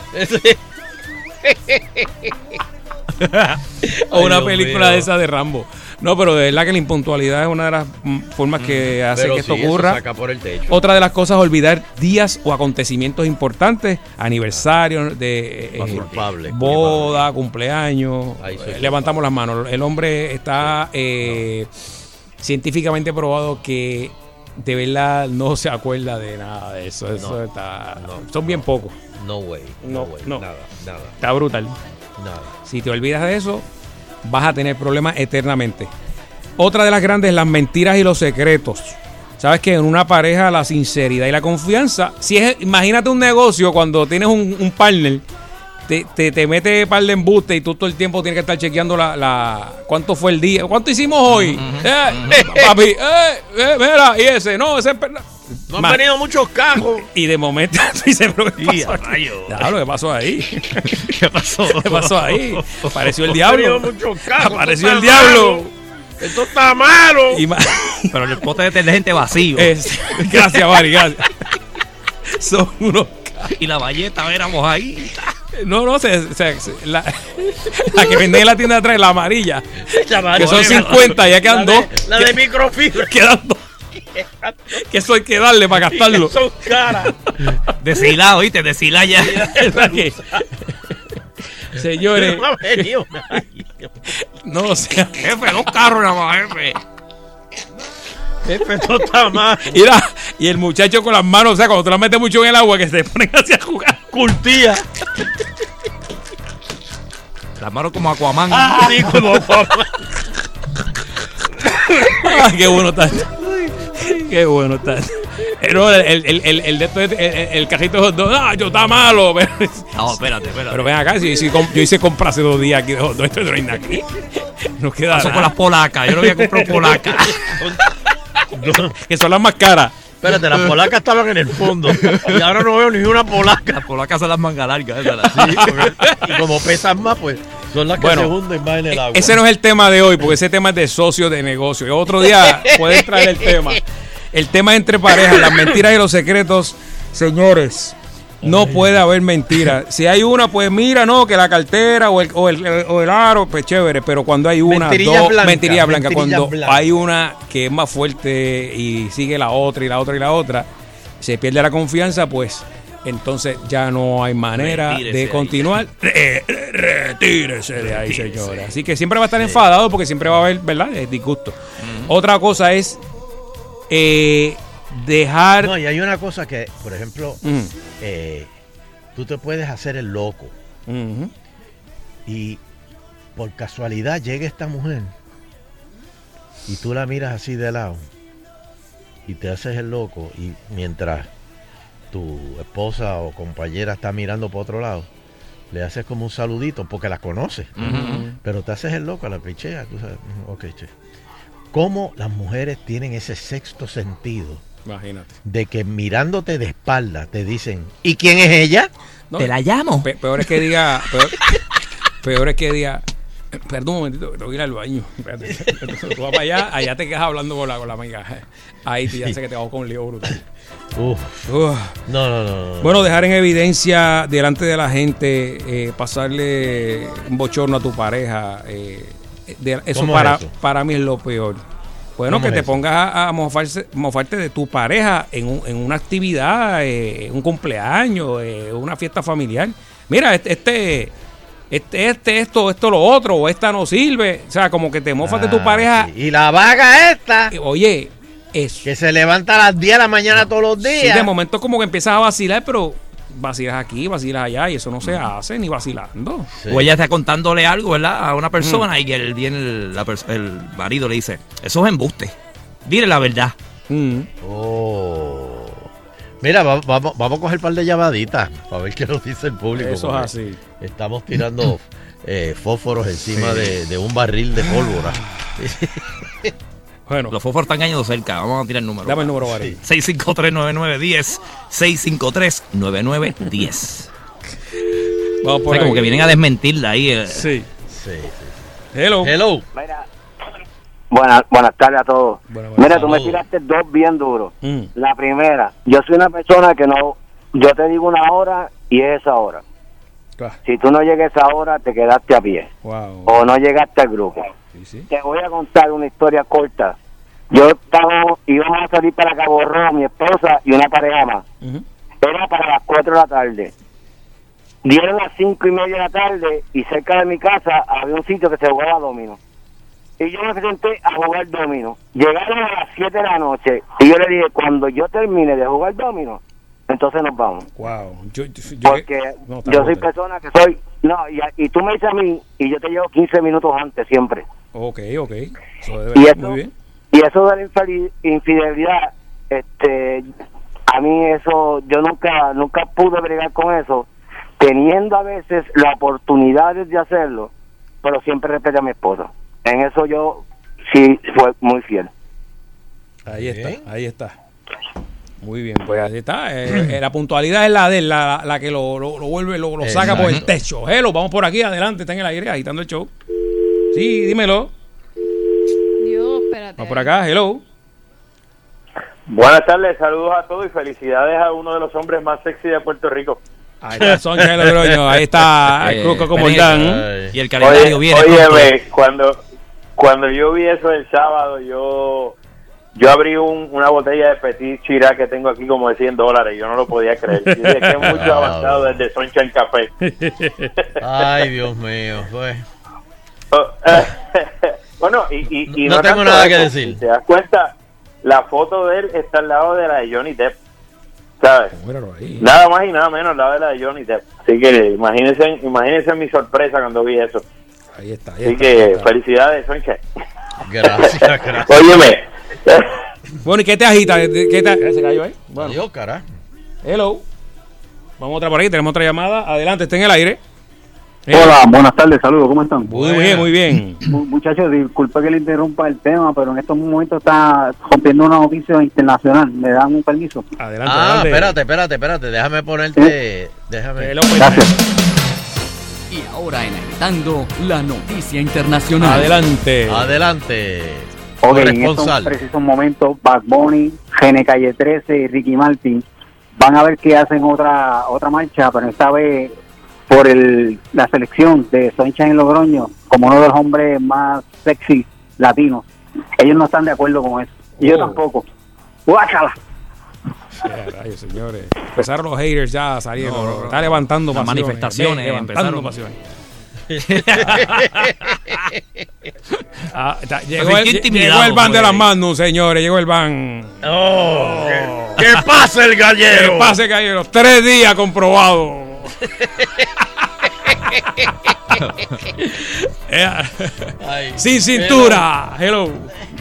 O una película de esa de Rambo. No, pero de verdad que la impuntualidad es una de las formas que hace que esto ocurra. Saca por el techo. Otra de las cosas es olvidar días o acontecimientos importantes, aniversarios de boda, cumpleaños. Levantamos las manos. El hombre está científicamente probado que de verdad no se acuerda de nada de eso. Son bien pocos. No way. Nada. Está brutal. Nada. Si te olvidas de eso, vas a tener problemas eternamente. Otra de las grandes, las mentiras y los secretos. Sabes que en una pareja la sinceridad y la confianza, imagínate un negocio cuando tienes un partner, te mete par de embuste y tú todo el tiempo tienes que estar chequeando cuánto fue el día, cuánto hicimos hoy. Papi, mira, y ese es verdad. No han venido muchos cajos. Y de momento dices, ¿pero qué pasó aquí? ¿Qué pasó ahí? ¿Qué pasó? ¿Qué pasó ahí? Apareció el diablo. Apareció el diablo. Esto está malo. Pero el pote de detergente vacío. Gracias, Mari, gracias. Son unos... Y la valleta, éramos ahí. No, la que venden en la tienda de atrás, la amarilla. Que son 50, ya quedan dos. La de microfibra. Quedan dos. Que eso hay que darle para gastarlo. Son caras. Deshilado, ¿viste? Deshilado ya. Señores. No, o sea. Jefe, 2 carros nada más, jefe. Jefe, esto está mal. Mira, y el muchacho con las manos, o sea, cuando tú las metes mucho en el agua, que se ponen así a jugar. Curtía. Las manos como Aquaman. Sí, como Aquaman. Qué bueno está. Qué bueno está. No, el de esto, el cajito de hot dog, yo está malo. Pero, no, espérate. Pero ven acá, yo hice compra hace 2 días aquí de hot dog, esto no hay nada aquí. No queda Eso nada. con las polacas, yo no voy a comprar polacas. Que son las más caras. Espérate, las polacas estaban en el fondo. Y ahora no veo ni una polaca. Las polacas son las mangas largas. Sí, y como pesan más, pues son las que se hunden más en el agua. Ese no es el tema de hoy, porque ese tema es de socios de negocio. Y otro día pueden traer el tema. El tema entre parejas, las mentiras y los secretos. Señores, no puede haber mentiras. Si hay una, pues mira, no, que la cartera o el aro, pues chévere. Pero cuando hay una, mentirillas blancas. Cuando hay una que es más fuerte y sigue la otra y la otra y la otra, se pierde la confianza, pues entonces ya no hay manera de continuar. Retírese de ahí, señora. Así que siempre va a estar enfadado porque siempre va a haber, ¿verdad? Disgusto. Otra cosa es dejar... No, y hay una cosa que, por ejemplo, tú te puedes hacer el loco. Y por casualidad llega esta mujer y tú la miras así de lado y te haces el loco, y mientras tu esposa o compañera está mirando por otro lado, le haces como un saludito porque la conoces, pero te haces el loco, a la pichea, tú sabes, ok, che. ¿Cómo las mujeres tienen ese sexto sentido? Imagínate. De que mirándote de espalda te dicen, ¿y quién es ella? No, te la llamo. Peor es que diga... Peor es que diga... Perdón un momentito, tengo que ir al baño. Espérate, tú vas para allá te quedas hablando con la amiga. Ahí ya sé que te hago con un lío brutal. No. Bueno, dejar en evidencia delante de la gente, pasarle un bochorno a tu pareja, eso para mí es lo peor. Bueno, que te pongas a mofarte de tu pareja en una actividad, un cumpleaños, una fiesta familiar. Mira, esto, lo otro, o esta no sirve. O sea, como que te mofas de tu pareja. Sí. Y la vaga esta. Oye, eso. Que se levanta a las 10 de la mañana todos los días. Sí, de momento como que empiezas a vacilar, pero vacilas aquí, vacilas allá, y eso no se hace ni vacilando. Sí. O ella está contándole algo, ¿verdad? A una persona y que él viene el marido le dice, eso es embuste. Dile la verdad. Mira, vamos a coger un par de llamaditas para ver qué nos dice el público. Eso es así. Estamos tirando fósforos encima de un barril de pólvora. Bueno, los fósforos están cayendo cerca. Vamos a tirar el número. Dame el número, Barry. 653-9910. 653-9910. Vamos por ahí. Como que vienen a desmentirla ahí. Sí. Hello. Mira, buenas tardes a todos. Mira, tú me tiraste 2 bien duros. La primera, yo soy una persona que no, yo te digo una hora y es esa hora. Si tú no llegas a esa hora, te quedaste a pie. O no llegaste al grupo. Sí. Te voy a contar una historia corta. Íbamos a salir para Cabo Rojo, mi esposa y una pareja más. Era para las 4 de la tarde. Dieron las 5:30 de la tarde y cerca de mi casa había un sitio que se jugaba dominó. Y yo me senté a jugar dominó. Llegaron a las 7 de la noche y yo le dije, cuando yo termine de jugar dominó, entonces nos vamos. Porque yo soy persona que soy... No, y tú me dices a mí y yo te llevo 15 minutos antes siempre. Ok. Eso muy bien. Y eso de la infidelidad, a mí eso, yo nunca pude bregar con eso, teniendo a veces las oportunidades de hacerlo, pero siempre respeté a mi esposa. En eso yo sí fue muy fiel. Ahí está. Muy bien, pues ahí está. La puntualidad es la de él, la que lo vuelve, lo saca por el techo. Hello, vamos por aquí, adelante, está en el aire, agitando el show. Sí, dímelo. Dios, espérate. Vamos por acá, hello. Buenas tardes, saludos a todos y felicidades a uno de los hombres más sexy de Puerto Rico. Ahí está Soncha de Logroño, ahí está Cruco como Dan. Y el calendario viene. Óyeme, cuando yo vi eso el sábado, yo abrí una botella de Petit Chirac que tengo aquí como de $100. Yo no lo podía creer. Y dije que es mucho avanzado desde Soncha en Café. Ay, Dios mío. Pues. Bueno, y no tengo nada que decir. Si te das cuenta, la foto de él está al lado de la de Johnny Depp, ¿sabes? Nada más y nada menos al lado de la de Johnny Depp. Así que imagínense mi sorpresa cuando vi eso. Ahí está. Así que felicidades, Soncha. Gracias. Óyeme. Bueno, ¿y qué te agita? ¿Se cayó ahí? Bueno. Dios, carajo. Hello. Vamos otra por ahí, tenemos otra llamada. Adelante, está en el aire. Hola, buenas tardes, saludos, ¿cómo están? Muy bien. Muchachos, disculpe que le interrumpa el tema, pero en estos momentos está rompiendo una noticia internacional. ¿Me dan un permiso? Adelante. Espérate, déjame ponerte... Déjame. Gracias. Y ahora en Agitando, la noticia internacional. Adelante. Ok, en estos precisos momentos, Bad Bunny, Gene Calle 13 y Ricky Martin van a ver que hacen otra marcha, pero esta vez por la selección de Soncha en Logroño como uno de los hombres más sexy latinos. Ellos no están de acuerdo con eso. Y yo tampoco. ¡Guácala! Rayos, señores. Empezaron los haters ya salieron. Está levantando las pasiones. Manifestaciones. Levantando pasiones. Llegó el ban de las Magnum, señores. Llegó el ban. ¡Que pase el gallero! ¡Que pase el gallero! 3 días comprobado. Sin cintura. Hello.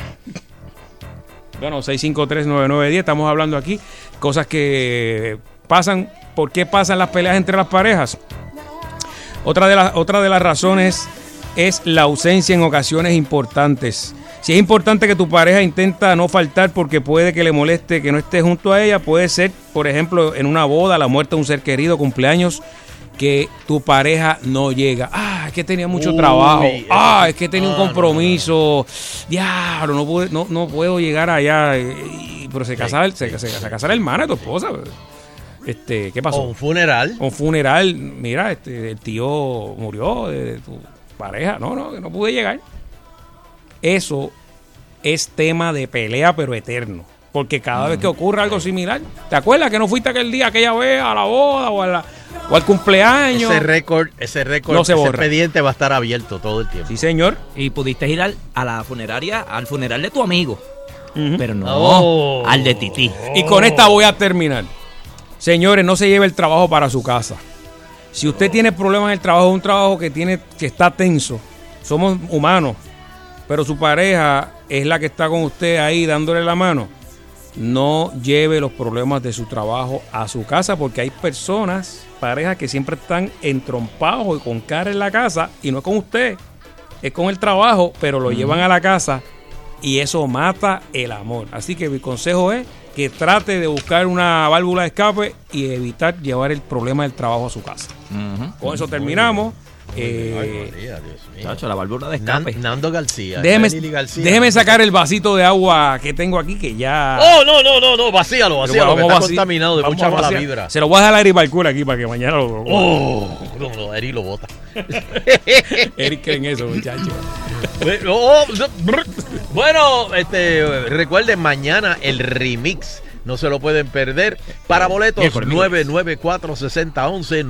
Bueno, 6539910. Estamos hablando aquí cosas que pasan. ¿Por qué pasan las peleas entre las parejas? Otra de las razones es la ausencia en ocasiones importantes. Si es importante que tu pareja intenta no faltar porque puede que le moleste que no estés junto a ella, puede ser, por ejemplo, en una boda, la muerte de un ser querido, cumpleaños, que tu pareja no llega. Es que tenía mucho trabajo. Es que tenía un compromiso. Diablo, no puedo llegar allá. Pero se casara la hermana de tu esposa. ¿Qué pasó? Un funeral. Mira, el tío murió de tu pareja. No pude llegar. Eso es tema de pelea, pero eterno. Porque cada vez que ocurre algo similar, ¿te acuerdas que no fuiste aquel día, aquella vez, a la boda o al cumpleaños? Ese récord, no se borra. Ese expediente va a estar abierto todo el tiempo. Sí, señor. Y pudiste ir a la funeraria, al funeral de tu amigo. Pero no al de Titi. Y con esta voy a terminar. Señores, no se lleve el trabajo para su casa. Si usted tiene problemas en el trabajo, un trabajo que está tenso, somos humanos, pero su pareja es la que está con usted ahí dándole la mano, no lleve los problemas de su trabajo a su casa, porque hay parejas que siempre están entrompados y con cara en la casa, y no es con usted, es con el trabajo, pero lo llevan a la casa y eso mata el amor. Así que mi consejo es que trate de buscar una válvula de escape y evitar llevar el problema del trabajo a su casa. Con eso terminamos. La válvula de escape. Nando García. Déjeme sacar el vasito de agua que tengo aquí, que ya... No, vacíalo, que está contaminado de mucha mala vibra. Se lo voy a dejar a Eric Balcura aquí para que mañana lo... No, Eric lo bota. Eric cree en eso, muchachos. Bueno, recuerden, mañana el remix. No se lo pueden perder. Para boletos, 994-6011,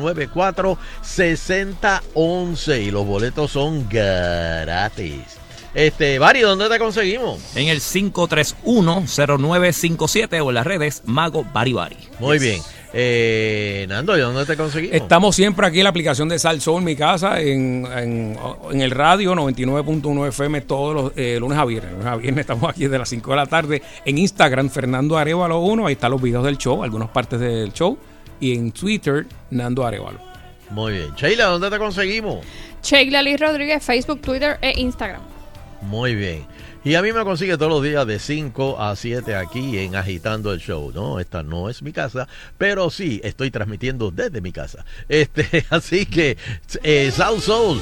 994-6011. Y los boletos son gratis. Bari, ¿dónde te conseguimos? En el 531-0957 o en las redes Mago Bari Bari. Muy bien. Nando, ¿y dónde te conseguimos? Estamos siempre aquí en la aplicación de Sal Soul, mi casa, en el radio 99.1 FM todos los lunes a viernes. Lunes a viernes estamos aquí desde las 5 de la tarde. En Instagram, Fernando Arevalo 1, ahí están los videos del show, algunas partes del show. Y en Twitter, Nando Arevalo. Muy bien. Sheila, ¿dónde te conseguimos? Sheila Liz Rodríguez, Facebook, Twitter e Instagram. Muy bien. Y a mí me consigue todos los días de 5 a 7 aquí en Agitando el Show, ¿no? Esta no es mi casa, pero sí estoy transmitiendo desde mi casa. Así que South Soul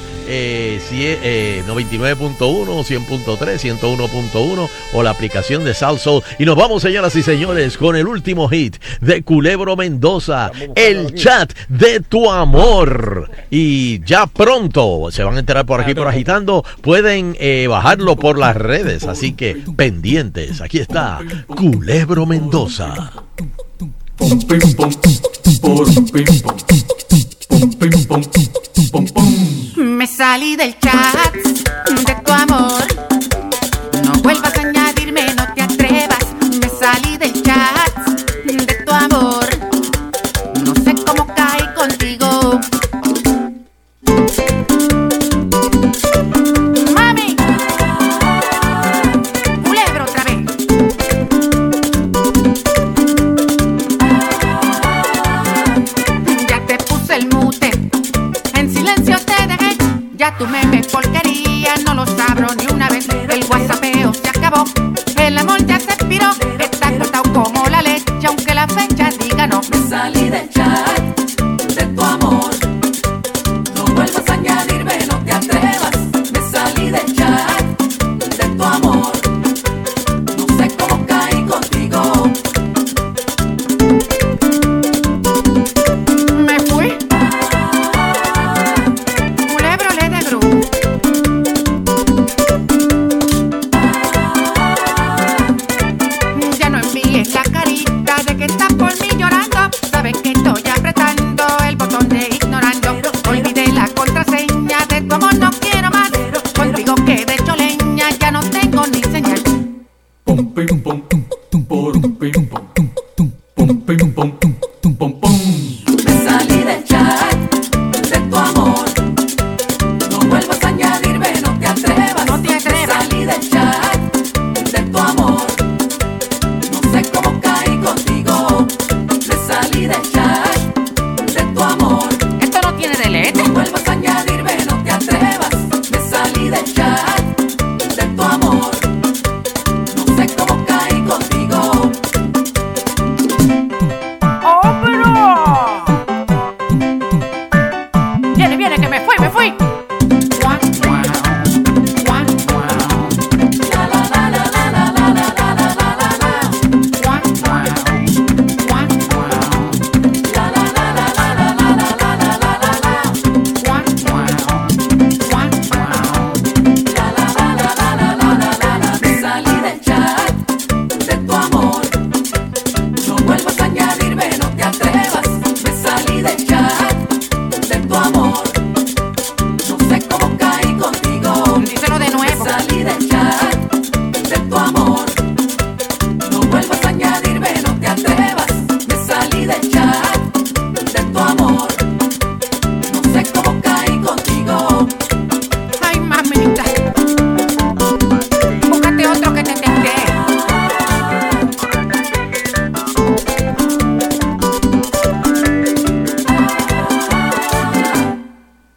99.1, 100.3, 101.1 o la aplicación de South Soul. Y nos vamos, señoras y señores, con el último hit de Culebro Mendoza, El Chat de tu Amor. Y ya pronto se van a enterar por aquí por Agitando. Pueden bajarlo por las redes. Así que pendientes, aquí está Culebro Mendoza. Me salí del chat de tu amor.